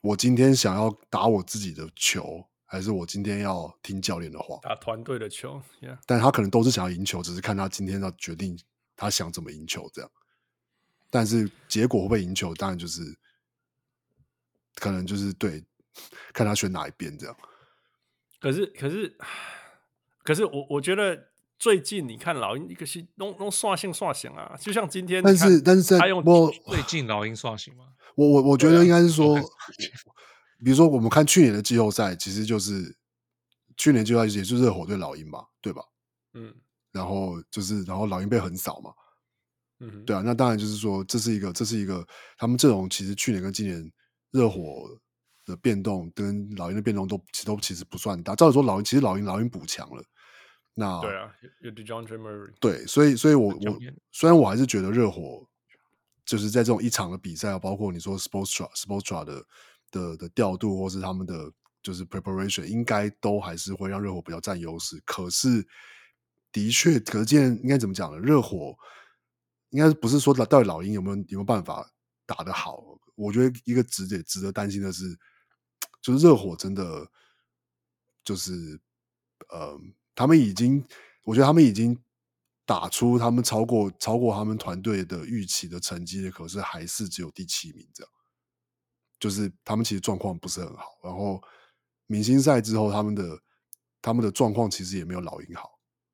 我今天想要打我自己的球，還是我今天要聽教練的話？ 打團隊的球， yeah. 但他可能都是想要贏球，只是看他今天要決定他想怎麼贏球這樣。但是結果會不會贏球，當然就是可能就是對，看他選哪一邊這樣。 可是可是可是我我覺得最近你看老鷹一個是弄弄刷新刷新啊，就像今天， 但是但是在他用我最近老鷹刷新嗎？ 我我我覺得應該是說， 啊、 比如說我們看去年的季後賽，其實就是去年季後赛也就是熱火對老鷹嘛，對吧？ 嗯， 然後就是然後老鷹被橫掃嘛， 嗯， 對啊，那當然就是說這是一個這是一個他們陣容其實去年跟今年熱火的變動跟老鷹的變動都其實都其實不算大。照理說老鷹其實老鷹老鷹補強了，那對啊，有 DeJounte Murray， 對，所以所以我我雖然我還是覺得熱火就是在這種一場的比賽，包括你說 Spoelstra Spoelstra 的的的調度，或是他們的就是 preparation， 應該都還是會讓熱火比較佔優勢。可是的確，可是今天應該怎麼講呢？熱火應該不是說到底老鷹有沒有有沒有辦法打得好？我覺得一個值得值得擔心的是，就是熱火真的就是呃，他們已經，我覺得他們已經打出他們超過超過他們團隊的預期的成績，可是還是只有第七名這樣。就是他們其實狀況不是很好，然後明星賽之後他們的他們的狀況其實也沒有老鷹好。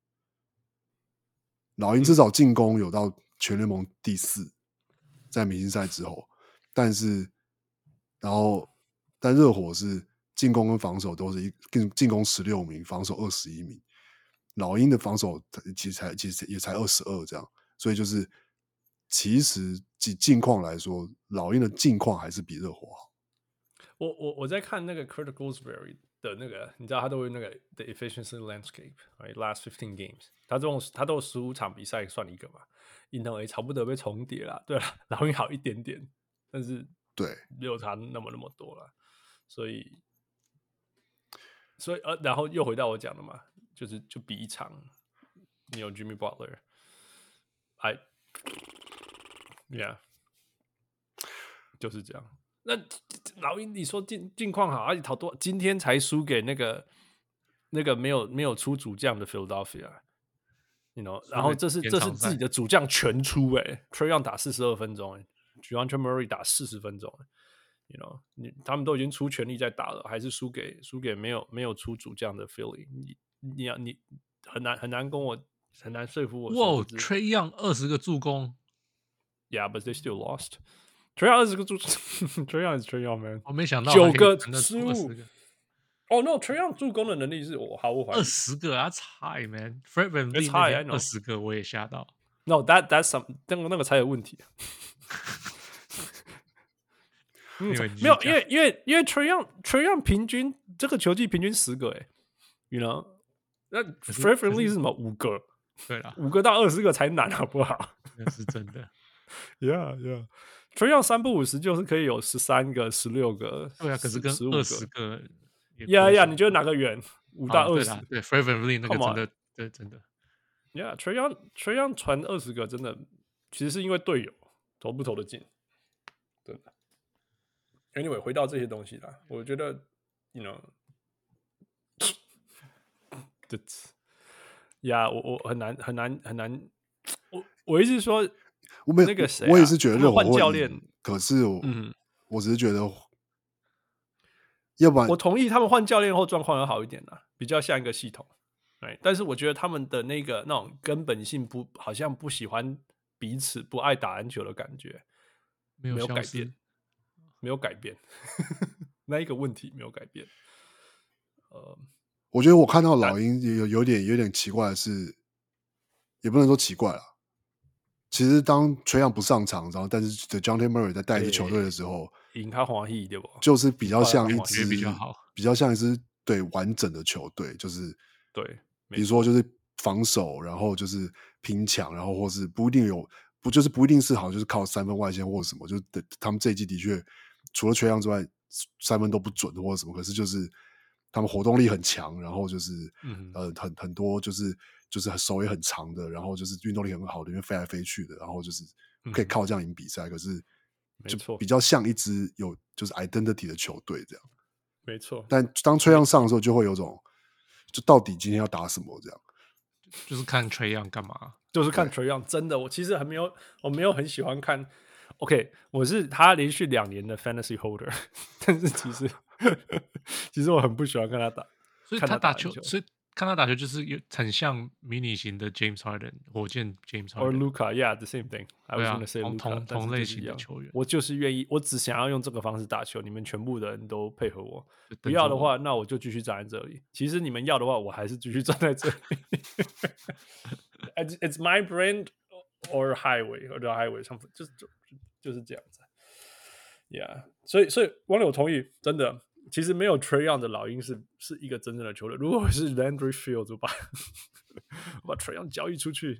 老鷹至少進攻有到全聯盟第四，在明星賽之後，但是然後但熱火是進攻跟防守都是一進進攻十六名，防守二十一名。老鷹的防守其實才其實也才二十二這樣，所以就是其實以近況來說，老鷹的近況還是比熱火好。 我我我在看那個 Kurt Goldsberry 的那個，你知道他都會那個 The Efficiency Landscape，right? Last fifteen games， 他這種他都有十五場比賽算一個嘛，贏頭也差不多被重疊啦。對了，老鷹好一點點，但是對沒有差那麼那麼多了，所以所以呃，然後又回到我講的嘛。就是就比一場，你有 Jimmy Butler，I yeah， 就是這樣。那老鷹你說近近況好，而且好多今天才輸給那個那個沒有沒有出主將的 Philadelphia，you know， 然後這是這是自己的主將全出哎、欸、，Trae Young 打四十二分鐘哎 ，DeJounte Murray 打四十分鐘哎 ，you know， 你他們都已經出全力在打了，還是輸給輸給沒有沒有出主將的 Philly。你要你很難很難跟我很難說服我。 哇 ，Trae Young 二十個助攻 ，Yeah, but they still lost. Trae Young 二十個助，Trae Young is Trae Young man。 我沒想到九個失誤。哦、oh, ，No, Trae Young 助攻的能力是我毫無懷疑。 二十個啊，菜 man。Fred VanVleet 二十個我也嚇到。 No, that that's some 那個那個才有問題。嗯、沒有，因為因為因為 Trae Young Trae Young 平均這個球季平均十個哎、欸、，you know。那 Fred VanVleet 是什麼？五個， 對啦， 五個到二十個才難，好不好？ 那是真的。 Yeah, yeah. Trae Young 三不五十就是可以有十三個、十六個。 對啊，可是跟二十個。 Yeah, yeah. 你覺得哪個遠？五到二十？ 對 ，Fred VanVleet 那個真的，對，真的。 Yeah, Trae Young Trae Young 傳二十個，真的，其實是因為隊友投不投得進，真的。Anyway， 回到這些東西啦，我覺得，you know。呀， yeah, 我我很難很難很難，我我意思是說， 我沒那個誰、啊， 我也是覺得熱火換教練， 可是我， 嗯， 我只是覺得，要不然我同意他們換教練後狀況要好一點啦，比較像一個系統，對，但是我覺得他們的那個那種根本性不，好像不喜歡彼此，不愛打籃球的感覺，沒有改變，沒有改變，那一個問題沒有改變，呃。 我覺得我看到老鷹有有點有點奇怪的是，也不能說奇怪啦。其實當Trae Young不上場，然後但是 DeJounte Murray 在帶一支球隊的時候， 贏他歡喜對不？就是比較像一支比較好， 比較像一支對完整的球隊，就是對， 比如說就是防守，然後就是拼搶，然後或是不一定有不就是不一定是好，就是靠三分外線或者什麼，就是他們這一季的確除了Trae Young之外，三分都不準或者什麼，可是就是。他們活動力很強，然後就是，嗯、呃，很很多就是就是手也很長的，然後就是運動力很好的，因為飛來飛去的，然後就是可以靠這樣贏比賽。嗯、可是就比較像一支有就是 identity 的球隊這樣。 沒錯。 但當Trae Young上的時候，就會有種就到底今天要打什麼這樣。 就是看 Trae Young 幹嘛？ 就是看 Trae Young，真的，我其實還沒有，我沒有很喜歡看。OK， 我是他連續兩年的 Fantasy Holder， 但是其實其實我很不喜歡看他打， 所以他打球，所以看他打球就是有很像迷你型的 James Harden， 火箭 James Harden， or Luka，yeah，the same thing。I was gonna say Luka， 同同類型的球員， 我就是願意，我只想要用這個方式打球，你們全部的人都配合我。不要的話，那我就繼續站在這裡。其實你們要的話，我還是繼續站在這裡。it's, it's my brand or highway or the highway something， 就是就就是這樣子。Yeah， 所以所以網友同意，真的，其實沒有 Trae Young 的老鷹是是一個真正的球隊。如果我是 Landry Fields， 我把我把 Trae Young 交易出去，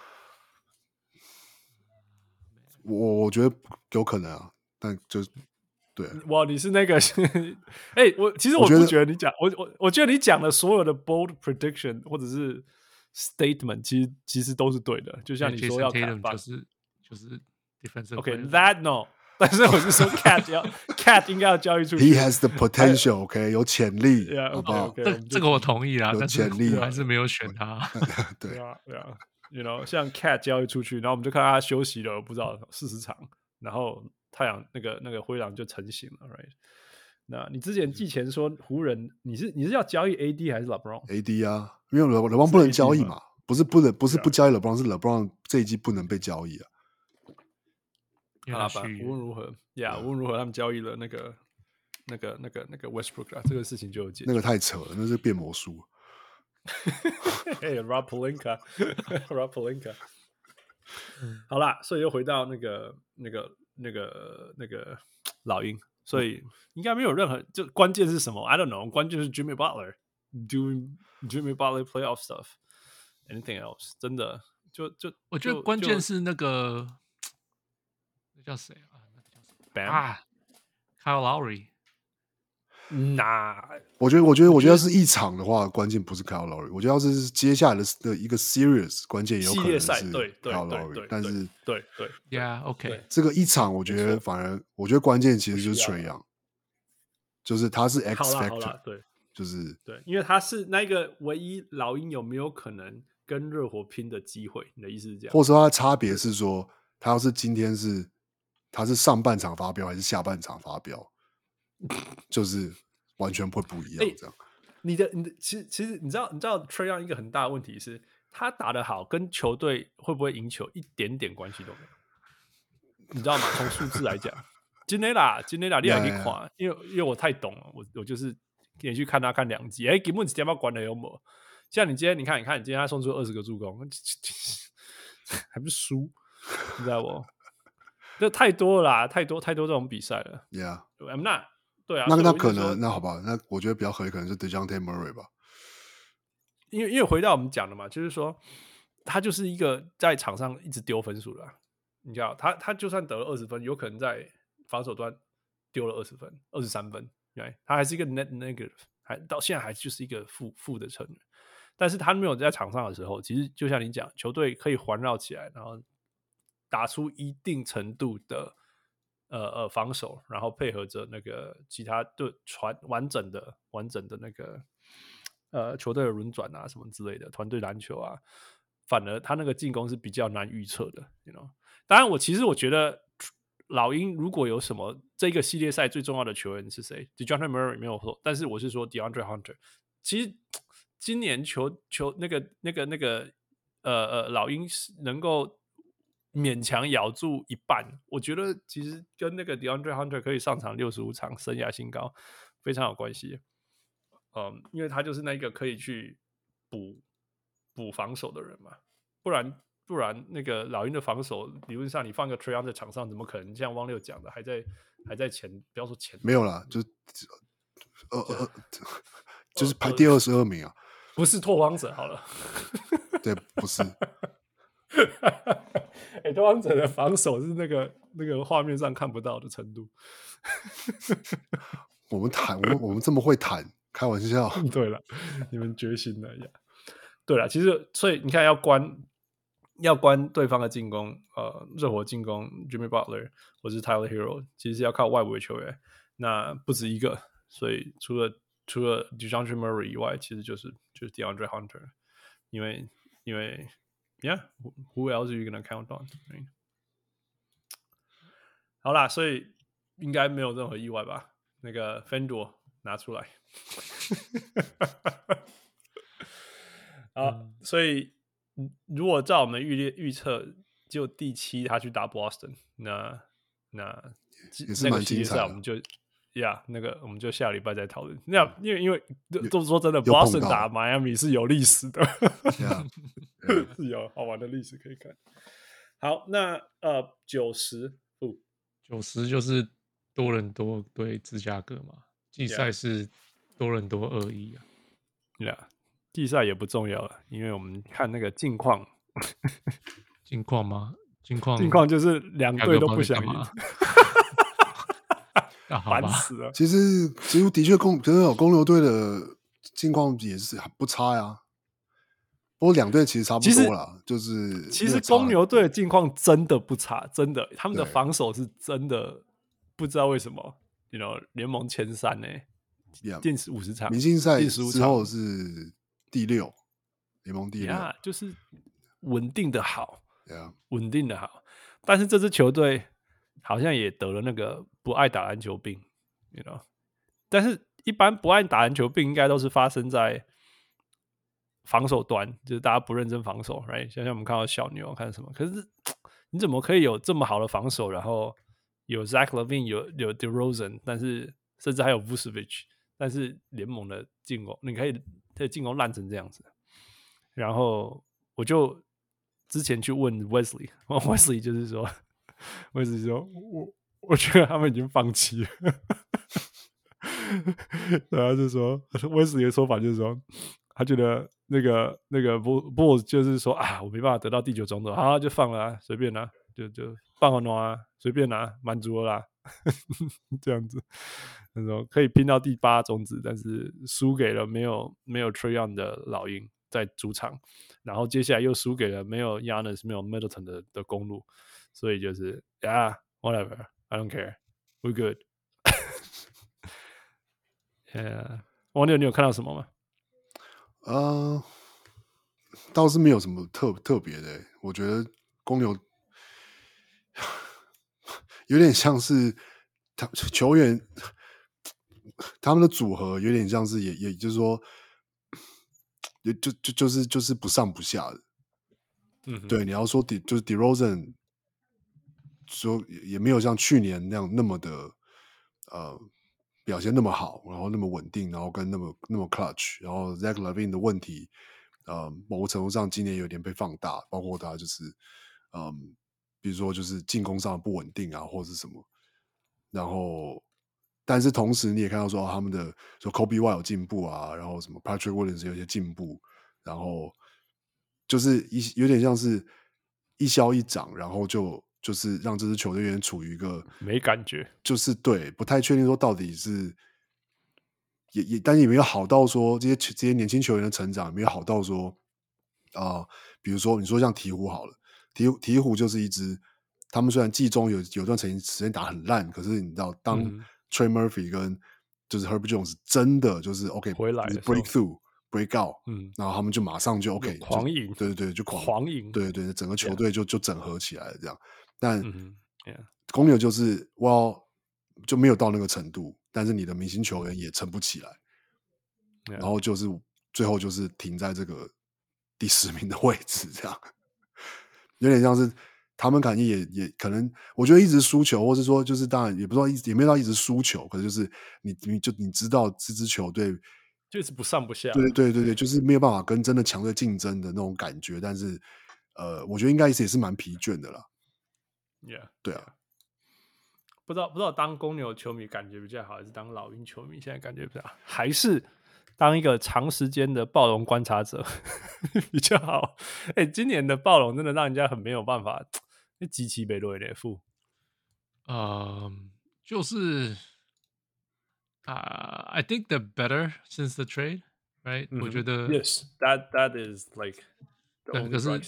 我我覺得有可能啊，但就對。 哇，你是那個，哎、欸，我其實我不覺得你講，我我我覺得你講的所有的 bold prediction 或者是 statement， 其實其實都是對的。就像你說要看吧， 就是就是 defensive。 OK，that no。但是我是說 ，Cat 要 Cat 應該要交易出去。 He has the potential，OK， 有潛力， yeah, 好不好？ okay, okay, 這這個我同意啦， 有潛力， 我還是沒有選他。 對啊，對啊 ，You know， 像 Cat 交易出去，然後我們就看他休息了，不知道四十場，然後太陽那個那個灰狼就成型了 ，Right？ 那你之前季前說湖人，你是你是要交易 A D 還是 LeBron？A D 啊，因為 LeBron 不能交易嘛，不是不能不是不交易 LeBron， 是 LeBron 這一季不能被交易啊。 好啦吧，無論如何，呀，無論如何，他們交易了那個、那個、那個、那個 Westbrook 啊，這個事情就有解決。 那個太扯了，那是變魔術。 嘿 ，Rob Pelinka，Rob Pelinka。好啦，所以又回到那個、那個、那個、那個老鷹，所以應該沒有任何，就關鍵是什麼 ？I don't know， 關鍵是 Jimmy Butler doing Jimmy Butler playoff stuff。Anything else？ 真的，就就我覺得關鍵是那個。叫誰啊？那個叫什麼 Bam 啊 ？Kyle Lowry。 那我覺得，我覺得，我覺得是一場的話，關鍵不是 Kyle Lowry。我覺得要是接下來的的一個 series， 關鍵也有可能是 Kyle Lowry。但是， 對對 ，Yeah，OK。 這個一場，我覺得反而，我覺得關鍵其實就是 Trae Young，就是他是 X factor， 對， 就是對，因為他是那個唯一老鷹有沒有可能跟熱火拼的機會？你的意思是這樣？ 或者說他的差別是說，他要是今天是。他是上半場發飆還是下半場發飆，就是完全會不一樣。這樣，欸、 你的你的其實其實你知道你知道 Trae Young 一個很大的問題是，他打得好跟球隊會不會贏球一點點關係都沒有。你知道嗎？從數字來講，今天啦，今天啦，你也可以看，因為因為我太懂了，我我就是連續看他看兩集，哎、欸，根本是點要管的有沒有？像你今天你看你看，你今天他送出二十個助攻，還不是輸，你知道不？這太多了啦，太多太多這種比賽了。 Yeah，I'm not。對啊， 那那可能那好吧，那我覺得比較合理，可能是 DeJounte Murray 吧。 因為因為回到我們講的嘛，就是說他就是一個在場上一直丟分數的、啊。你知道，他他就算得了二十分，有可能在防守端丟了二十分、二十三分，對，他還是一個 net negative， 還到現在還就是一個負負的成員。但是他沒有在場上的時候，其實就像你講，球隊可以環繞起來，然後打出一定程度的呃呃防守，然後配合着那個其他隊傳完整的完整的那個呃球隊的輪轉啊什麼之類的團隊籃球啊，反而他那個進攻是比較難預測的 you know？ 當然我其實我覺得老鷹如果有什麼這個系列賽最重要的球員是誰 DeJounte Murray 沒有錯，但是我是說 DeAndre Hunter。其實今年球球那個那個那個呃呃老鷹能夠勉強咬住一半，我覺得其實跟那個 DeAndre Hunter 可以上場六十五場生涯新高非常有關係。嗯，因為他就是那個可以去補補防守的人嘛，不然不然那個老鷹的防守理論上你放個 Trae Young 在場上，怎麼可能像汪六講的還在還在前，不要說前沒有啦，就呃呃就是排第二十二名啊， 不是拓荒者好了， 對，不是。 哎、欸，拓荒者的防守是那個那個畫面上看不到的程度。 我們談，我們我們這麼會談，開玩笑。 對了，你們決心了呀。對了，其實所以你看要關要關對方的進攻，呃，熱火進攻 Jimmy Butler 或是 Tyler Hero， 其實是要靠外圍球員，那不止一個，所以除了除了 DeJounte Murray 以外，其實就是就是 DeAndre Hunter， 因為因為 Yeah，who else are you gonna count on？ Right? 好啦，所以應該沒有任何意外吧？那個 Fendor 拿出來，好，嗯、所以如果照我們預列預測，就第七他去打 Boston， 那那也是蠻精彩的。 那個系列賽我們就呀， yeah, 那個我們就下禮拜再討論。那因為因為都說真的 ，Boston 打 Miami 是有歷史的， yeah, yeah. 是有好玩的歷史可以看。好，那呃九十。 九十就是多倫多對芝加哥嘛，季賽是多倫多二一啊， 對啊，季賽也不重要了，因為我們看那個近況， 近況嗎？近況近況就是兩隊都不想贏，煩死了。 其實其實的確公，可是公牛隊的近況也是不差呀。不過兩隊其實差不多啦，就是其實公牛隊的近況真的不差，真的，他們的防守是真的不知道為什麼 ，you know 聯盟前三呢、欸，近五十場， 明星賽之後是第六，聯盟第六， yeah, 就是穩定的好，穩 yeah. 定的好，但是這支球隊好像也得了那個不愛打籃球病 ，you know， 但是一般不愛打籃球病應該都是發生在防守端，就是大家不認真防守 ，right？ 像像我們看到小牛看什麼，可是你怎麼可以有這麼好的防守，然後有 Zach LaVine 有有 DeRozan， 但是甚至還有 Vucevic， 但是聯盟的進攻你可以可以進攻爛成這樣子，然後我就之前去問 Wesley，Wesley 就是說 ，Wesley 說我我覺得他們已經放棄了，然後就說 Wesley 的說法就是說。他覺得那個那個 Bulls 就是說啊，我沒辦法得到第九種子，好就放了啊，隨便啦，就就放了喏啊，隨便啦，滿足了啦，這樣子，那種可以拼到第八種子，但是輸給了沒有沒有 Trae Young 的老鷹在主場，然後接下來又輸給了沒有 Giannis 沒有 Middleton 的的公路，所以就是 Yeah whatever I don't care we good 。yeah, 王六，你有看到什麼嗎？ 呃，倒是沒有什麼特特別的、欸。我覺得公牛有點像是他球員他們的組合有點像是也也就是說，也就就就是就是不上不下的。嗯，對，你要說 De 就是 DeRozan 說也沒有像去年那樣那麼的呃。表現那麼好，然後那麼穩定，然後跟那麼那麼 clutch， 然後 Zach LaVine 的問題，呃，某個程度上今年有點被放大，包括他就是，嗯，比如說就是進攻上的不穩定啊，或者是什麼，然後，但是同時你也看到說、哦、他們的說 Kobe White 有進步啊，然後什麼 Patrick Williams 有些進步，然後就是一有點像是一消一長，然後就。就是讓這支球隊有點處於一個沒感覺， 就是對不太確定說到底是也也，但是也沒有好到說這些這些年輕球員的成長也沒有好到說啊、呃，比如說你說像鵜鶘好了，鵜鵜鶘就是一支，他們雖然季中有有段時間時間打很爛，可是你知道當 Trey Murphy 跟就是 Herbert Jones 真的就是 OK 回來 break through break out， 嗯， 然後他們就馬上就 OK 就狂贏， 對對對，就狂狂贏， 對對對，整個球隊就、yeah. 就整合起來了這樣。但、 嗯 yeah. 公牛就是哇，就沒有到那個程度，但是你的明星球員也撐不起來，yeah. 然後就是最後就是停在這個第十名的位置，這樣有點像是他們感覺也也可能，我覺得一直輸球，或是說就是當然也不知道一直也沒有到一直輸球，可是就是你你就你知道這支球隊就是不上不下， 對對對對，就是沒有辦法跟真的強隊競爭的那種感覺，但是呃，我覺得應該也是蠻疲倦的啦。 Yeah, 對啊， 不知道不知道當公牛球迷感覺比較好，還是當老鷹球迷現在感覺比較好，還是當一個長時間的暴龍觀察者比較好？哎、欸，今年的暴龍真的讓人家很沒有辦法，極其被落的負。 呃，就是啊、uh, ，I think they're better since the trade, right？、嗯、我覺得 ，Yes, that that is like the only bright side.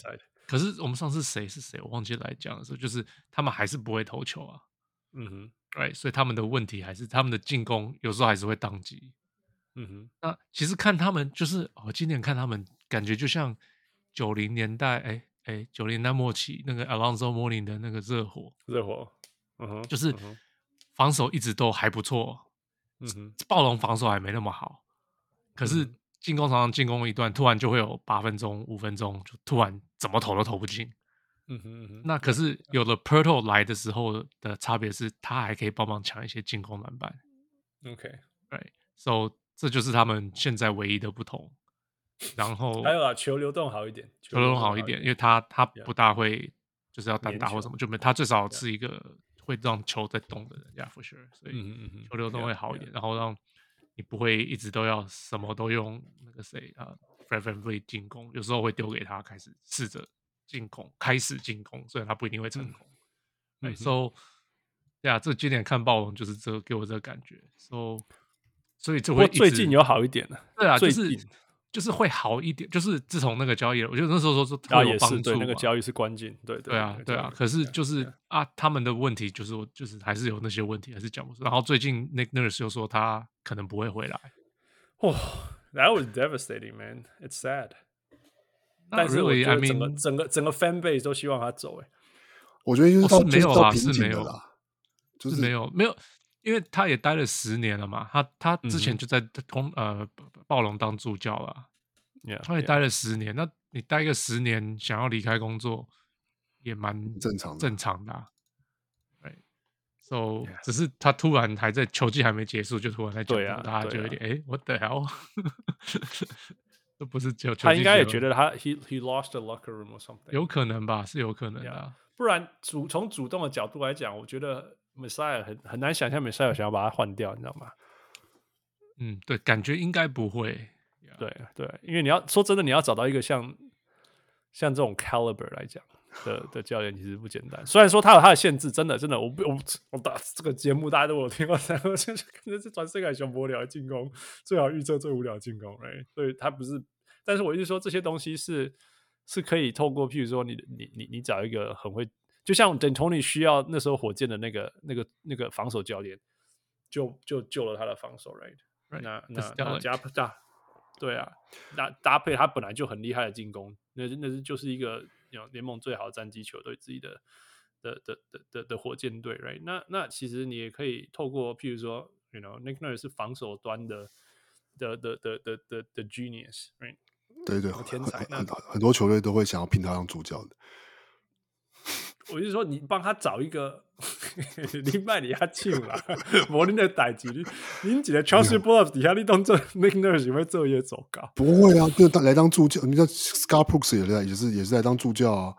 可是我們上次誰是誰，我忘記來講的時候，就是他們還是不會投球啊。 嗯哼， 對，所以他們的問題還是他們的進攻有時候還是會當機。 嗯哼， 那其實看他們就是我今年看他們感覺就像九零年代，哎哎，九零年代末期那個 Alonzo Mourning 的那個熱火， 熱火，嗯哼， 就是防守一直都還不錯， 嗯哼， 暴龍防守還沒那麼好，可是進攻常常進攻一段，突然就會有八分鐘、五分鐘，就突然怎麼投都投不進。 嗯哼嗯哼， 那可是有了 Pirtle 來的時候的差別是，他還可以幫忙搶一些進攻籃板。 OK， 對 ，So 這就是他們現在唯一的不同。然後還有啊，球流動好一點， 球流動好一點，因為他他不大會就是要單打或什麼，就沒他最少是一個會讓球在動的人，Yeah for sure。所以球流動會好一點，然後讓你不會一直都要什麼都用那個誰啊 Fred VanVleet 進攻，有時候會丟給他開始試着進攻，開始進攻，雖然他不一定會成功。嗯、right, so 對啊，這今年看暴龍就是這個給我這個感覺。So 所以這會最近有好一點了。 對啊，就是就是會好一點，就是自從那個交易了，我覺得那時候說是特有幫助。 對，那個交易是關鍵。對對啊，對啊。可是就是啊，他們的問題就是就是還是有那些問題，還是講不出。然後最近 Nick Nurse 又說他可能不會回來。 哇、oh, ，That was devastating, man. It's sad. 但是我覺得整個 I mean, 整個整個 fan base 都希望他走。哎， 我覺得因為他沒有啦，是沒有啦， 就是沒有沒有。因為他也待了十年了嘛，他他之前就在公、嗯、呃暴龍當助教了， yeah, 他也待了十年。Yeah. 那你待個十年，想要離開工作也蠻正常的， 正常的、啊。對 ，so yeah. 只是他突然還在球季還沒結束，就突然在講， 啊、 大家就有點哎 ，what the hell？ 都不是只有球季， 他應該也覺得他 he he lost the locker room or something， 有可能吧，是有可能的、啊 yeah. 不然主從主動的角度來講，我覺得。Messiah 很很難想象 Messiah 想要把他換掉，你知道嗎？ 嗯，對，感覺應該不會。Yeah. 對對，因為你要說真的，你要找到一個像像這種 caliber 來講的的教練，其實不簡單。雖然說他有他的限制，真的真的，我不我我打這個節目大家都有聽過，然後就是可是全世界最無聊的進攻，最好預測最無聊的進攻，哎，所以他不是。但是我一直說這些東西是是可以透過，譬如說你你你你找一個很會。就像 D'Antoni 需要那時候火箭的那個、那個、那個防守教練，就就救了他的防守 ，right？, right. 那那那加搭，對啊，那搭配他本來就很厲害的進攻，那那是就是一個聯盟最好的戰績球隊自己的的的的的的火箭隊 ，right？ 那那其實你也可以透過，譬如說 ，you know，Nick Nurse 是防守端的的的的的的的 genius，right？ 對對， 天才， 很很多球隊都會想要聘他當主教的。 我就說，你幫他找一個，你賣你下手啦，無恁的代志，你恁一個 Chauncey Billups 底下你當做 Nick Nurse 會做嘢走高？不會啊，就來當助教。你像 Scott Brooks 也來，也是也是來當助教啊。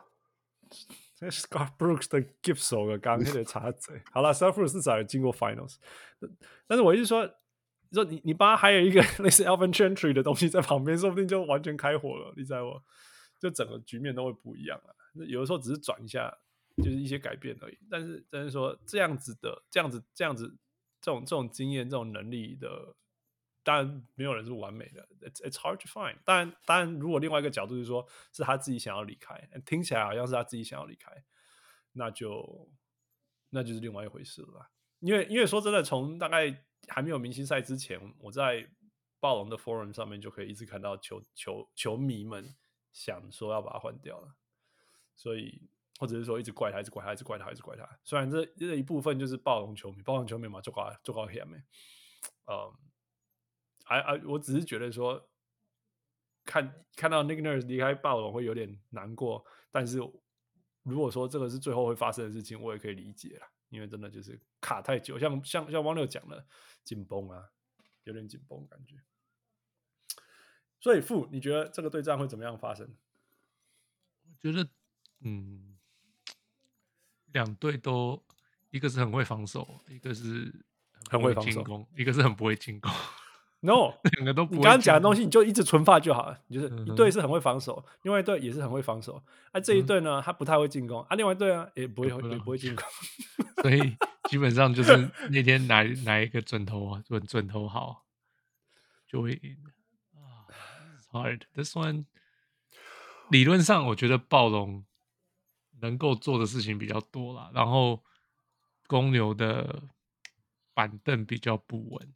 Scott Brooks 的 gift 手個剛那個插嘴。好了 ，Scott Brooks 至少有經過 Finals， 但是我一直說，說你你幫他還有一個類似 Alvin Gentry 的東西在旁邊，說不定就完全開火了。你知道我，就整個局面都會不一樣了。有的時候只是轉一下。就是一些改變而已，但是但是說這樣子的，這樣子這樣子這種這種經驗、這種能力的，當然沒有人是完美的 ，it's it's hard to find。當然當然，如果另外一個角度是說，是他自己想要離開，聽起來好像是他自己想要離開，那就那就是另外一回事了啦。因為因為說真的，從大概還沒有明星賽之前，我在暴龍的 forum 上面就可以一直看到球球球迷們想說要把他換掉了，所以。或者是說一直怪他，一直怪他，一直怪他，一直怪他。雖然這這一部分就是暴龍球迷，暴龍球迷嘛，做高做高險的。嗯，哎哎，我只是覺得說，看看到 Nick Nurse 離開暴龍會有點難過。但是如果說這個是最後會發生的事情，我也可以理解啦，因為真的就是卡太久，像像像汪六講的緊繃啊，有點緊繃感覺。所以傅，你覺得這個對戰會怎麼樣發生？ 我覺得，嗯。兩隊都，一個是很會防守，一個是很會進攻，一個是很不會進攻。 No， 兩個都不會。 你剛剛講的東西，你就一直存發就好了。你就是一隊是很會防守，嗯、另外一隊也是很會防守。啊，這一隊呢，他不太會進攻。啊，另外一隊啊，也不會，也不會進攻。 所以基本上就是那天哪哪一個準頭啊，準準頭好，就會贏。啊、oh, ，hard this one。 理論上我覺得暴龍能夠做的事情比較多啦，然後公牛的板凳比較不穩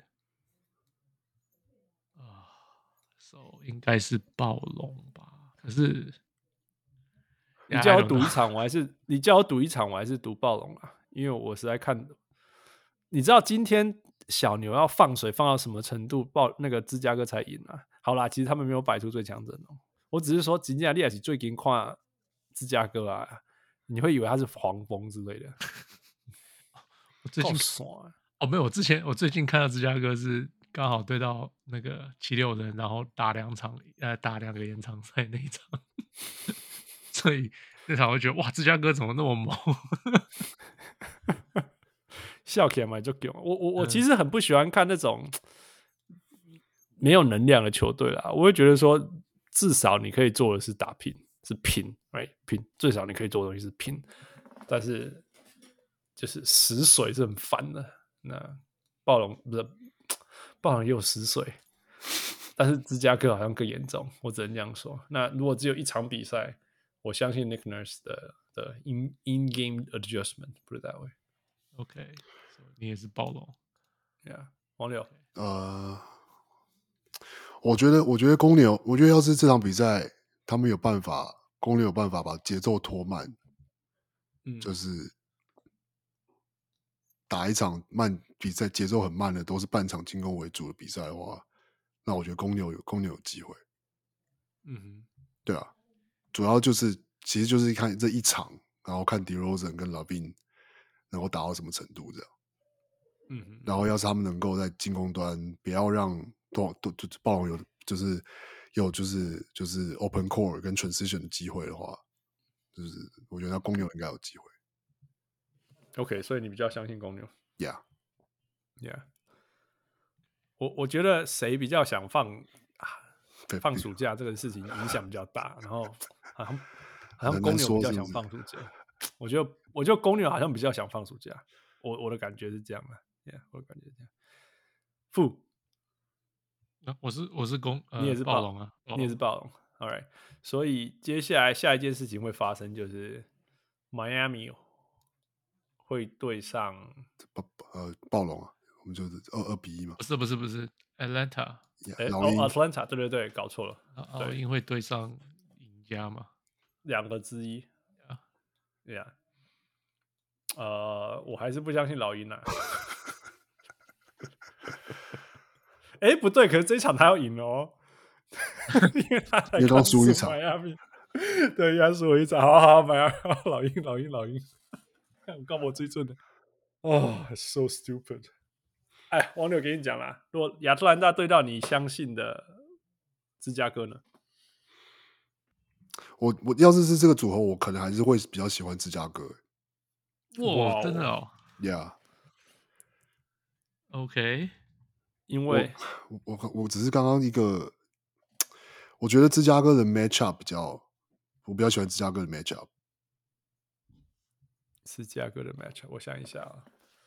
啊，所以應該是暴龍吧？可是你叫我賭一場，我還是你叫我賭一場，我還是賭暴龍啊，因為我實在看，你知道今天小牛要放水放到什麼程度，暴那個芝加哥才贏啊？好啦，其實他們沒有擺出最強陣容，我只是說，今天你也是最近看芝加哥啊，你會以為他是黃蜂之類的。 我最近爽哦，沒有，我之前我最近看到芝加哥是剛好對到那個七六人，然後打兩場，呃，打兩個延長賽那一場。所以那場我就覺得哇，芝加哥怎麼那麼猛？ 笑起來嘛就給我我我其實很不喜歡看那種沒有能量的球隊啦。我會覺得說，至少你可以做的是打拼，是拼，right？ 拼，最少你可以做的東西是拼。但是就是死水是很煩的。那暴龍不是暴龍也有死水，但是芝加哥好像更嚴重，我只能這樣說。那如果只有一場比賽，我相信 Nick Nurse 的的 in in game adjustment put it that way。 OK， so, 你也是暴龍 ，Yeah， 王六， 呃，我覺得，我覺得公牛，我覺得要是這場比賽他們有辦法，公牛有辦法把節奏拖慢， 嗯， 就是打一場慢比賽，節奏很慢的，都是半場進攻為主的比賽的話，那我覺得公牛有公牛有機會。 嗯哼， 對啊。主要就是，其實就是看這一場，然後看 DeRozan 跟 Lavine 能夠打到什麼程度這樣。 嗯哼， 然後要是他們能夠在進攻端不要讓多多就暴龍有就是有就是就是 open court 跟 transition 的機會的話，就是我覺得公牛應該有機會。 OK， 所以你比較相信公牛 ？Yeah，Yeah。 Yeah. 我我覺得誰比較想放？放暑假這個事情影響比較大，然後好像好像公牛比較想放暑假，是是我覺得我覺得公牛好像比較想放暑假，我我的感覺是這樣的 ，yeah, 我的感覺是這樣。負、 啊，我是我是公，呃、 你也是暴龍啊， 你也是暴龍 ，All right。所以接下來下一件事情會發生，就是 Miami 會對上呃暴龍啊，我們就是二二比一嘛， 不是不是不是 Atlanta。 哎、欸，哦 ，Atlanta， 對對對，搞錯了。 老鷹會對上贏家嗎？ 兩個之一。對呀。呃，我還是不相信老鷹啊。哎、欸，不對，可是這一場他要贏哦，因為他才剛輸一場。對，他輸我一場。好好，買啊，老鷹，老鷹，老鷹。我告我最準的。哦、oh, ，so stupid。哎，王柳給你講啦，如果亞特蘭大對到你相信的芝加哥呢？ 我我要是是這個組合，我可能還是會比較喜歡芝加哥。 哇，真的哦 ，Yeah。OK， 因為我我我只是剛剛一個，我覺得芝加哥的 matchup 比較，我比較喜歡芝加哥的 matchup。 芝加哥的 matchup， 我想一下啊。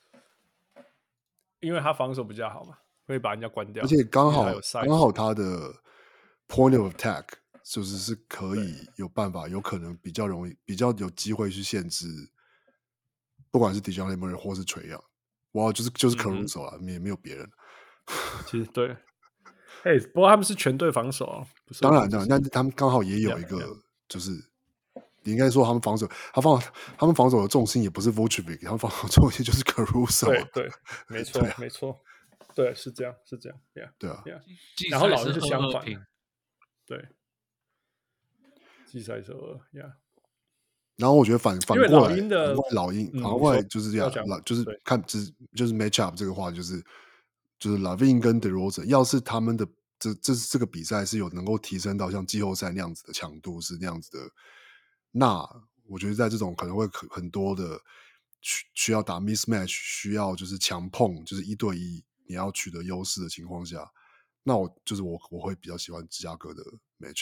因為他防守比較好嘛，會把人家關掉， 而且剛好剛好他的 point of attack 就是是可以有辦法，有可能比較容易，比較有機會去限制，不管是 DeJounte Murray 或是 Trae Young， 哇，就是就是 Caruso 啊，也、嗯、沒有別人。 其實對，哎、hey, 不過他們是全隊防守啊，不是當然的，但是他們剛好也有一個，就是你應該說他們防守，他防他們防守的重心也不是 Vucevic， 他們防守的重心就是 Caruso。 對對，沒錯、啊、沒錯，對，是這樣是這樣， yeah, 對啊。 Yeah. 然後老鷹是相反，對，季賽是二 ，yeah。 然後我覺得反反過來， 老鷹的老鷹反過來就是這樣，就是看就是就是 matchup 這個話，就是就是 Lavine 跟 DeRozan， 要是他們的這這這個比賽是有能夠提升到像季後賽那樣子的強度，是那樣子的。那我覺得在這種可能會很多的需要打 mismatch， 需要就是強碰，就是一對一你要取得優勢的情況下，那我就是我我會比較喜歡芝加哥的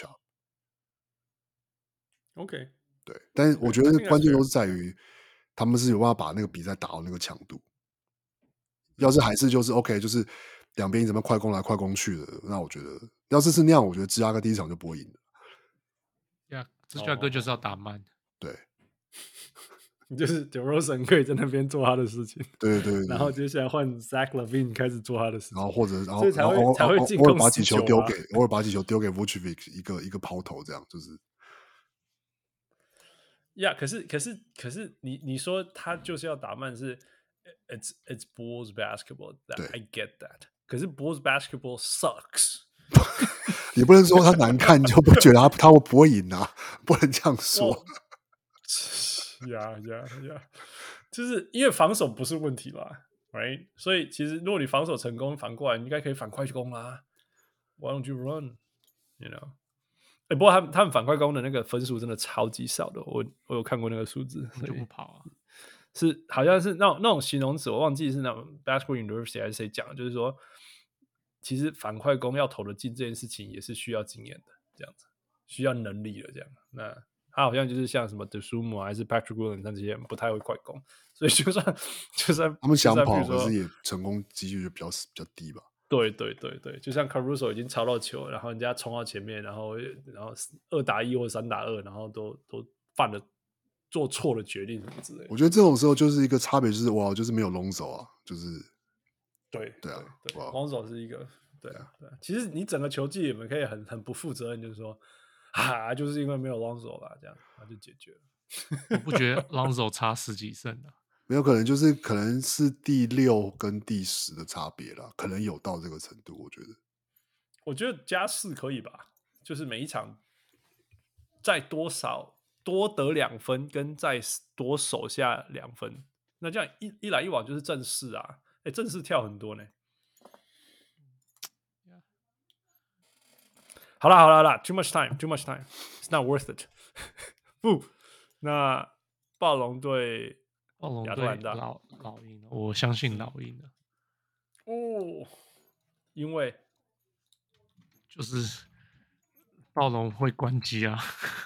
matchup。OK， 對，但是我覺得關鍵都是在於他們是有辦法把那個比賽打到那個強度。要是還是就是 OK， 就是兩邊怎麼快攻來快攻去的，那我覺得要是是那樣，我覺得芝加哥第一場就不會贏了。 Yeah. 芝加哥就是要打慢。 對， 就是 DeRozan 可以在那邊做他的事情， 對对對， 然後接下來換 Zach LaVine 開始做他的事情， 然後或者然後所以才會然後才會進攻偶爾把幾球十九啊丟給偶爾把幾球丟給 Vucevic 一個一個拋投，這樣就是。 呀、yeah, ，可是可是可是你你說他就是要打慢是 ，it's it's Bulls basketball， I get that。可是 Bulls basketball sucks。 你不能說他難看就不覺得他他會不會贏啊，不能這樣說。 呀呀呀！就是因為防守不是問題啦 ，right？ 所以其實如果你防守成功，反過來你應該可以反快攻啦。Why don't you run？ You know？欸、不過他們他們反快攻的那個分數真的超級少的，我我有看過那個數字， 就不跑啊， 是好像是那種那種形容詞，我忘記是那種 Basketball University 還是誰講的，就是說，其實反快攻要投得進這件事情也是需要經驗的，這樣子需要能力的這樣。那他好像就是像什麼 Dosunmu 還是 Patrick Williams 這些人不太會快攻，所以就算就算他們想跑，可是也成功幾率就比較比較低吧。 對對對對，就像 Caruso 已經抄到球，然後人家衝到前面，然後然後二打一或三打二，然後都都犯了做錯了決定什麼之類的。 我覺得這種時候就是一個差別，就是哇，就是沒有龍手啊，就是對對啊， 對，龍手是一個對啊對啊。其實你整個球季，你們可以很很不負責任，就是說啊，就是因為沒有龍手啦，這樣那就解決了。 我不覺得龍手差十幾勝啊。 沒有可能，就是可能是第六跟第十的差別啦，可能有到這個程度。我覺得， 我覺得加四可以吧，就是每一場再多少多得兩分，跟再多守下兩分，那這樣一一來一往就是正式啊，哎、欸，正式跳很多呢。好啦好啦好啦 ，too much time，too much time，it's not worth it 不，那暴龍隊。 暴龍隊老老鷹，我相信老鷹的哦，因為就是暴龍會關機啊。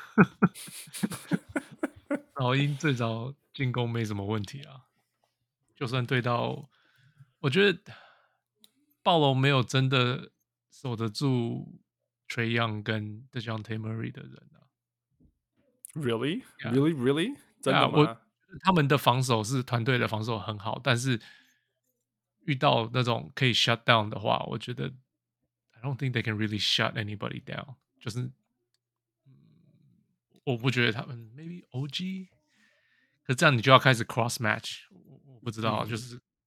老鷹最早進攻沒什麼問題啊，就算對到，我覺得暴龍沒有真的守得住 Trae Young 跟 DeJounte Murray 的人啊。 Really, yeah. really, really， 真的嗎？ 我他們的防守是團隊的防守很好，但是遇到那種可以 shut down 的話，我覺得 I don't think they can really shut anybody down。就是、嗯，我不覺得他們 maybe O G， 可是這樣你就要開始 cross match， 我, 我不知道，嗯、就是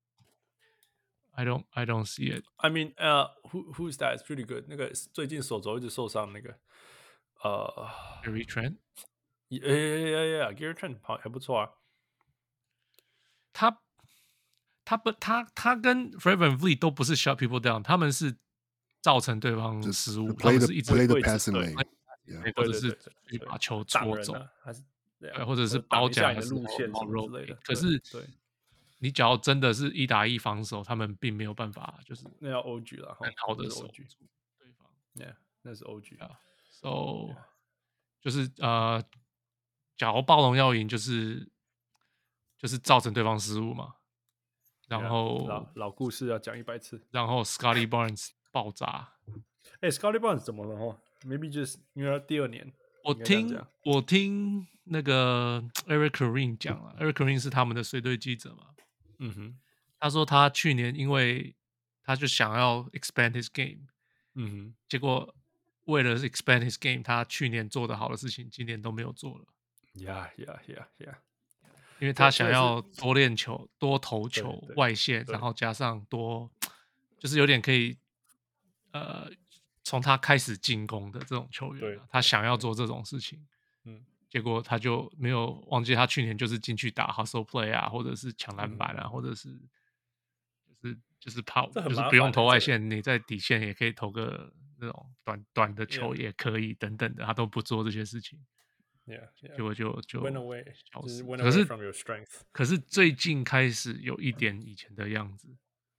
I don't I don't see it。 I mean， 呃、uh, ，Who who's that? It's pretty good。那個最近手肘一直受傷那個，呃、 uh, ，Gary Trent， yeah yeah yeah，Gary Trent 還不錯啊。 他他不他他跟 Fred VanVleet 都不是 shut people down， 他們是造成對方失誤，他們是一直 play the passing lane， 或者是去把球戳走， 還是對， 或者是包夾的路線什麼之類的。 可是你只要真的是一打一防守，他們並沒有辦法，就是那要 O G 了， 很好的守住對方。 Yeah， 那是 O G 啊。 So 就是呃，假如暴龍要贏，就是就是造成對方失誤嘛。然後 yeah, 老老故事要講一百次。 然後 Scottie Barnes 爆炸。 哎、欸、，Scottie Barnes 怎麼了？哦 ，Maybe just 因為他第二年。 我聽我聽那個 Eric Kareem 講了、嗯、，Eric Kareem 是他們的隨隊記者嘛。 嗯哼， 他說他去年因為他就想要 expand his game， 嗯哼， 結果為了 expand his game， 他去年做的好的事情，今年都沒有做了。 呀呀呀呀！ 因為他想要多練球、多投球、外線，然後加上多，就是有點可以，呃，從他開始進攻的這種球員、啊，他想要做這種事情，嗯，結果他就沒有忘記他去年就是進去打 hustle play 啊，或者是搶籃板啊，嗯、或者是就是就是跑，就是不用投外線，你在底線也可以投個那種短短的球也可以，等等的，他都不做這些事情。 Yeah, yeah. 結果就就 went away，就是 went away from your strength。 可是最近開始有一點以前的樣子。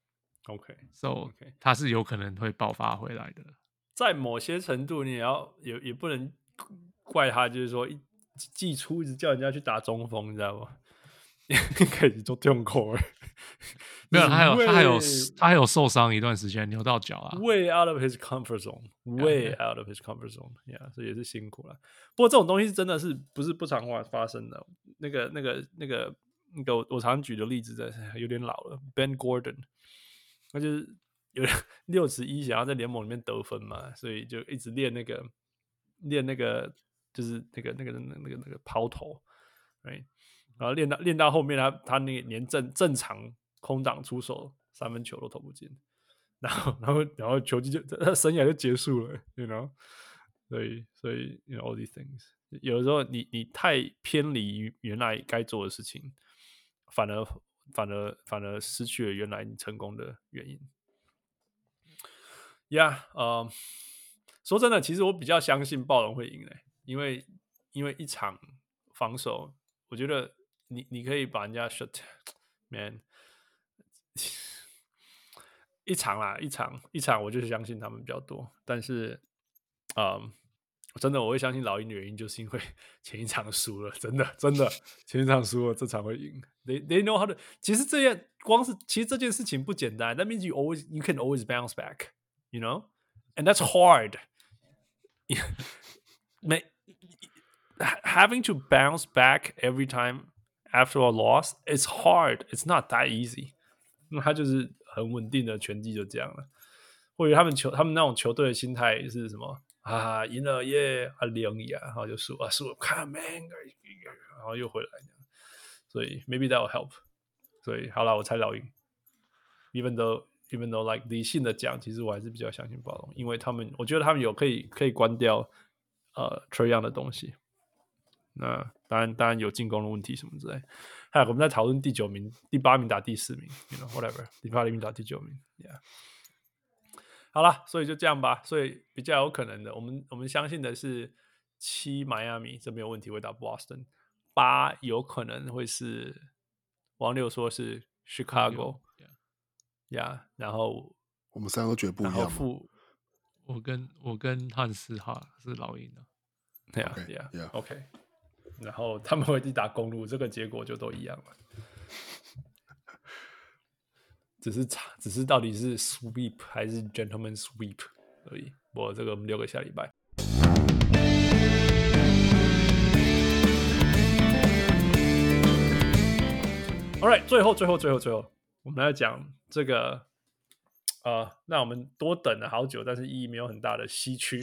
OK，So okay. 他是有可能會爆發回來的。 在某些程度，你也要也也不能怪他，就是說一季初一直叫人家去打中鋒，你知道嗎？可以做中口， 沒有，他還有 way, 他還有他還有受傷一段時間，扭到腳啊。 Way out of his comfort zone, way yeah, out of his comfort zone. Yeah， 所以也是辛苦了。不過這種東西真的是不是不常發生的。那個那個那個那個我我常舉的例子真的有點老了 ，Ben Gordon， 他就是有六尺一想要在聯盟裡面得分嘛，所以就一直練那個練那個就是那個那個那個那個那個拋投，right？然後練到練到後面他，他他那個連正正常空檔出手三分球都投不進，然後然後然後球技就他生涯就結束了 ，you know， 所以所以 you know all these things， 有的時候你你太偏離原來該做的事情，反而反而反而失去了原來你成功的原因。Yeah， 呃，說真的，其實我比較相信暴龍會贏嘞，因為因為一場防守，我覺得。你你可以把人家 shut man 一場啦，一場一場，我就是相信他們比較多。但是，嗯，真的我會相信老鷹的原因，就是因為前一場輸了，真的真的前一場輸了，這場會贏。They they know how to。其實這件光是其實這件事情不簡單。That means you always you can always bounce back, you know, and that's hard. 沒 having to bounce back every time.After a loss, it's hard. It's not that easy. 那他就是很穩定的拳擊就這樣了。或者他們球，他們那種球隊的心態是什麼啊？贏了耶，啊贏呀，然後就輸啊輸了，看 man， 然後又回來這樣。所以 maybe that will help. 所以好了，我猜老鷹。Even though, even though like 理性的講，其實我還是比較相信暴龍，因為他們，我覺得他們有可以可以關掉呃 Trae Young 的東西。那當然，當然有進攻的問題什麼之類。還有我們在討論第九名、第八名打第四名 ，you know whatever， 第八名打第九名 ，yeah。好了，所以就這樣吧。所以比較有可能的，我們我們相信的是七邁阿密這沒有問題會打 Boston， 八有可能會是王六說是 Chicago， 呀、yeah, 然後我們三個都覺得不一樣。 我跟我跟漢斯哈是老鷹的， 對啊，對啊 ，OK。然後他們會去打公路，這個結果就都一樣了。只是差，只是到底是 sweep 還是 gentleman sweep 而已。我這個我們留給下禮拜。All right， 最後最後最後最後，我們來講這個。呃，那我們多等了好久，但是意義沒有很大的西區。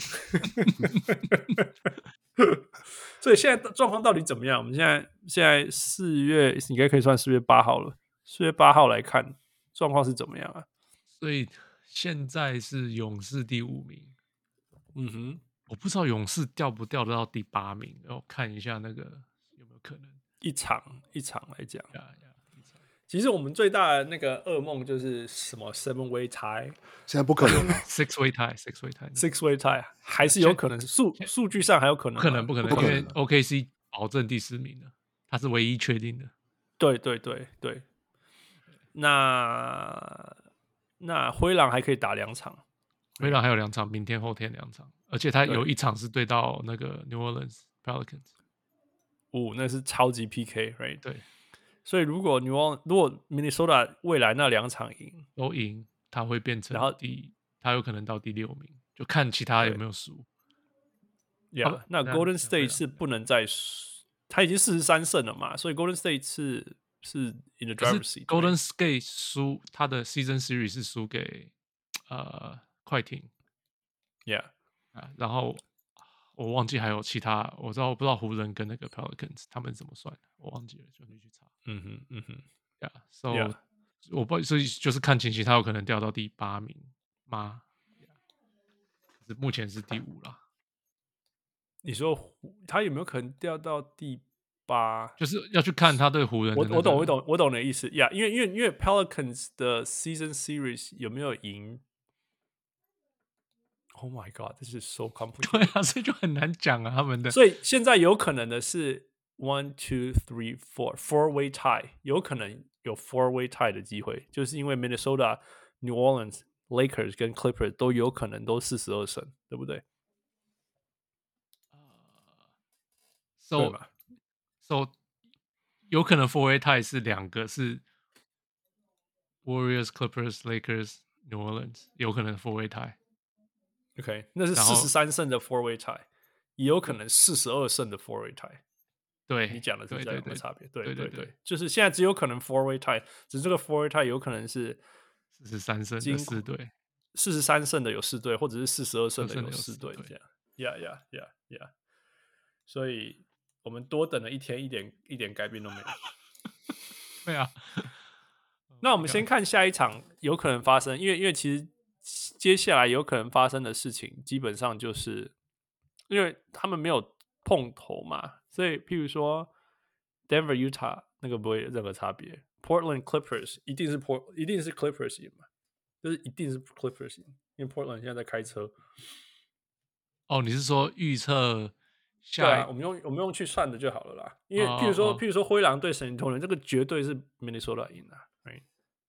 所以現在狀況到底怎麼樣？我們現在現在四月，應該可以算四月八號了。四月八號來看，狀況是怎麼樣啊？ 所以現在是勇士第五名。 嗯哼， 我不知道勇士掉不掉得到第八名，然後看一下那個有沒有可能。 一場一場來講。 Yeah, yeah. 其實我們最大的那個噩夢就是什麼 seven way tie， 現在不可能了。 six way tie，six way tie，six way tie 還是有可能，數數據上還有可能， 不可能，不可能， 不可能， 因為 O K C 保證第十名的，他是唯一確定的。 對對對對，那那灰狼還可以打兩場， 灰狼還有兩場，明天後天兩場，而且他有一場是對到那個 New Orleans Pelicans， 哦，那是超級 P K，right？ 對。 所以如果你往如果 Minnesota 未來那兩場贏都贏，他會變成然後第，他有可能到第六名，就看其他有沒有輸。 Yeah， 那 Golden State 是不能再輸，他已經四十三勝了嘛，所以 Golden State 是是 in the driver's seat。 Golden State 輸他的 Season Series 是輸給呃快艇 ，Yeah， 啊，然後我忘記還有其他，我知道我不知道湖人跟那個 Pelicans 他們怎麼算的，我忘記了，就你去查。 嗯哼，嗯哼 ，Yeah，So yeah. 我不所以就是看情形，他有可能掉到第八名嗎？ Yeah. 目前是第五啦。 你說他有沒有可能掉到第八？ 就是要去看他對湖人的、那個。 我我懂，我懂，我懂你的意思呀。Yeah, 因為因為因為 Pelicans 的 Season Series 有沒有贏 ？Oh my God， 這是 so complicated。 對啊，所以就很難講啊，他們的。 所以現在有可能的是 one two three four four way tie， 有可能有 four way tie 的機會，就是因為 Minnesota、New Orleans、Lakers 跟 Clippers 都有可能都四十二勝，對不對？ So so 有可能 four way tie 是兩個是 Warriors、Clippers、Lakers、New Orleans 有可能 four way tie。OK， 那是四十三勝的 four way tie， 也有可能四十二勝的 four way tie。 對， 你講的是這樣的差別。對對對對， 對，就是現在只有可能 four way tie， 只是這個 four way tie 有可能是四十三勝的四隊， 四十三勝的有四隊，或者是四十二勝的有四隊，這樣。Yeah yeah yeah yeah。所以我們多等了一天，一點一點改變都沒有。 對啊。 那我們先看下一場有可能發生，因為因為其實接下來有可能發生的事情，基本上就是因為他們沒有碰頭嘛，所以譬如說 Denver Utah 那個不會有任何差別 ，Portland Clippers 一定是 Port 一定是 Clippers 贏嘛，就是一定是 Clippers 贏，因為 Portland 現在在開車。 哦，你是說預測下？ 對啊，我們用我們用去算的就好了啦。因為譬如說、哦、譬如說灰狼對聖徒人，這個絕對是 Minnesota 贏的。Right?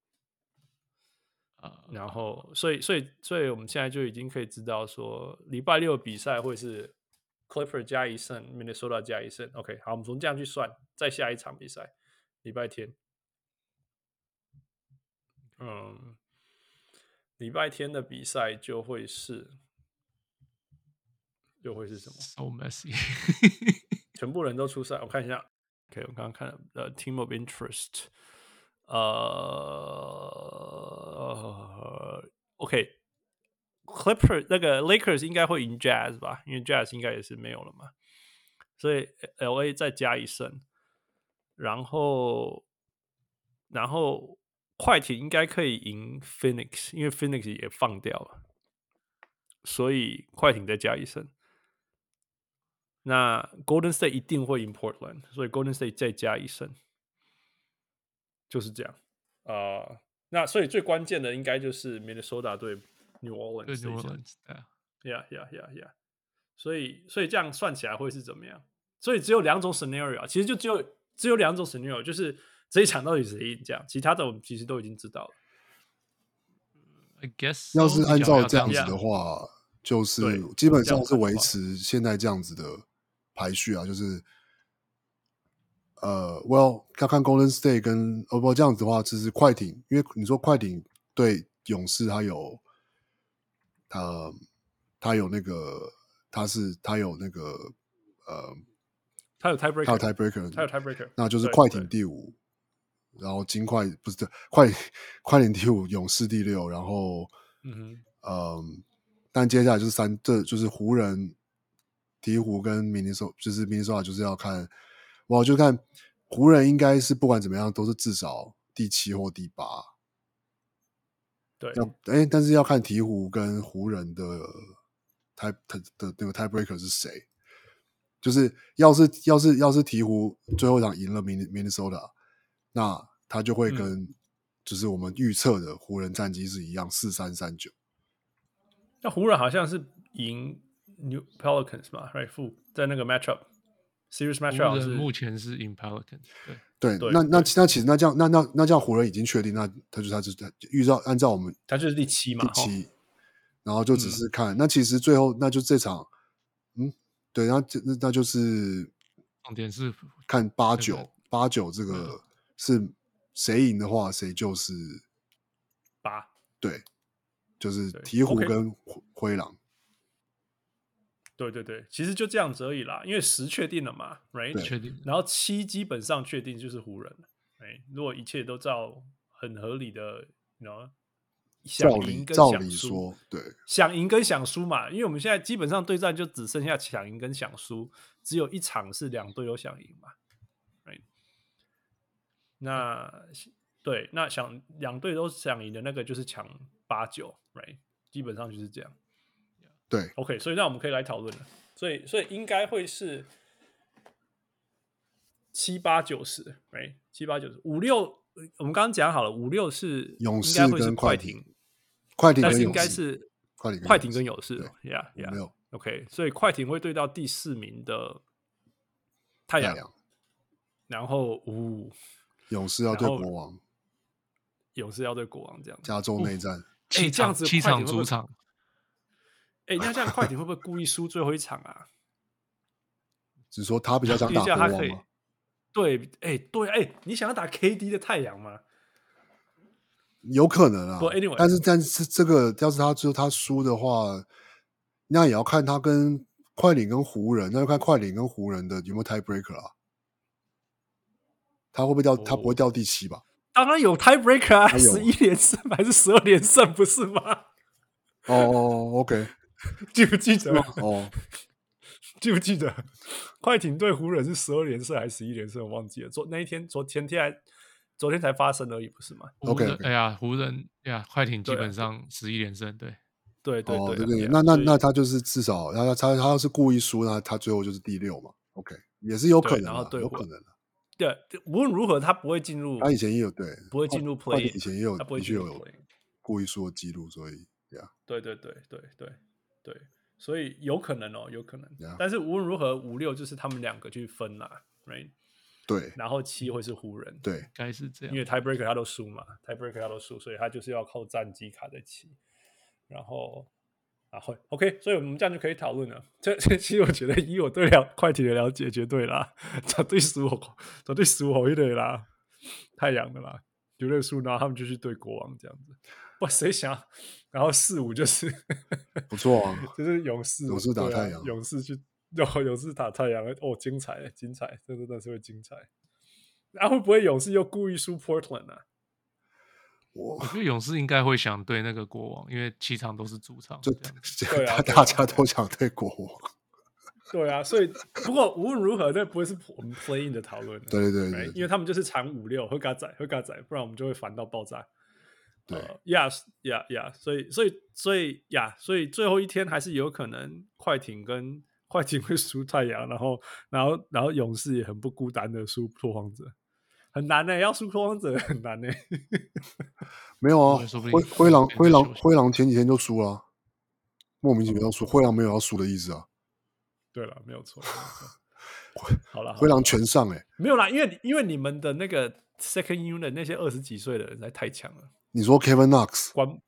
然後，所以，所以，所以我們現在就已經可以知道說，禮拜六比賽會是 Clipper 加一勝 ，Minnesota 加一勝。OK， 好，我們從這樣去算，再下一場比賽，禮拜天。嗯，禮拜天的比賽就會是，就會是什麼 ？So messy， 全部人都出賽。我看一下 ，OK， 我剛剛看了呃、uh, Team of Interest。呃、uh, ，OK，Clipper、okay. 那個 Lakers 應該會贏 Jazz 吧，因為 Jazz 應該也是沒有了嘛，所以 L A 再加一勝，然後然後快艇應該可以贏 Phoenix， 因為 Phoenix 也放掉了，所以快艇再加一勝。那 Golden State 一定會贏 Portland， 所以 Golden State 再加一勝。就是這樣，啊、呃，那所以最關鍵的應該就是 Minnesota 對 New Orleans， 對 New Orleans， 對啊 ，Yeah Yeah Yeah Yeah， 所以所以這樣算起來會是怎麼樣？所以只有兩種 scenario， 其實就只有只有兩種 scenario， 就是這一場到底誰贏這樣，其他的我們其實都已經知道了。 I guess 要是按照這樣子的話， yeah. 就是基本上是維持現在這樣子的排序啊，就是。呃、uh, ，Well， 看看 Golden State 跟哦不這樣子的話，其實快艇，因為你說快艇對勇士，他有他他有那個他是他有那個呃， 他有 tiebreaker， 他有 tiebreaker， 他有 tiebreaker， 那就是快艇第五，然後金塊不是快快艇第五，勇士第六，然後嗯哼，呃，但接下來就是三，這就是湖人、鵜鶘跟明尼蘇，就是明尼蘇達就是要看。我就看湖人應該是不管怎麼樣都是至少第七或第八， 對， 要哎，但是要看鵜鶘跟湖人的 tie 的那個 tiebreaker 是誰，就是要是要是要是鵜鶘最後一場贏了 Minnesota， 那他就會跟就是我們預測的湖人戰績是一樣四三三九。 那湖人好像是贏 New Pelicans 嘛 ，right？ 負在那個 matchup。Series matchup 是目前是 in Pelicans， 對對， 那那那其實那這樣那那那這樣湖人已經確定，那他就他就預照按照我們他就是第七嘛， 第七，然後就只是看、嗯、那其實最後那就這場，嗯，對，那那那就是重點是看八九八九這個是誰贏的話，誰就是八， 對，就是鵜鶘跟灰狼。 對對對，其實就這樣子而已啦，因為十確定了嘛 ，right？ 確定， 然後七基本上確定就是湖人了 ，right？ 如果一切都照很合理的，you know， 想贏跟想輸， 對， 想贏跟想輸嘛，因為我們現在基本上對戰就只剩下想贏跟想輸，只有一場是兩隊都想贏嘛 ，right？ 那對，那想兩隊都想贏的那個就是搶八九 ，right？ 基本上就是這樣。 對 ，OK， 所以那我們可以來討論了。所以，所以應該會是七八九十，哎，七八九十五六。我們剛剛講好了，五六是勇士跟快艇， 快艇， 艇但是應該是快艇跟勇士，Yeah Yeah，OK， 所以快艇會對到第四名的太陽，然後五、哦、 勇士要對國王， 勇士要對國王這樣， 加州內戰， 哎、欸，這樣子七場主場。 哎、欸，那這樣快艇會不會故意輸最後一場啊？ 只是說他比較想打國王嗎？ 對，哎、欸，對，哎、欸，你想要打 K D 的太陽嗎？ 有可能啊。 But anyway, 但是但是這個要是他就他輸的話，那也要看他跟快艇跟湖人，那就看快艇跟湖人的有沒有 tiebreaker 啊。他會不會掉？哦、他不會掉第七吧？ 當然有 tiebreaker 啊，十一連勝還是十二連勝不是嗎？ 哦 ，OK， 記不記得？ 哦， 記不記得？快艇對湖人是十二連勝還是十一連勝？我忘記了。昨那一天，昨前天還昨天才發生而已，不是嗎 ？OK， 哎呀，湖人呀，快艇基本上十一連勝，對， 對對對對，那那那他就是至少，他他他要是故意輸，那他最後就是第六嘛。OK， 也是有可能的，有可能的。 對，無論如何，他不會進入。 他以前也有對， 不會進入 play。 以前也有， 他不會進入 play。 故意輸的記錄，所以呀， 對對對對對對，所以有可能哦，有可能。 Yeah. 但是無論如何，五六就是他們兩個去分啦 ，right？ 對。 然後七會是湖人， 對， 該是這樣。 因為 tiebreaker 他都輸嘛 ，tiebreaker 他都輸，所以他就是要靠戰績卡在七，然後。啊會 ，OK， 所以我們這樣就可以討論了。這這其實我覺得，以我對了快艇的了解，絕對啦，絕對輸我，絕對輸我一點啦，太陽的啦，絕對輸，然後他們就去對國王這樣子。哇，誰想？然後四五就是不錯啊， 就是勇士， 勇士打太陽、 啊，勇士去，哦，勇士打太陽，哦，精彩，精彩，這真的是會精彩。然、啊、後會不會勇士又故意輸 Portland 啊？ 我覺得勇士應該會想對那個國王，因為七場都是主場， 就對啊， 大家都想對國王。 對啊，所以不過無論如何，這不會是我們 play in 的討論。 對對 對, 對, 對， 因為他們就是搶五六，會嘎仔，會嘎仔，不然我們就會煩到爆炸。 對呀呀呀，所以所以所以呀，所以最後一天還是有可能快艇跟快艇會輸太陽，然後然後然後勇士也很不孤單的輸拓荒者。很難呢、欸，要輸拓荒者很難呢、欸。 沒有啊，灰灰狼灰狼灰狼前幾天就輸了、啊，莫名其妙輸。灰狼沒有要輸的意思啊。 對了，沒有錯。好了， 灰狼全上哎、欸， 沒有啦，因為因為你們的那個 second unit 那些二十幾歲的人才太強了。 你說 Kevin Knox，Kevin 關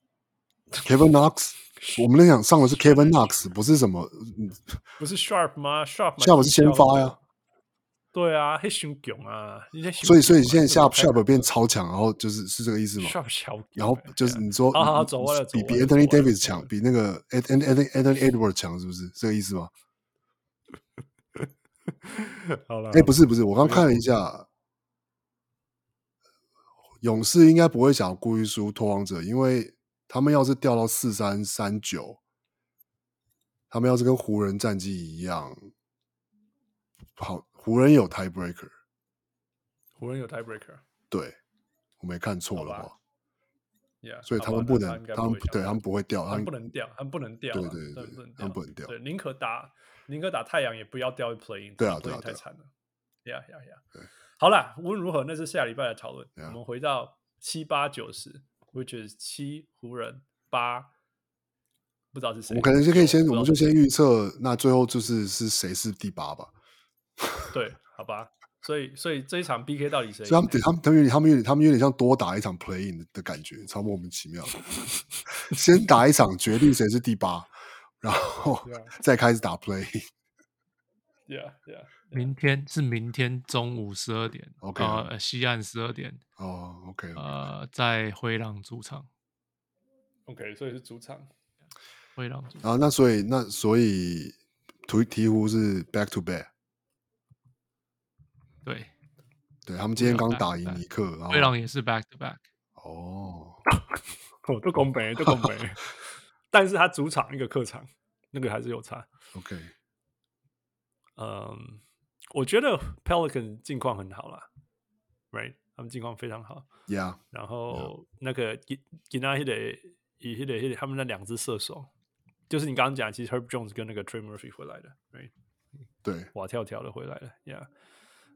Knox， 我們那場上的是 Kevin Knox， 不是什麼， 不是 Sharp 嗎 ？Sharp Sharp 是先發呀。 對啊，很凶啊！ 所以，所以現在 Sharp Sharp 變超強，然後就是是這個意思嗎 ？Sharp 超， 然後就是你說， 好好走完了， 比比 Anthony Davis 強，比那個 Anthony Anthony Edwards 強，是不是這個意思嗎？ 好了， 哎，不是不是，我剛看了一下，勇士應該不會想要故意輸拓荒者，因為他們要是掉到四三三九，他們要是跟湖人戰績一樣，好。湖人有 tiebreaker， 湖人有 tiebreaker， 對，我沒看錯的話， yeah, 所以他們不能， 他們， 他們對他們不會掉， 他們不能掉，他們不能掉， 對對對，他們不能掉， 對，寧可打寧可打太陽，也不要掉 play-in， 對啊對啊， 太慘了，呀呀呀，好啦，無論如何，那是下禮拜的討論，我們回到七八九十 ，which is 七湖人八，不知道是誰， 我們可能就可以先，我們就先預測，那最後就是是誰是第八吧。 對，好吧，所以所以這一場 B K 到底誰？ 所以他們他們他們有點他們有點他們有點像多打一場 play in 的感覺，超莫名其妙。先打一場決定誰是第八，然後 yeah. 再開始打 play in。 Yeah, yeah, yeah. 明天是明天中午十二點 ，OK， 呃，西岸十二點。 哦 ，OK， 呃，在灰狼主場。 OK， 所以是主場。 灰狼主場。 啊，那所以那所以鹈鹕是 back to back。 對， 對他們今天剛打贏尼克，然後灰狼也是 back to back。 哦， 哦，都公平，都公平。但是他主場一個客場，那個還是有差。 OK， 嗯，我覺得 Pelican 近況很好啦 ，right？ 他們近況非常好。 Yeah。 然後那個吉吉納希的以希的他們那兩隻射手，就是你剛剛講，其實 Herb Jones 跟那個 Trey Murphy 回來的 ，right？ 對， 哇跳跳的回來了 ，Yeah。嗯、um, ，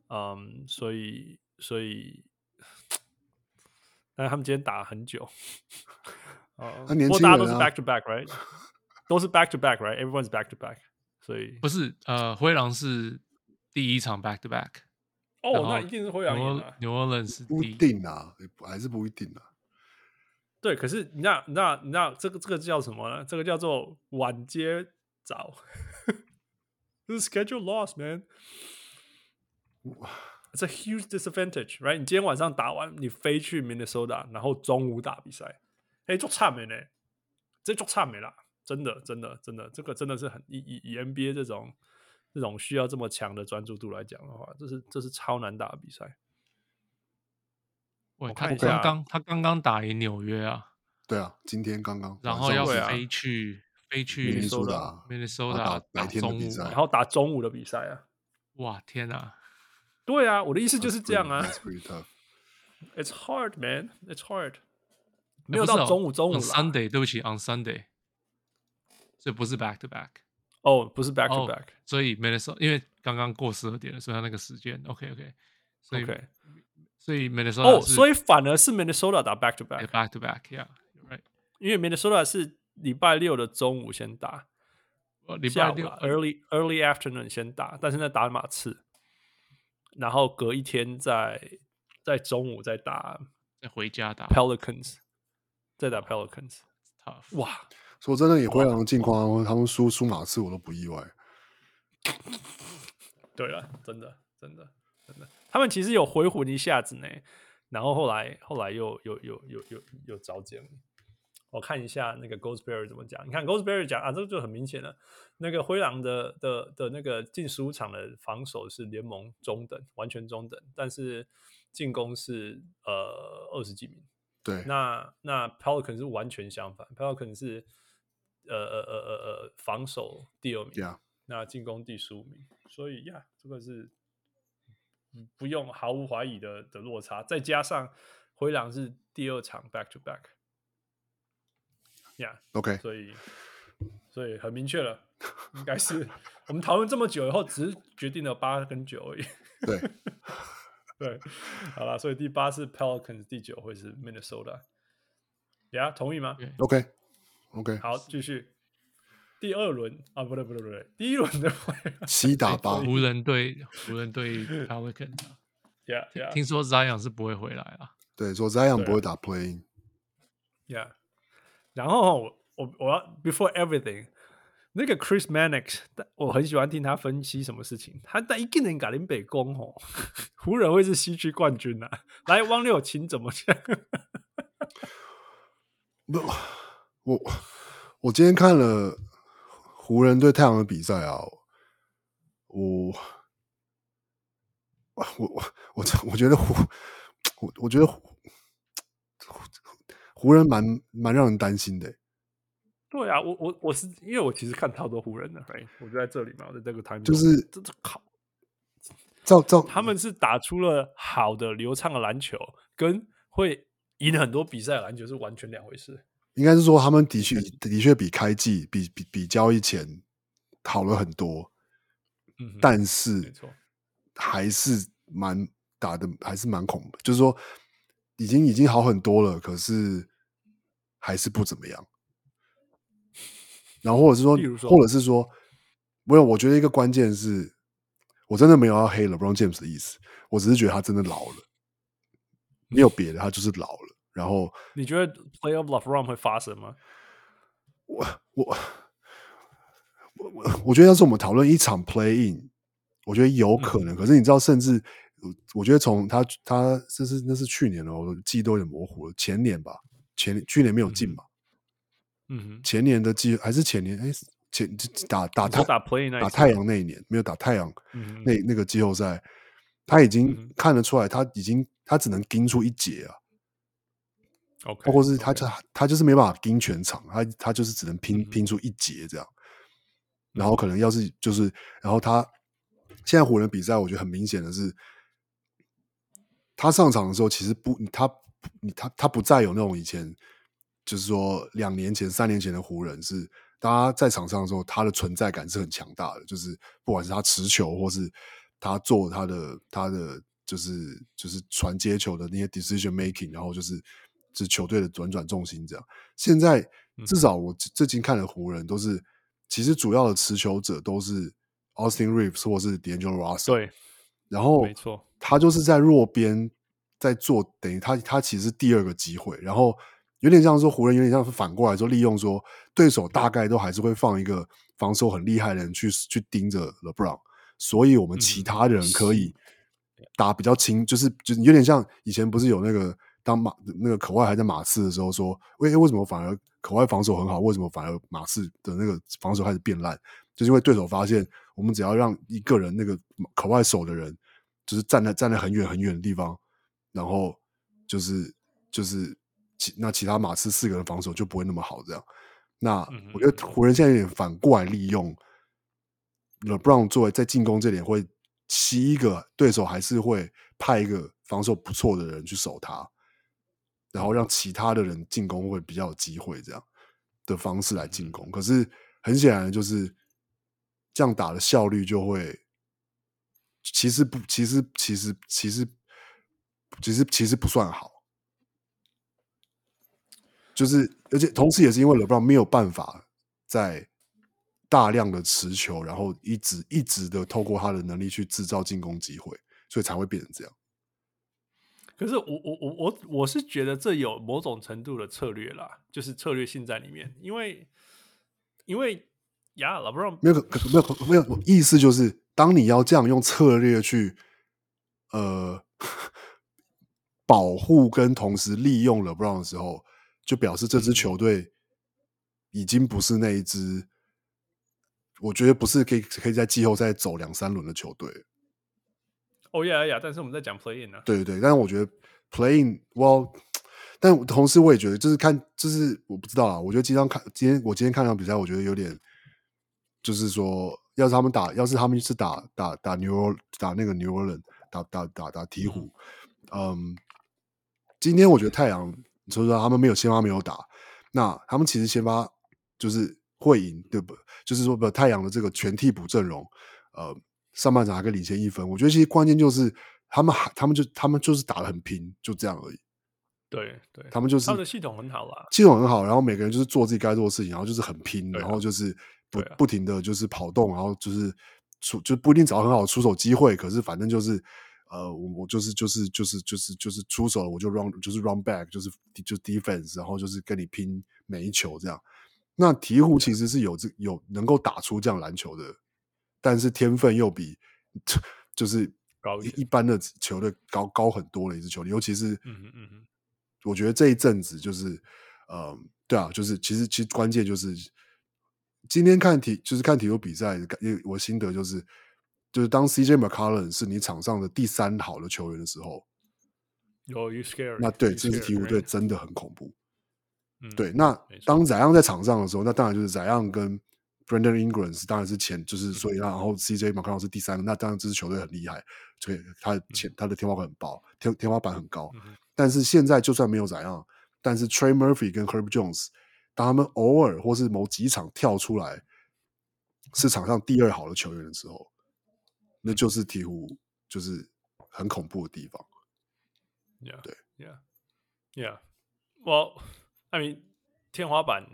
所以所以，但是他們今天打了很久，啊、uh, ，不過大家都是 back to back，right？ 都是 back to back，right？Everyone's back to back， 所以不是呃，灰狼是第一場 back to back， 哦，那一定是灰狼贏了。 New Orleans 是不一定啊，還是不一定啊。 對，可是你知道，你知道，你知道這個這個叫什麼呢？這個叫做晚接早，這是 schedule loss，man。 ，it's a huge disadvantage, right？ 你今天晚上打完，你飛去 Minnesota， 然後中午打比賽，哎，足慘的呢，這足慘的啦，真的，真的，真的，這個真的是很以以以 N B A 這種這種需要這麼強的專注度來講的話，這是這是超難打的比賽。 喂， 我他看一下， 剛剛他剛剛打贏紐約啊， 對啊，今天剛剛， 然後要對啊飛去飛去 Minnesota Minnesota 打白打中午， 天的比賽， 然後打中午的比賽啊， 哇天啊！ 對啊，我的意思就是這樣啊。 That's pretty tough. It's hard, man. It's hard. 沒有到中午中午啦。 On Sunday， 對不起 ，On Sunday， 所以不是 back to back。 哦，不是 back to back。 所以 Minnesota 因為剛剛過十二點了，所以他那個時間 OK OK。所以 OK， 所以 Minnesota 哦，所以反而是 Minnesota 打 back to back。back to back，yeah，you're right。 因為 Minnesota 是禮拜六的中午先打， 禮拜六 early early afternoon 先打，但是那打馬刺。然後隔一天在在中午再打， 再回家打 Pelicans， 再打 Pelicans， tough 哇！ 說真的，也灰狼的近況，他們輸輸馬刺我都不意外。 對了，真的真的真的，他們其實有回魂一下子呢，然後後來後來又又又又又又找減。我看一下那個 Goldsberry 怎麼講。你看 Goldsberry 講啊，這個就很明顯了。那個灰狼的的的那個進十五場的防守是聯盟中等，完全中等，但是進攻是呃二十幾名。 對，那那 Pelican 是完全相反 ，Pelican 是呃呃呃呃呃防守第二名， yeah. 那進攻第十五名。所以呀，這個是不用毫無懷疑的的落差，再加上灰狼是第二場 back to back。Yeah, OK， 所以所以很明確了，應該是我們討論這麼久以後，只是決定了八跟九而已。 對對，好了，所以第八是 Pelicans， 第九會是 Minnesota。呀、yeah, 同意嗎 ？OK OK， 好，繼續。第二輪啊，不對不對不對，第一輪的七打八， 湖人隊湖人隊 Pelicans。 Yeah, yeah. 聽說 Zion 是不會回來了。 對，說 Zion 不會打 Play。 Yeah。然後我我要 before everything， 那個 Chris Mannix， 我很喜歡聽他分析什麼事情。他但一個人搞林北攻吼，湖人會是西區冠軍啊！來，汪六琴怎麼講？ 不，我我今天看了湖人對太陽的比賽啊，我我我我我覺得湖我我覺得湖。湖人蠻蠻讓人擔心的、欸， 對啊，我我我是因為我其實看超多湖人的，right? 我就在這裡嘛，我在這個台面就是這這靠， 照照他們是打出了好的流暢的籃球，跟會贏很多比賽的籃球是完全兩回事。 應該是說他們的確的確比開季比比比交易前好了很多，嗯，但是沒錯，還是蠻打的還是蠻恐怖，就是說已經已經好很多了，可是。還是不怎麼樣，然後或者是說，說或者是說，沒有，我覺得一個關鍵是，我真的沒有要黑 LeBron James 的意思，我只是覺得他真的老了，沒有別的，他就是老了。然後， 你覺得 Playoff LeBron 會發生嗎？ 我我我我覺得要是我們討論一場 Play In， 我覺得有可能。嗯、可是你知道，甚至我覺得從他他這是那是去年了，我記憶都有點模糊了，前年吧。前去年沒有進嘛，嗯哼，前年的季還是前年，哎，前打打太打 play 打太陽那一年沒有打太陽，嗯，那那個季後賽，他已經看得出來，他已經他只能盯出一節啊， OK， 包括是他他他就是沒辦法盯全場，他他就是只能拼、嗯、拼出一節這樣，然後可能要是就是，然後他現在湖人比賽，我覺得很明顯的是，他上場的時候其實不他。他他不再有那種以前，就是說兩年前、三年前的湖人是，當他在場上的時候，他的存在感是很強大的。就是不管是他持球，或是他做他的他的就是就是傳接球的那些 decision making， 然後就是就是球隊的轉轉重心這樣。現在至少我最近看的湖人都是，其實主要的持球者都是 Austin Reeves 或是 D'Angelo Russell。對，然後沒錯，他就是在弱邊。在做等於他他其實是第二個機會，然後有點像說湖人有點像是反過來說利用說對手大概都還是會放一個防守很厲害的人去去盯着 LeBron， 所以我們其他的人可以打比較輕，就是就是有點像以前不是有那個當馬那個可外還在馬刺的時候說，為為什麼反而可外防守很好，為什麼反而馬刺的那個防守開始變爛？就是因為對手發現，我們只要讓一個人那個可外守的人，就是站在站在很遠很遠的地方，然後就是就是其那其他馬刺四個人防守就不會那麼好，這樣。那我覺得湖人現在有點反過來利用 LeBron 作為在進攻這點會吸一個對手，還是會派一個防守不錯的人去守他，然後讓其他的人進攻會比較有機會，這樣的方式來進攻。可是很顯然就是這樣打的效率就會，其實不，其實其實其實其實其實不算好。就是，而且同時也是因為 LeBron 沒有辦法在大量的持球，然後一直一直的透過他的能力去制造進攻機會，所以才會變成這樣。 可是我我我我我是覺得這有某種程度的策略啦，就是策略性在裡面，因為因為呀 ，LeBron 沒有沒有沒有意思，就是當你要這樣用策略去呃保護跟同時利用 LeBron 的時候。就表示這支球隊已經不是那一支，我覺得不是可以可以在季後賽走兩三輪的球隊。 哦呀呀！但是我們在講 play in 啊， 對對對，但是我覺得 play in，well， 但同時我也覺得就是看，就是我不知道啦。我覺得今天看今天我今天看場比賽，我覺得有點，就是說，要是他們打，要是他們是打打打 New 打那個 New Orleans， 打打打打鵜鶘，嗯，今天我覺得太陽。所以說他們沒有先發沒有打，那他們其實先發就是會贏，對不？就是說，不，太陽的這個全替補陣容，呃，上半場還可以領先一分。我覺得其實關鍵就是他們還，他們就他們就是打得很拼，就這樣而已。 對對， 他們就是他們的系統很好啦， 系統很好，然後每個人就是做自己該做的事情，然後就是很拼， 啊、 然後就是不、 啊、 不停的就是跑動，然後就是出就不一定找到很好的出手機會，可是反正就是。呃，我我就是就是就是就是就是出手了，我就 run 就是 run back， 就是就是 defense， 然後就是跟你拼每一球這樣。那鵜鶘其實是有這有能夠打出這樣籃球的，但是天分又比就是一一般的球隊高高很多的一支球隊，尤其是嗯嗯嗯， 我覺得這一陣子就是呃，對啊，就是其實其實關鍵就是今天看鵜就是看鵜鶘比賽，我心得就是。就是當 C J McCollum 是你場上的第三好的球員的時候， 有 you scary， 那對 you 這支鵜鶘隊 right? 真的很恐怖。 嗯、 對，那當 Zion 在場上的時候，那當然就是 Zion 跟 Brandon Ingram 當然是前，就是所以然後 C J McCollum 是第三個，那當然這支球隊很厲害，所以他的前、嗯、他的天花板很高，天天花板很高。嗯、但是現在就算沒有 Zion，但是 Trey Murphy 跟 Herb Jones， 當他們偶爾或是某幾場跳出來是場上第二好的球員的時候。那就是鵜鶘，就是很恐怖的地方。 Yeah, 對 yeah, yeah. Well, I mean， 天花板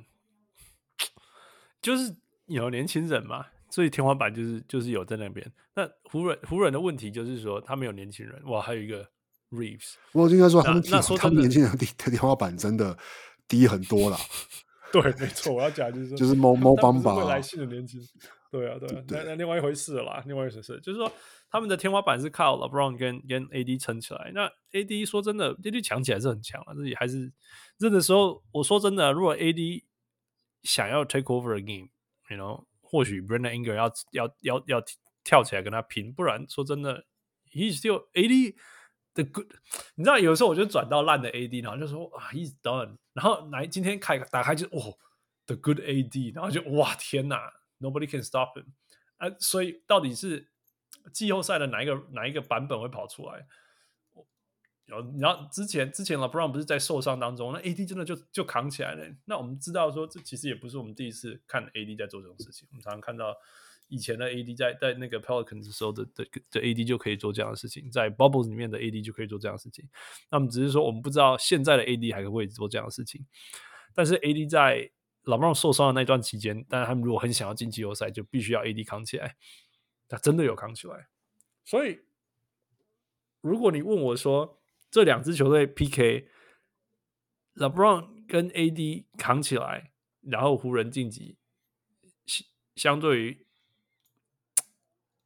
就是有年輕人嘛，所以天花板就是就是有在那邊。那湖人湖人的問題就是說，他沒有年輕人。哇，還有一個 Reeves。 我應該說他們， 那說他們年輕人的天花板真的低很多啦。 對，沒錯，我要講就是說， 就是貓貓幫吧， 未來性的年輕。對啊，對啊， 對那那另外一回事了啦，另外一回事，就是說他們的天花板是靠 LeBron 跟跟 A D 撐起來。那 A D 說真的 ，A D 強起來是很強啊，自己還是這個時候，我說真的，如果 A D 想要 take over a game，you know， 或許 Brandon Ingram 要要要要跳起來跟他拼，不然說真的 ，He's still A D the good。你知道，有時候我就轉到爛的 A D，然後就說啊 ，He's done。然後來今天開打開就哦 ，the good A D， 然後就哇天哪！Nobody can stop him，啊，所以到底是季後賽的哪一個哪一個版本會跑出來？然後之前之前 LeBron 不是在受傷當中，那 A D 真的就就扛起來了。那我們知道說，這其實也不是我們第一次看 A D 在做這種事情。我們常常看到以前的 A D 在在那個 Pelicans 的時候的的的 A D 就可以做這樣的事情，在 Bubbles 裡面的 A D 就可以做這樣的事情。那我們只是說，我們不知道現在的 A D 還可不可以做這樣的事情。但是 A D 在LeBron 受傷的那段期間，但他們如果很想要進季後賽，就必須要 A D 扛起來。他真的有扛起來，所以如果你問我說這兩支球隊 P K，LeBron 跟 A D 扛起來，然後湖人晉級，相對於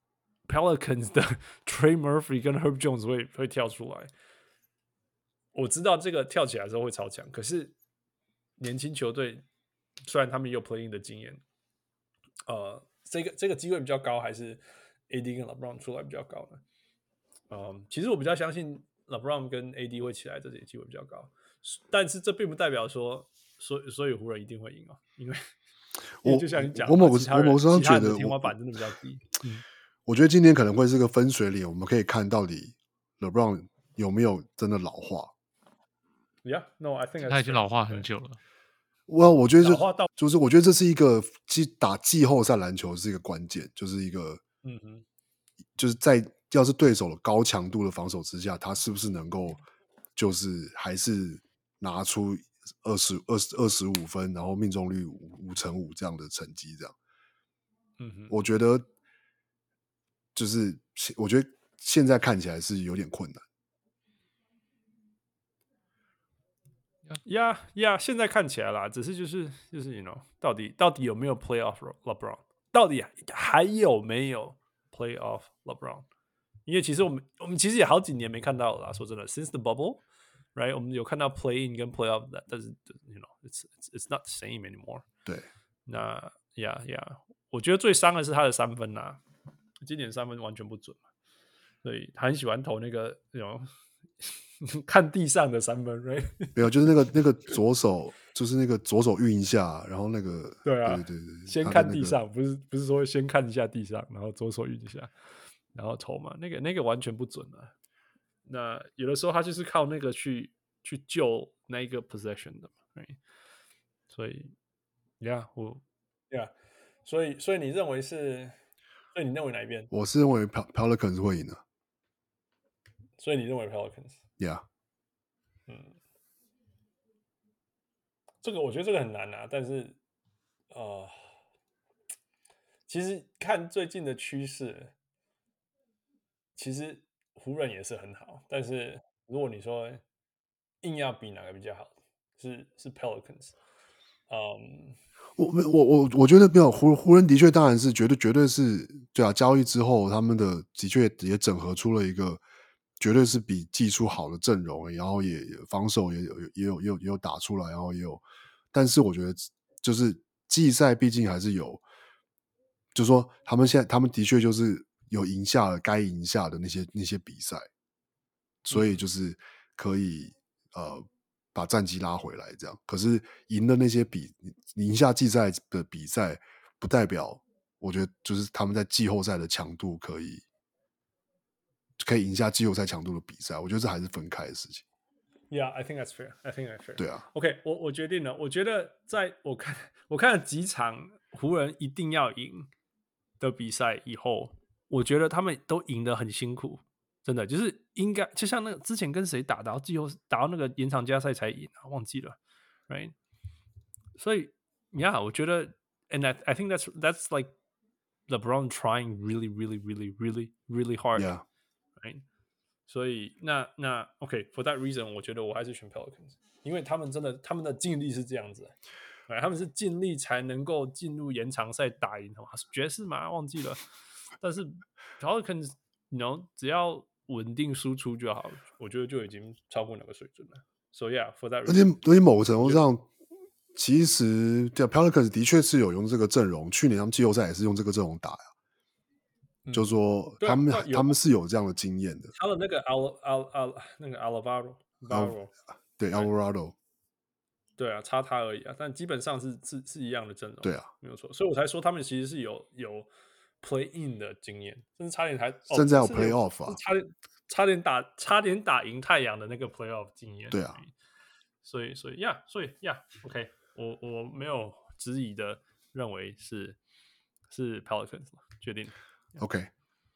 Pelicans 的 Trey Murphy 跟 Herb Jones 會會跳出來。我知道這個跳起來的時候會超強，可是年輕球隊雖然他們也有 play in 的經驗，呃，這個這個機會比較高，還是 A D 跟 LeBron 出來比較高呢？嗯，其實我比較相信 LeBron 跟 A D 會起來，這些機會比較高。但是這並不代表說，所以所以湖人一定會贏哦，因為我就像你講， 我某個我某個時候覺得天花板真的比較低。嗯， 我覺得今天可能會是個分水嶺，我們可以看到底 LeBron 有沒有真的老化。 Yeah, no, I think 他已經老化很久了。 我、well, 我覺得就就是我覺得這是一個季打季後賽籃球是一個關鍵，就是一個嗯哼，就是在要是對手的高強度的防守之下，他是不是能夠就是還是拿出二十二十二十五分，然後命中率五五成五這樣的成績，這樣。嗯哼，我覺得就是我覺得現在看起來是有點困難。 呀呀，現在看起來啦，只是就是就是 ，you know， 到底到底有沒有 playoff LeBron？ 到底還有沒有 playoff LeBron？ 因為其實我們我們其實也好幾年沒看到了啦。說真的 ，since the bubble，right？ 我們有看到 play in 跟 playoff， 但是 you know，it's it's it's not the same anymore。 對， 那呀呀，我覺得最傷的是他的三分吶，今年三分完全不準嘛，所以他很喜歡投那個那種。看地上的三分 ，right？ 沒有，就是那個那個左手，就是那個左手運一下，然後那個對啊， 對對對， 先看地上，那個、不是不是說先看一下地上，然後左手運一下，然後投嘛，那個那個完全不準啊。那有的時候他就是靠那個去去救那一個 possession 的嘛， right？ 所以，yeah， 我，yeah， 所以所以你認為是，所以你認為哪一邊？ 我是認為 Pelicans 會贏的。 所以你認為 Pelicans？Yeah， 嗯，這個我覺得這個很難啊，但是呃，其實看最近的趨勢，其實湖人也是很好，但是如果你說硬要比哪個比較好，是是 Pelicans。嗯， 我我我我覺得沒有湖湖人的確當然是絕對絕對是對啊，交易之後他們的的確也整合出了一個。絕對是比技術好的陣容，然後也防守也有也有也有也有打出來，然後也有，但是我覺得就是季賽畢竟還是有，就是說他們現在他們的確就是有贏下了該贏下的那些那些比賽，所以就是可以呃把戰績拉回來這樣。可是贏的那些比贏下季賽的比賽，不代表我覺得就是他們在季後賽的強度可以。可以贏下季後賽強度的比賽，我覺得這還是分開的事情。 Yeah, I think that's fair. I think that's fair. 對啊。 OK， 我我決定了。我覺得在我看我看了幾場湖人一定要贏的比賽以後，我覺得他們都贏得很辛苦，真的就是應該就像那個之前跟誰打，打到季後打到那個延長加賽才贏啊，忘記了 ，right？ 所以 ，Yeah， 我覺得 ，and I I think that's that's like LeBron trying really, really, really, really, really hard. Yeah.Right? 所以那那 OK，for、okay, that reason， 我覺得我還是選 Pelicans， 因為他們真的他們的盡力是這樣子，他們是盡力才能夠進入延長賽打贏，爵士嘛忘記了，但是 Pelicans，you know， 只要穩定輸出就好，我覺得就已經超過那個水準了。So yeah，for that reason， 而且而且某個程度上，其實 Pelicans 的確是有用這個陣容，去年他們季後賽也是用這個陣容打呀。就是說他們、嗯、他們是有這樣的經驗的。 他的那個 Al Al Al 那個 Alvarado， 對 Alvarado， 對啊，差他而已啊，但基本上是是是一樣的陣容。 對啊， 沒有錯，所以我才說他們其實是有有 play in 的經驗，甚至差點還甚至還有 play off 啊， 差點差點打差點打贏太陽的那個 play off 經驗。 對啊， 所以所以呀，所以呀 ，OK， 我我沒有質疑的認為是是 Pelicans 決定。 OK，OK，、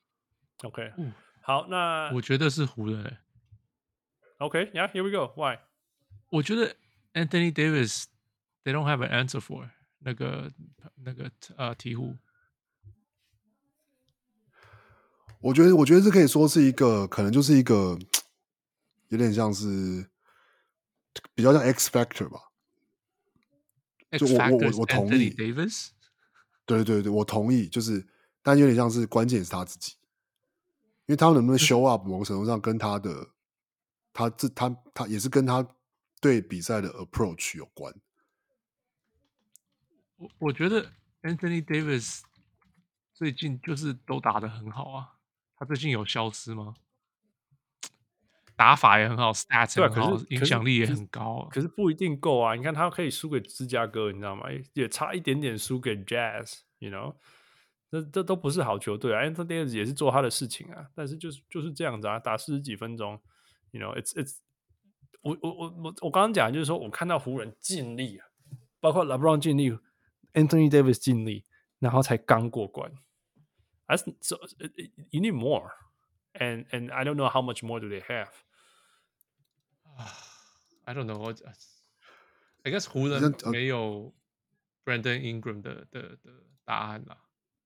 okay. okay. 嗯、好，那我覺得是湖人、欸。 OK，Yeah，Here、okay, we go. Why？ 我覺得 Anthony Davis they don't have an answer for 那個那個呃鵜鶘。 我覺得，我覺得這可以說是一個，可能就是一個有點像是比較像 X Factor 吧。 X 就我我我我同意 Anthony Davis。 對對對，我同意，就是。但有點像是關鍵是他自己， 因為他能不能 show up，某個程度上跟他的他這他他也是跟他對比賽的 approach 有關。 我我覺得 Anthony Davis 最近就是都打得很好啊，他最近有消失嗎？打法也很好 ，stats 对、啊， 很好， 可是影響力也很高、啊可。可是不一定夠啊！你看他可以輸給芝加哥，你知道嗎？也差一點點輸給 Jazz，you know， 這這都不是好球隊啊。Anthony Davis 也是做他的事情啊，但是就是就是這樣子啊，打四十幾分鐘 ，you know，it's it's，我我我我我剛剛講的就是說我看到湖人盡力啊，包括 LeBron 盡力 ，Anthony Davis 盡力，然後才剛過關。That's so you need more, and and I don't know how much more do they have. I don't know. I guess 湖人沒有 Brandon Ingram 的的的答案啦。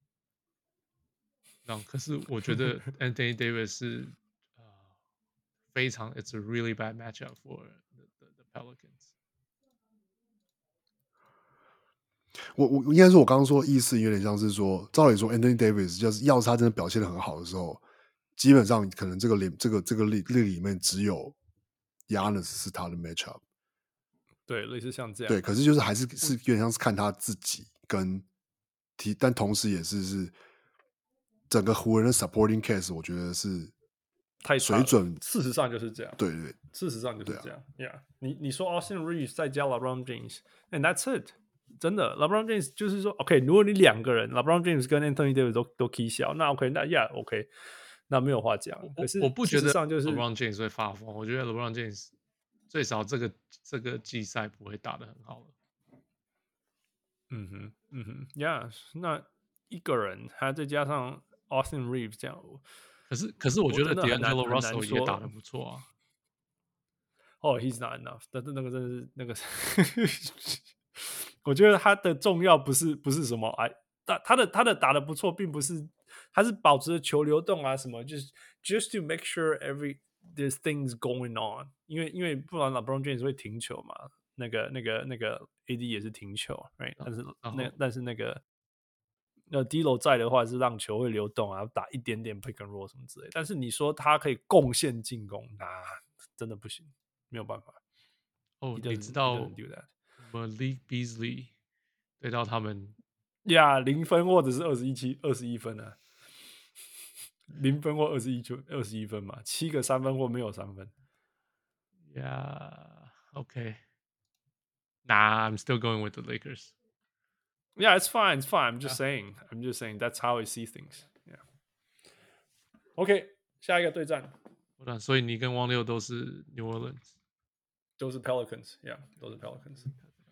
那可是我覺得 Anthony Davis 是、呃、非常 ，It's a really bad matchup for the, the, the Pelicans。 我我應該說，我剛剛說的意思有點像是說，照理說 Anthony Davis 就是要是他真的表現得很好的時候，基本上可能這個裡這個這個裡裡面只有 Giannis 是他的 matchup。 對，類似像這樣。 對，可是就是還是是有點像是看他自己跟提，但同時也是是整個湖人的 supporting cast， 我覺得是太水準。 事實上就是這樣。 對對， 事實上就是這樣。 啊、 Yeah， 你你說 Austin Reeves 再加 LeBron James，and that's it。真的 ，LeBron James 就是說 ，OK， 如果你兩個人 LeBron James 跟 Anthony Davis 都都 key 小，那 OK， 那 Yeah，OK，、okay, 那沒有話講。可是我不覺得上就是 LeBron James 會發瘋，我覺得 LeBron James 最少這個這個季賽不會打得很好了。 嗯哼，嗯哼 ，Yeah， 那一個人還再加上 Austin Reeves 這樣， 可是可是我覺得 D'Angelo Russell 也打得不錯啊。 哦、oh, ，He's not enough， 但是那個真的是那個是，我覺得他的重要不是不是什麼哎，他他的他的打得不錯，並不是他是保持着球流動啊什麼，就是 just to make sure every there's things going on， 因為因為不然 LeBron James 會停球嘛，那個那個那個 A D 也是停球 ，right？、哦、但是那、哦、但是那個那 D'Lo 在的話是讓球會流動啊，打一點點 pick and roll 什麼之類的，但是你說他可以貢獻進攻，那、啊、真的不行。沒有辦法哦，你知道 Malik Beasley 對到他們呀，零、yeah, 分或者是二十一七二十一分啊，零分或二十一球二十一分嘛，七個三分或沒有三分。 Yeah, okay. Nah, I'm still going with the Lakers. Yeah, it's fine, it's fine. I'm just yeah. saying, I'm just saying that's how I see things. Yeah. OK， 下一個對戰。 所以你跟汪六都是 New Orleans。 都是 Pelicans，yeah， 都是 Pelicans。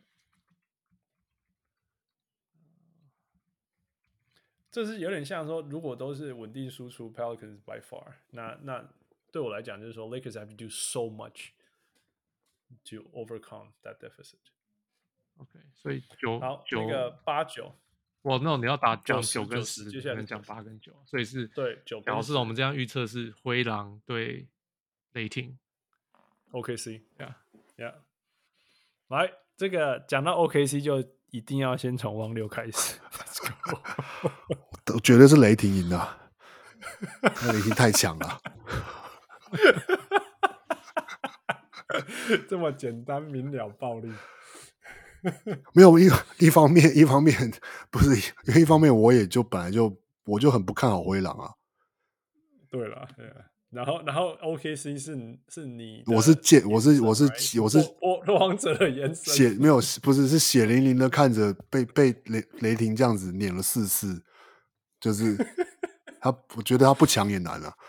這是有點像說，如果都是穩定輸出 Pelicans by far， 那那對我來講就是說 ，Lakers have to do so much to overcome that deficit。OK， 所以九好， 九那個八九， 哇，那你要打講九跟十， 接下來講八跟九，所以是對九。 表示我們這樣預測是灰狼對雷霆 ，O K C，yeah。Yeah. 來，這個講到 O K C 就一定要先從汪六開始。 我絕對是雷霆贏的，那雷霆太強了。 這麼簡單明了暴力， 沒有一一方面，一方面不是，因為一方面我也就本來就我就很不看好灰狼啊。 對了，對了。然後，然後 O K C 是是你， 我是見，我是我是我是我王者的眼神， 血沒有不是是血淋淋的看着被被雷雷霆這樣子碾了四次，就是他，我覺得他不強也難啊。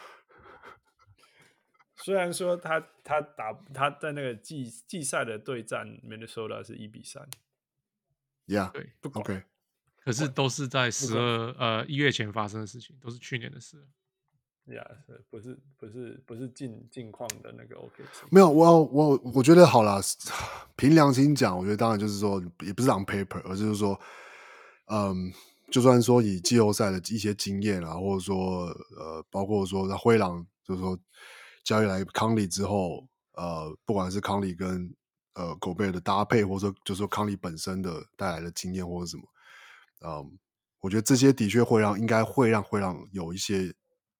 雖然說他他打他在那個季季賽的對戰 Minnesota 是一比三 ，Yeah， 對， 不管 OK， 可是都是在十二呃一月前發生的事情，都是去年的事。 呀、yeah, 不是不是不是近近況的那個 O K C， 沒有我我我覺得好啦，憑良心講，我覺得當然就是說，也不是 on paper， 而就是說，嗯，就算說以季後賽的一些經驗啊，或者說呃，包括說在灰狼，就是說交易來康利之後，呃，不管是康利跟呃狗貝的搭配，或者說就是說康利本身的帶來的經驗或者什麼，嗯，我覺得這些的確會讓應該會讓灰狼有一些。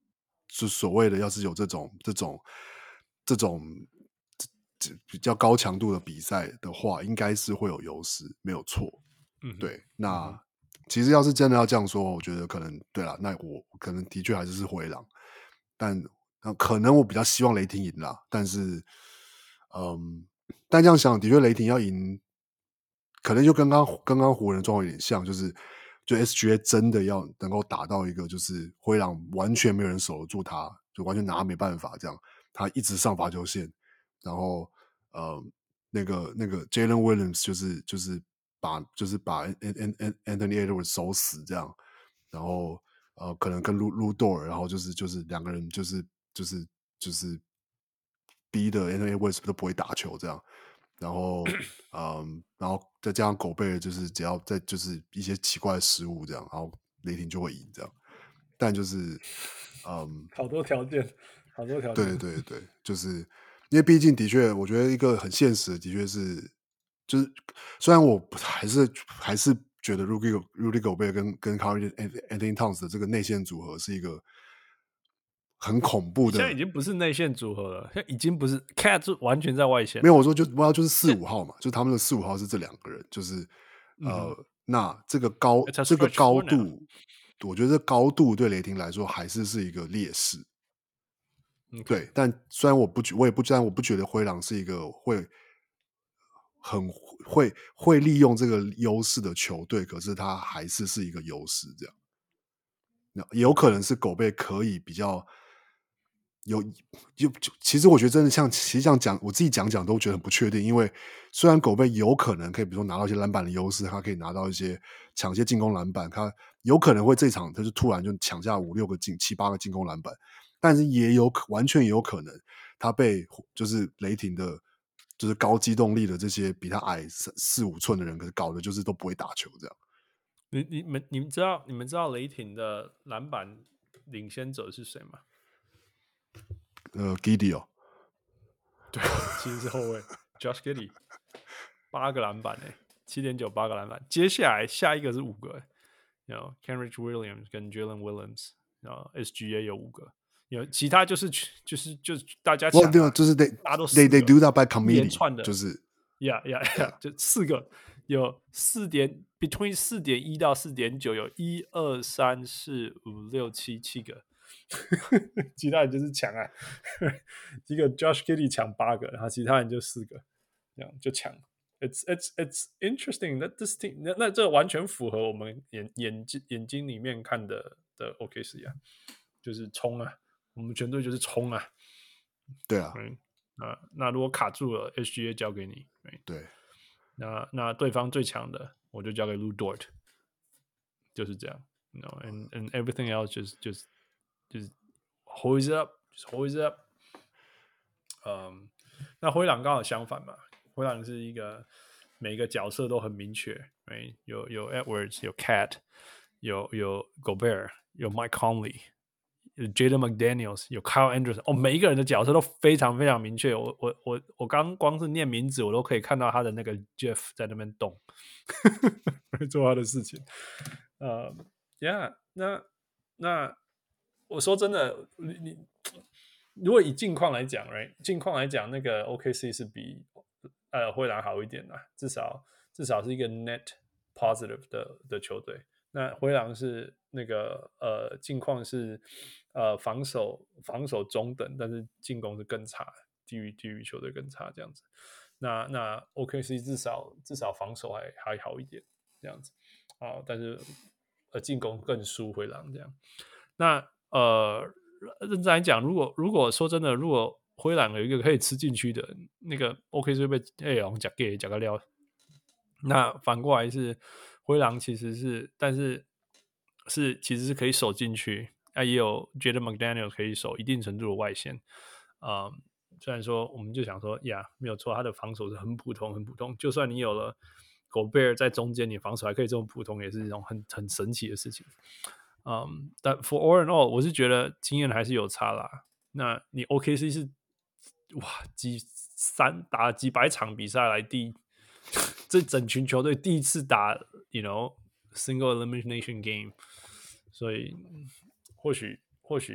就所謂的要是有這種這種這種比較高強度的比賽的話，應該是會有優勢，沒有錯。 嗯， 對。那、 嗯、 其實要是真的要這樣說，我覺得可能對啦，那我可能的確還是是灰狼，但可能我比較希望雷霆贏啦。但是，嗯，但這樣想，的確雷霆要贏，可能就跟剛剛剛湖人的狀況有點像，就是就 S G A 真的要能夠打到一個，就是灰狼完全沒有人守得住他，就完全拿他沒辦法這樣，他一直上罰球線，然後呃那個那個 Jalen Williams 就是就是把就是把 Anthony Edwards 守死這樣，然後呃可能跟 Lu Dort 然後就是就是兩個人就是就是就是逼的 Anthony Edwards 都不會打球這樣。然後，嗯，然後再加上狗貝爾，就是只要再就是一些奇怪的失誤這樣，然後雷霆就會贏這樣。但就是，嗯， 好多條件，好多條件。 對對對對，就是因為畢竟的確，我覺得一個很現實的，的確是，就是雖然我還是還是覺得 Rudy Rudy Gobert 跟跟 Karl Anthony Towns 的這個內線組合是一個很恐怖的， 現在已經不是內線組合了，現在已經不是 Cat 就完全在外線。 沒有，我說就不要就是四五號嘛，就他們的四五號是這兩個人，就是呃，嗯、那這個高這個高度，我覺得高度對雷霆來說還是是一個劣勢。Okay. 對，但雖然我不覺，我也不，雖然我不覺得灰狼是一個會很會會利用這個優勢的球隊，可是他還是是一個優勢，這樣。那也有可能是狗貝可以比較。有有，其實我覺得真的像，其實這樣講，我自己講講都覺得很不確定。因為雖然狗貝有可能可以，比如說拿到一些籃板的優勢，他可以拿到一些搶一些進攻籃板，他有可能會這場他就突然就搶下五六個進七八個進攻籃板，但是也有完全也有可能他被就是雷霆的，就是高機動力的這些比他矮四四五寸的人，可是搞的就是都不會打球這樣。 你你們你們知道你們知道雷霆的籃板領先者是誰嗎？ 呃 ，Giddey 哦， 對，其實是後衛 Josh Giddey， 八個籃板誒，七點九八個籃板。接下來下一個是五個，然後 Kenrich Williams 跟 Jalen Williams， 然後 S G A 有五個，有其他就是就是就是大家搶、啊， 對，就是 they 大家都 they they do that by committee， 連串的， 就是 yeah yeah yeah， 就四個，有四點 between 四點一到四點九，有一二三四五六七七個。其他人就是搶啊，一個 Josh Giddey 搶八個，然後其他人就四個，這樣就搶。It's it's it's interesting that this team 那那這完全符合我們眼眼睛眼睛裡面看的的 O K C 啊，就是衝啊，我們全隊就是衝啊。 對啊， 嗯，那那如果卡住了 ，S G A 交給你， 對， 那那對方最強的我就交給 Lu Dort， 就是這樣。You know, and and everything else just just 就是 hold it up， just hold it up。嗯，那灰狼剛好相反嘛，灰狼是一個每一個角色都很明確，有有 Edwards， 有 Cat， 有有 Gobert， 有 Mike Conley， 有 Jaden McDaniels， 有 Kyle Anderson， 哦，每一個人的角色都非常非常明確。我我我我剛光是念名字，我都可以看到他的那個 Jeff 在那邊動，做他的事情。呃、uh, ，Yeah， 那那。我說真的，你你如果以近況來講 ，right？ 近況來講，那個 O K C 是比呃灰狼好一點的，至少至少是一個 net positive 的的球隊。那灰狼是那個呃近況是呃防守防守中等，但是進攻是更差，低於低於球隊更差這樣子。那那 O K C 至少至少防守還還好一點這樣子啊，但是呃進攻更輸灰狼這樣。那呃，認真來講，如果如果說真的，如果灰狼有一個可以吃進去的那個 O K C 會被哎呀講給講個料，那反過來是灰狼其實是，但是是其實是可以守進去，啊也有 Jaden McDaniels 可以守一定程度的外線，啊、呃，雖然說我們就想說呀沒有錯，他的防守是很普通很普通，就算你有了 Gobert 在中間，你防守還可以這麼普通，也是一種很很神奇的事情。嗯，但 for all and all， 我是覺得經驗還是有差啦。那你 O K C 是哇幾三打幾百場比賽來第這整群球隊第一次打 ，you know single elimination game， 所以或許或許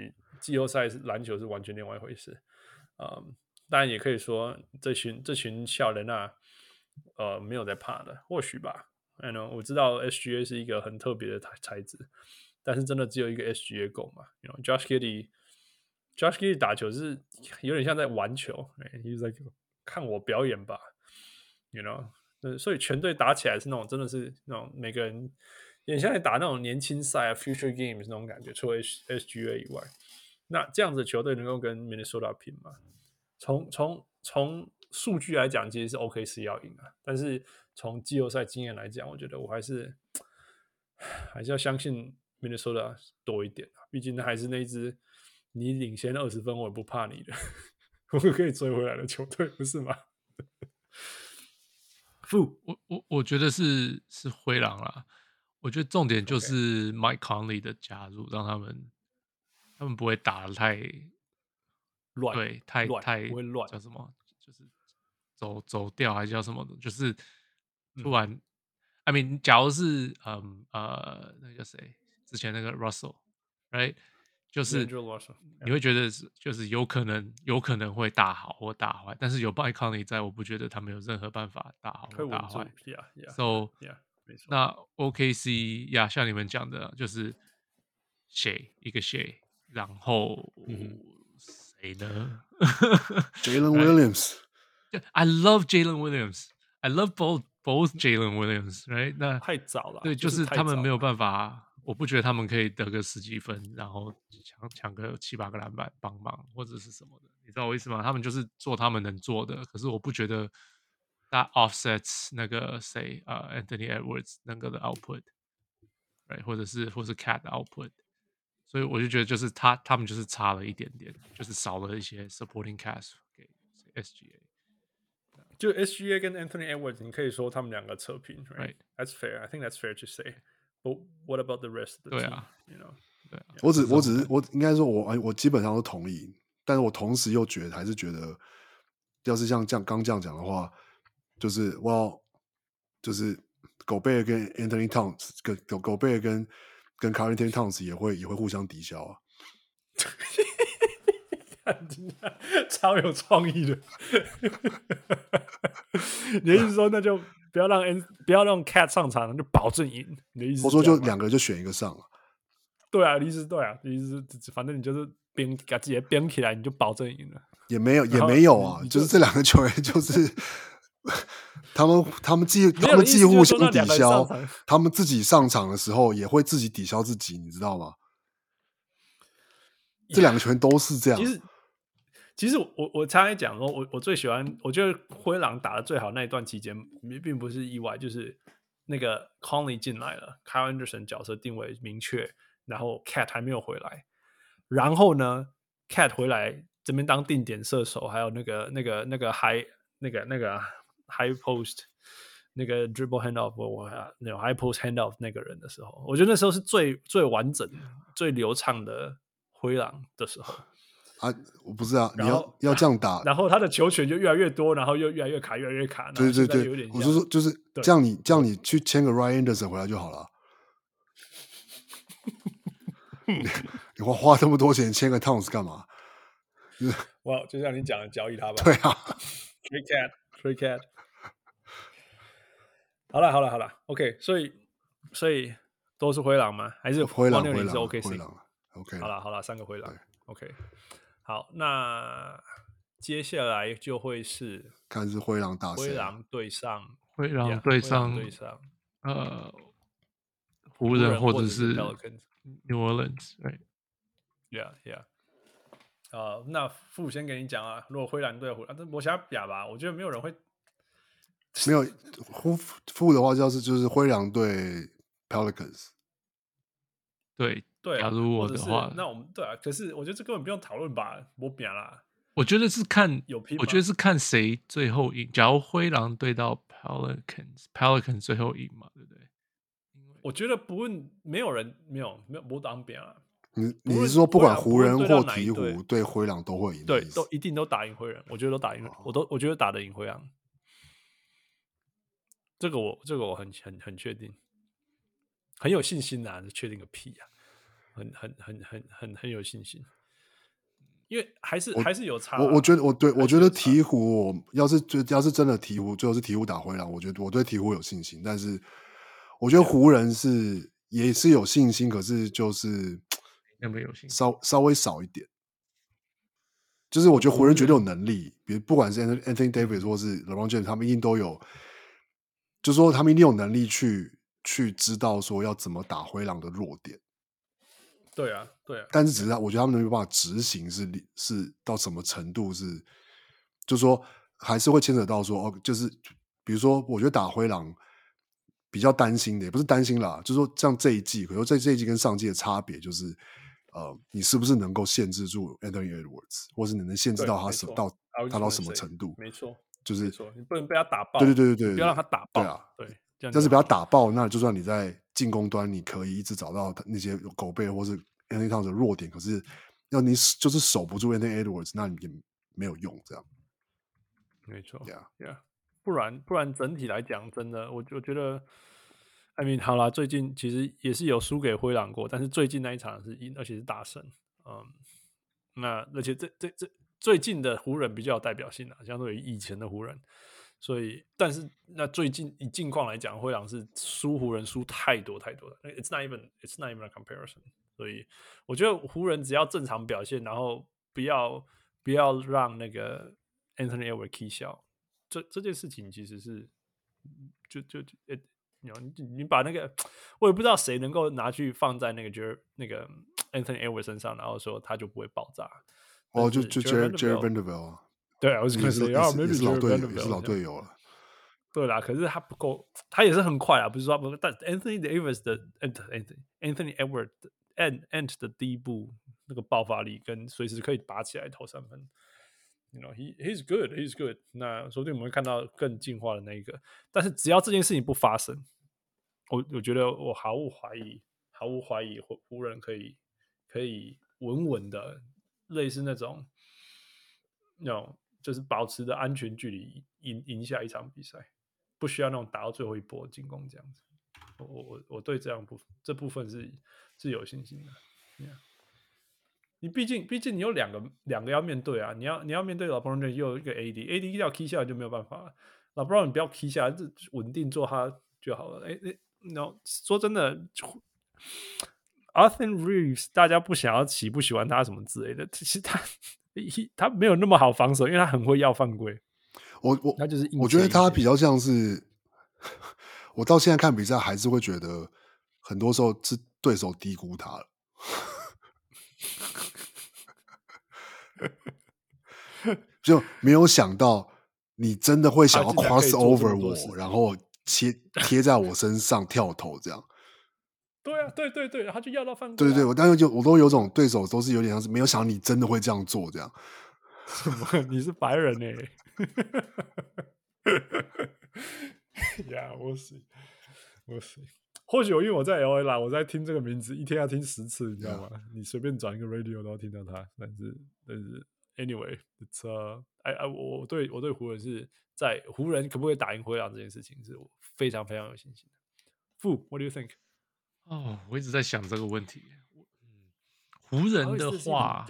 季後賽籃球是完全另外一回事。嗯，當然也可以說這群這群小人啊，呃，沒有在怕的，或許吧。I know, 我知道 S G A 是一個很特別的材質，但是真的只有一個 S G A 夠嘛 you know, Josh Giddey，Josh Giddey 打球是有點像在玩球，he's like 看我表演吧 ，you know，所以全隊打起來是那種真的是那種每個人有點像在打那種年輕賽啊 ，Future Games 那種感覺，除了 S G A 以外，那這樣子的球隊能夠跟 Minnesota 拼嗎？從從從數據來講，其實是 O K C 要贏啊，但是從季後賽經驗來講，我覺得我還是還是要相信 Minnesota 多一點啊，畢竟還是那一支你領先二十分我也不怕你的，我可以追回來的球隊，不是嗎？ 我我我覺得是是灰狼啦，我覺得重點就是 Mike Conley 的加入，讓他們他們不會打得太亂， 對，太太不會亂， 叫什麼？就是走走調還是叫什麼的？就是突然、嗯、，I mean， 假如是嗯呃那個叫誰？之前那個 Russell，right？ 就是你會覺得是就是有可能有可能會打好或打壞，但是有 Mike Conley 在，我不覺得他們有任何辦法打好或打壞。 Yeah, yeah, So yeah, 沒錯。 那 O K C 呀，像你們講的，就是誰一個誰，然後誰呢 ？Jalen Williams。 I love Jalen Williams. I love both both Jalen Williams. Right？ 那太早了， 對，就是他們沒有辦法。我不覺得他們可以得個十幾分，然後搶搶個七八個籃板幫忙或者是什麼的，你知道我意思嗎？他們就是做他們能做的，可是我不覺得 that offsets 那個誰啊、uh, Anthony Edwards 那個的 output，right？ 或者是或是 Cat 的 output， 所以我就覺得就是他他們就是差了一點點，就是少了一些 supporting cast 給 S G A。 就 S G A 跟 Anthony Edwards， 你可以說他們兩個扯平 ，right？ That's fair. I think that's fair to say.But what about the rest of the team? 對啊， you know? 對啊， 我只我只是我應該說我我基本上都同意，但是我同時又覺得還是覺得，要是像這樣剛這樣講的話，就是我就是狗貝爾跟 Anthony Towns 跟狗狗貝爾跟跟 Karl-Anthony Towns 也會也會互相抵消啊。 超有創意的。你的意思說那就不要讓 N 不要讓 Cat 上場，就保證贏。你的意思是？ 我說就兩個人就選一個上了。 對啊，你意思對啊，你意思是反正你就是編把自己編起來，你就保證贏了。 也沒有也沒有啊，就, 就是這兩個球員就是他們他們既他們既互相抵消，他們自己上場的時候也會自己抵消自己，你知道嗎？這兩個球員都是這樣。 其實其實我我常常講說，我我最喜歡，我覺得灰狼打得最好那一段期間，並不是意外，就是那個 Conley 進來了 ，Kyle Anderson 角色定位明確，然後 Cat 還沒有回來，然後呢 ，Cat 回來這邊當定點射手，還有那個那個那個 high 那個那個 high post 那個 dribble handoff 我那種 high post handoff 那個人的時候，我覺得那時候是最最完整、最流暢的灰狼的時候。 啊，我不是啊，你要要這樣打， 然後他的球權就越來越多，然後又越來越卡，越來越卡。 對對對，我就說就是這樣你，你這樣你去簽個 Ryan Anderson 回來就好了。你你花花這麼多錢簽個 Towns 幹嘛？ 哇， wow, 就像你講的，交易他吧。 對啊 ，Free Cat，Free Cat。好了好了好了 ，OK， 所以所以都是灰狼嗎？還是灰狼？灰狼是 OK， 灰狼 OK。 好了好了，三個灰狼 ，OK。好，那接下來就會是看是灰狼打誰？ 灰狼對上灰狼對上對上呃湖人或者是 New Orleans，right？Yeah yeah。呃，那傅先給你講啊，如果灰狼對湖人，我想表吧，我覺得沒有人會沒有傅傅的話，就是就是灰狼對 Pelicans。 對。 對、啊， 假如我的話， 那我們對啊，可是我覺得這根本不用討論吧，我扁啦。 我覺得是看有拼， 我覺得是看誰最後贏。假如灰狼對到 Pelicans，Pelicans 最後贏嘛，對不對？ 我覺得不問，沒有人沒有沒有不當扁了。 你你是說不管湖人或鹈鶘對灰狼都會贏？ 對，都一定都打贏灰人，我覺得都打贏，哦、我都我覺得打得贏灰狼。這個我這個我很很很確定，很有信心啊！確定個屁啊！很很很很很很有信心。 因為還是還是有差、啊。 我我覺得我對我覺得鵜鶘，我要是就要是真的鵜鶘，最後是鵜鶘打灰狼，我覺得我對鵜鶘有信心。但是我覺得湖人是也是有信心，可是就是有沒有信心？ 稍稍微少一點。就是我覺得湖人絕對有能力，比如不管是 Anthony Davis 或是 LeBron James， 他們一定都有，就是說他們一定有能力去去知道說要怎麼打灰狼的弱點。 對啊，对啊。 但是只是我覺得他們沒有辦法執行是是到什麼程度是，就是說還是會牽扯到說哦，就是比如說我覺得打灰狼比較擔心的，也不是擔心啦，就是說像這一季，可是這這一季跟上季的差別就是。呃，你是不是能夠限制住 Anthony Edwards， 或是你能限制到他什到他到什麼程度？ 沒錯， 就是你不能被他打爆。 對對對對對， 不要讓他打爆。 對啊， 對，這樣但是不要打爆，那就算你在進攻端，你可以一直找到那些狗背或是 Anthony Towns 的弱點，可是要你就是守不住 Anthony Edwards， 那你也沒有用。這樣， 沒錯 ，Yeah Yeah， 不然不然整體來講，真的，我我覺得。I mean， 好啦，最近其實也是有輸給灰狼過，但是最近那一場是贏，而且是大勝。嗯，那而且這這這最近的湖人比較有代表性啊，相對於以前的湖人。所以，但是那最近以近況來講，灰狼是輸湖人輸太多太多了。It's not even It's not even a comparison。所以我覺得湖人只要正常表現，然後不要不要讓那個 Anthony Edwards 起笑，這這件事情其實是就就就。你, 你把那個，我也不知道誰能夠拿去放在那個 Jer 那個 Anthony Edwards 身上，然後說他就不會爆炸。 哦，就就 Jarred Vanderbilt 啊， 對啊，我是可能啊， 也是老隊友，也是老隊友了。 對啦，可是他不夠，他也是很快啊，不是說不，但 Anthony Edwards 的 Anthony Anthony Edwards and and 的第一步那個爆發力跟隨時可以拔起來投三分。You know, he he's good, he's good。那說不定我們會看到更進化的那一個，但是只要這件事情不發生，我我覺得我毫無懷疑，毫無懷疑湖湖人可以可以穩穩的，類似那種，那種就是保持着安全距離贏贏下一場比賽，不需要那種打到最後一波進攻這樣子。我我我對這樣部這部分是是有信心的。Yeah. 你畢竟，畢竟你有兩個兩個要面對啊！你要你要面對LeBron James，又有一個 A D，A D 要 key 下來就沒有辦法了。LeBron 你不要 key 下來，就穩定做他就好了。哎哎，然後說真的 ，Austin Reeves 大家不想要喜不喜歡他什麼之類的，其實他他沒有那麼好防守，因為他很會要犯規。 我我他就是我覺得他比較像是，我到現在看比賽還是會覺得，很多時候是對手低估他了。就沒有想到你真的會想要 cross over 我，然後貼貼在我身上跳投這樣。 對啊，對對對，他就要到犯規、啊。 對對對，我當時就我都有種對手都是有點像是沒有想到你真的會這樣做這樣。 什麼？你是白人哎、欸？呀，我是我是。或許因為我在 L A 啦，我在聽這個名字一天要聽十次，你知道嗎？ Yeah. 你隨便轉一個 radio 都要聽到他。但是但是 anyway，it's uh, I, I, 我對我對湖人是在湖人可不可以打贏灰狼這件事情，是我非常非常有信心的。Fu, what do you think？ 哦，我一直在想這個問題。嗯，湖人的話，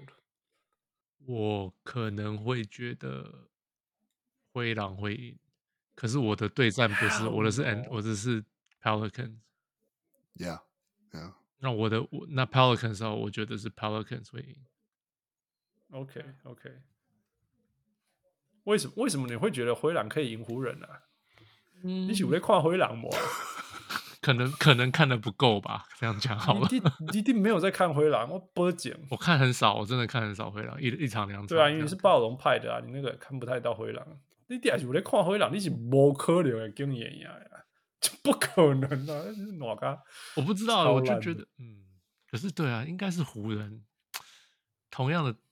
我可能會覺得灰狼會贏，可是我的對戰不是我的是 N， 我的是 Pelicans。Yeah, yeah。 那我的我那 Pelicans 時候，我覺得是 Pelicans 會贏。 OK OK。為什麼為什麼你會覺得灰狼可以贏湖人呢、啊？嗯，你是在看灰狼嗎？ 可能可能看得不夠吧，這樣講好了。 你一定沒有在看灰狼，我不講。 我看很少，我真的看很少灰狼，一一場兩場。 對啊，因為你是暴龍派的啊，你那個看不太到灰狼。你底下是在看灰狼，你是不可能的經驗呀，不可能啊！那是哪個？ 我不知道，我就覺得嗯，可是對啊，應該是湖人。同樣的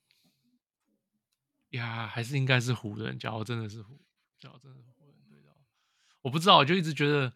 呀，還是應該是湖人。假如真的是湖，假如真的是湖人對到，我不知道，我就一直覺得。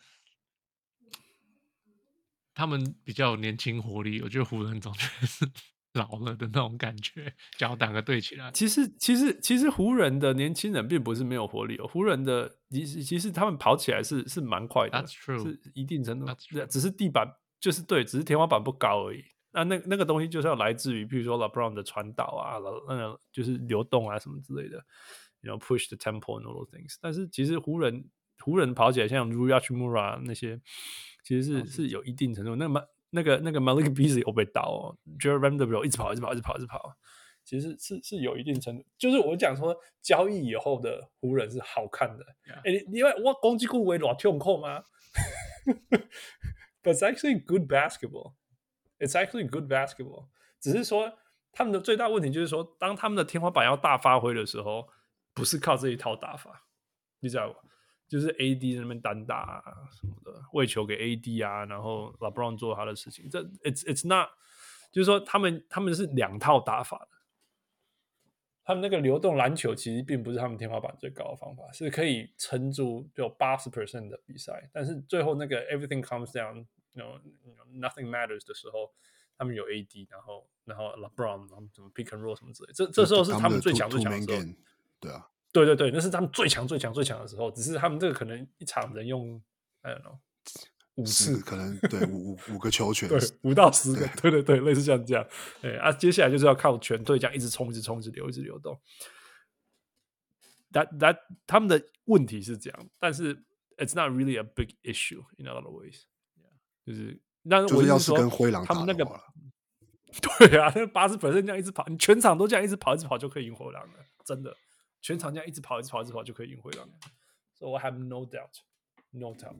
他們比較有年輕活力，我覺得湖人總覺得是老了的那種感覺。只要兩個對起來， 其實其實其實湖人的年輕人並不是沒有活力哦，湖人的其實其實他們跑起來是是蠻快的， That's true， 是一定程度，只是地板就是對，只是天花板不高而已。 那那那個東西就是要來自於，譬如說 LeBron 的傳導啊，那個就是流動啊什麼之類的，you know push the tempo and all those things。但是其實湖人湖人跑起來像 Rui Hachimura 那些，其實是、哦、是, 是有一定程度。那個那個那個 Malik Beasley 有被倒哦 Jared Vanderbilt 一直跑一直跑一直跑一直跑，其實是是有一定程度。就是我講說交易以後的湖人是好看的。哎、yeah. 欸，你因為我攻擊顧為偌痛苦嗎？But it's actually good basketball. It's actually good basketball. 只是說他們的最大問題就是說，當他們的天花板要大發揮的時候，不是靠這一套打法，你知道嗎？就是 A D 在那邊單打啊什麼的，餵球給 A D 啊，然後 LeBron 做他的事情。這 it's it's not， 就是說他們他們是兩套打法的。他們那個流動籃球其實並不是他們天花板最高的方法，是可以撐住就八十 percent 的比賽，但是最後那個 everything comes down，you know, you know, nothing matters 的時候，他們有 A D， 然後然後 LeBron， 然後什麼 pick and roll 什麼之類的，這這時候是他們最強最強的時候。對啊。對對對，那是他們最強最強最強的時候，只是他們這個可能一場能用 I don't know 五次， 可能對五五五個球權， 對五到十個，對對對，類似像這樣。對啊，接下來就是要靠全隊這樣一直衝、一直衝、一直流、一直流動。That that 他們的問題是這樣，但是 it's not really a big issue in a lot of ways。就是那就是要是跟灰狼他們那個，對啊，那八十 percent 這樣一直跑，你全場都這樣一直跑、一直跑就可以贏灰狼了，真的。全場這樣一直跑，一直跑，一直跑就可以贏回來。So I have no doubt, no doubt.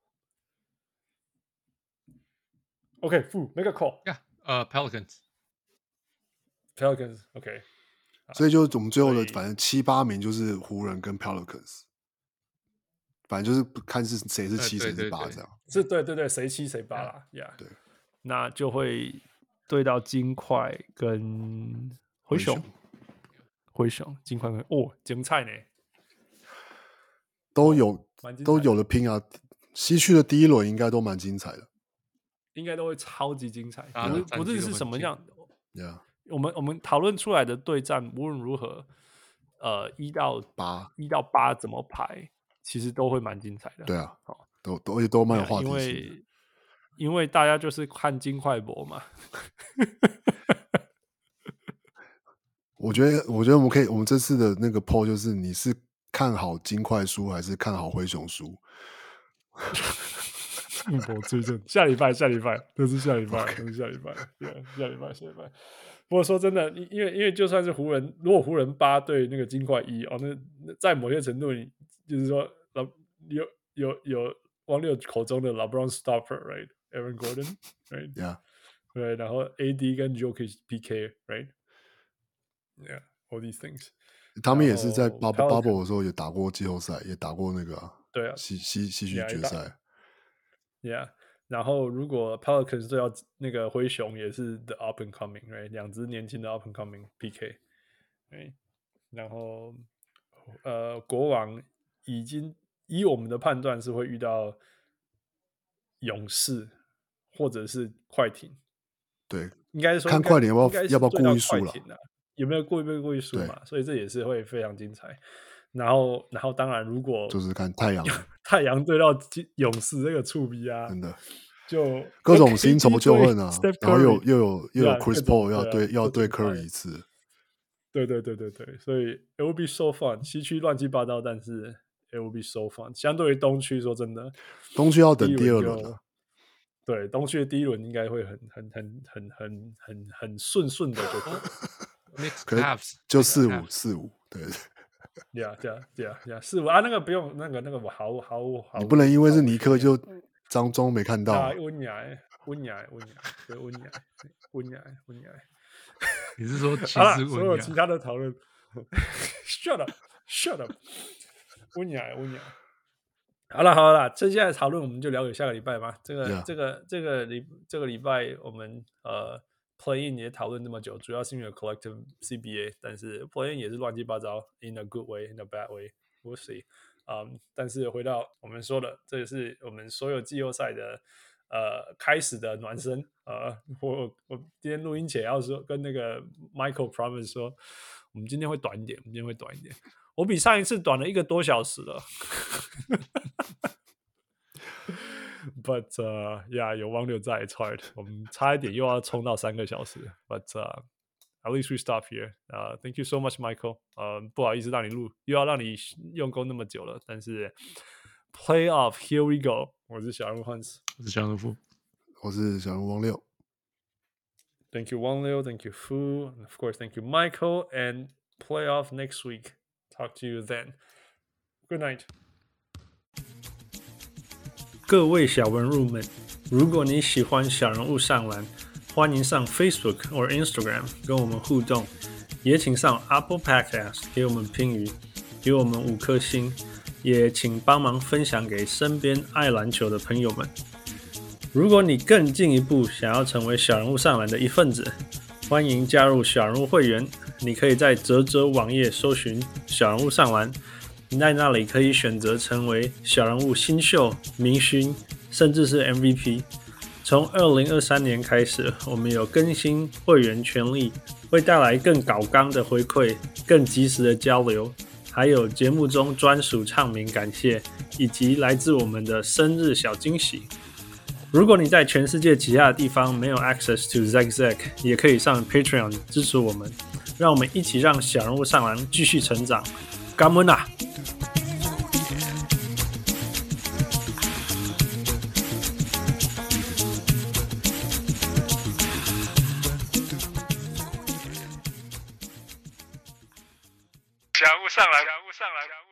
Okay, Fu, make a call. Yeah, uh, Pelicans. Pelicans, OK. 所以就我們最後的，反正七八名就是湖人跟 Pelicans， 反正就是看是誰是七誰是八這樣。 是，對對對，誰七誰八啦 ，Yeah. 對，那就會對到金塊跟灰熊。灰熊、金塊哦，精彩呢， 都有都有的拼啊！西區的第一輪應該都蠻精彩的， 應該都會超級精彩。 啊、 不是不論是什麼樣， yeah. 我們我們討論出來的對戰，無論如何，呃，一到八，一到八怎麼排，其實都會蠻精彩的。 對啊，哦、都都而且都蠻有話題性的， 因為因為大家就是看金塊博嘛。 我覺得，我覺得我們可以，我們這次的那個 poll 就是，你是看好金塊輸還是看好灰熊輸？ 我追正下禮拜，下禮拜都是下禮拜，都是下禮拜，對，下禮拜，下禮拜。不過說真的，因為因為就算是湖人，如果湖人八對那個金塊一哦，那在某些程度裡，就是說，有有有王六口中的 LeBron stopper，right？Aaron Gordon，right？Yeah， 對，然後 A D 跟 Jokic P K，right？Yeah, all these things。 他們也是在 bubble bubble 的時候也打過季後賽，也打過那個、啊、 對啊西西西區決賽。 Yeah， 然後如果 Pelicans 對到那個灰熊也是 the up and coming，right？ 兩支年輕的 up and coming P K，right？ 然後呃，國王已經以我們的判斷是會遇到勇士或者是快艇。 對， 應該是說看快艇要不要要不要故意輸了。 有沒有故意被故意輸嘛？所以這也是會非常精彩。然後，然後當然，如果就是看太陽， 太陽對到勇士這個觸逼啊， 真的就各種新仇舊恨啊。然後又又有又有 Chris Paul 要對要對 Curry 一次。 對對對對對，所以 it will be so fun。西區亂七八糟，但是 it will be so fun。相對於東區，說真的， 東區要等第二輪了。 對，東區的第一輪應該會很很很很很很很順順的就可以。 可能就四五四五，對， 對啊對啊對啊對啊四五啊，那個不用那個那個我好好好， 你不能因為是尼克就張中沒看到啊， 溫雅溫雅溫雅對溫雅溫雅溫雅， 你是說其實所有其他的討論，shut up shut up， 溫雅溫雅，好了好了，接下來討論我們就聊給下個禮拜吧。這個、yeah. 這個這個禮這個禮拜我們呃。Play in 也討論這麼久，主要是因為有 Collective C B A， 但是 Play in 也是亂七八糟 ，in a good way, in a bad way, we'll see。嗯，但是回到我們說的，這也是我們所有季後賽的呃開始的暖身。呃，我我今天錄音前要說跟那個 Michael Promise 說，我們今天會短一點，我們今天會短一點。我比上一次短了一個多小時了。 But uh, yeah， 有汪六在 ，it's hard。我们差一點又要衝到三個小時。But uh, at least we stop here. Uh, thank you so much, Michael. 呃、uh, ，不好意思讓你錄，又要讓你用功那麼久了。但是 Playoff, here we go。我是小人物 Hans， 我是小人物， 我是小人物汪六。 Thank you, Wang Liu. Thank you, Fu. And of course, thank you, Michael. And playoff next week. Talk to you then. Good night. 各位小人物們，如果你喜歡小人物上籃，歡迎上 Facebook 或 Instagram 跟我們互動，也請上 Apple Podcast 給我們評語，給我們五顆星，也請幫忙分享給身邊愛籃球的朋友們。如果你更進一步想要成為小人物上籃的一份子，歡迎加入小人物會員。你可以在嘖嘖網頁搜尋小人物上籃，在那裡可以選擇成為小人物新秀、明星，甚至是 M V P。從二零二三年開始，我們有更新會員權利，會帶來更搞剛的回饋、更及時的交流，還有節目中專屬唱名感謝，以及來自我們的生日小驚喜。如果你在全世界其他的地方沒有 access to Zeg Zeg， 也可以上 Patreon 支持我們，讓我們一起讓小人物上籃繼續成長。感恩啊！ 小人物上籃，小人物上籃。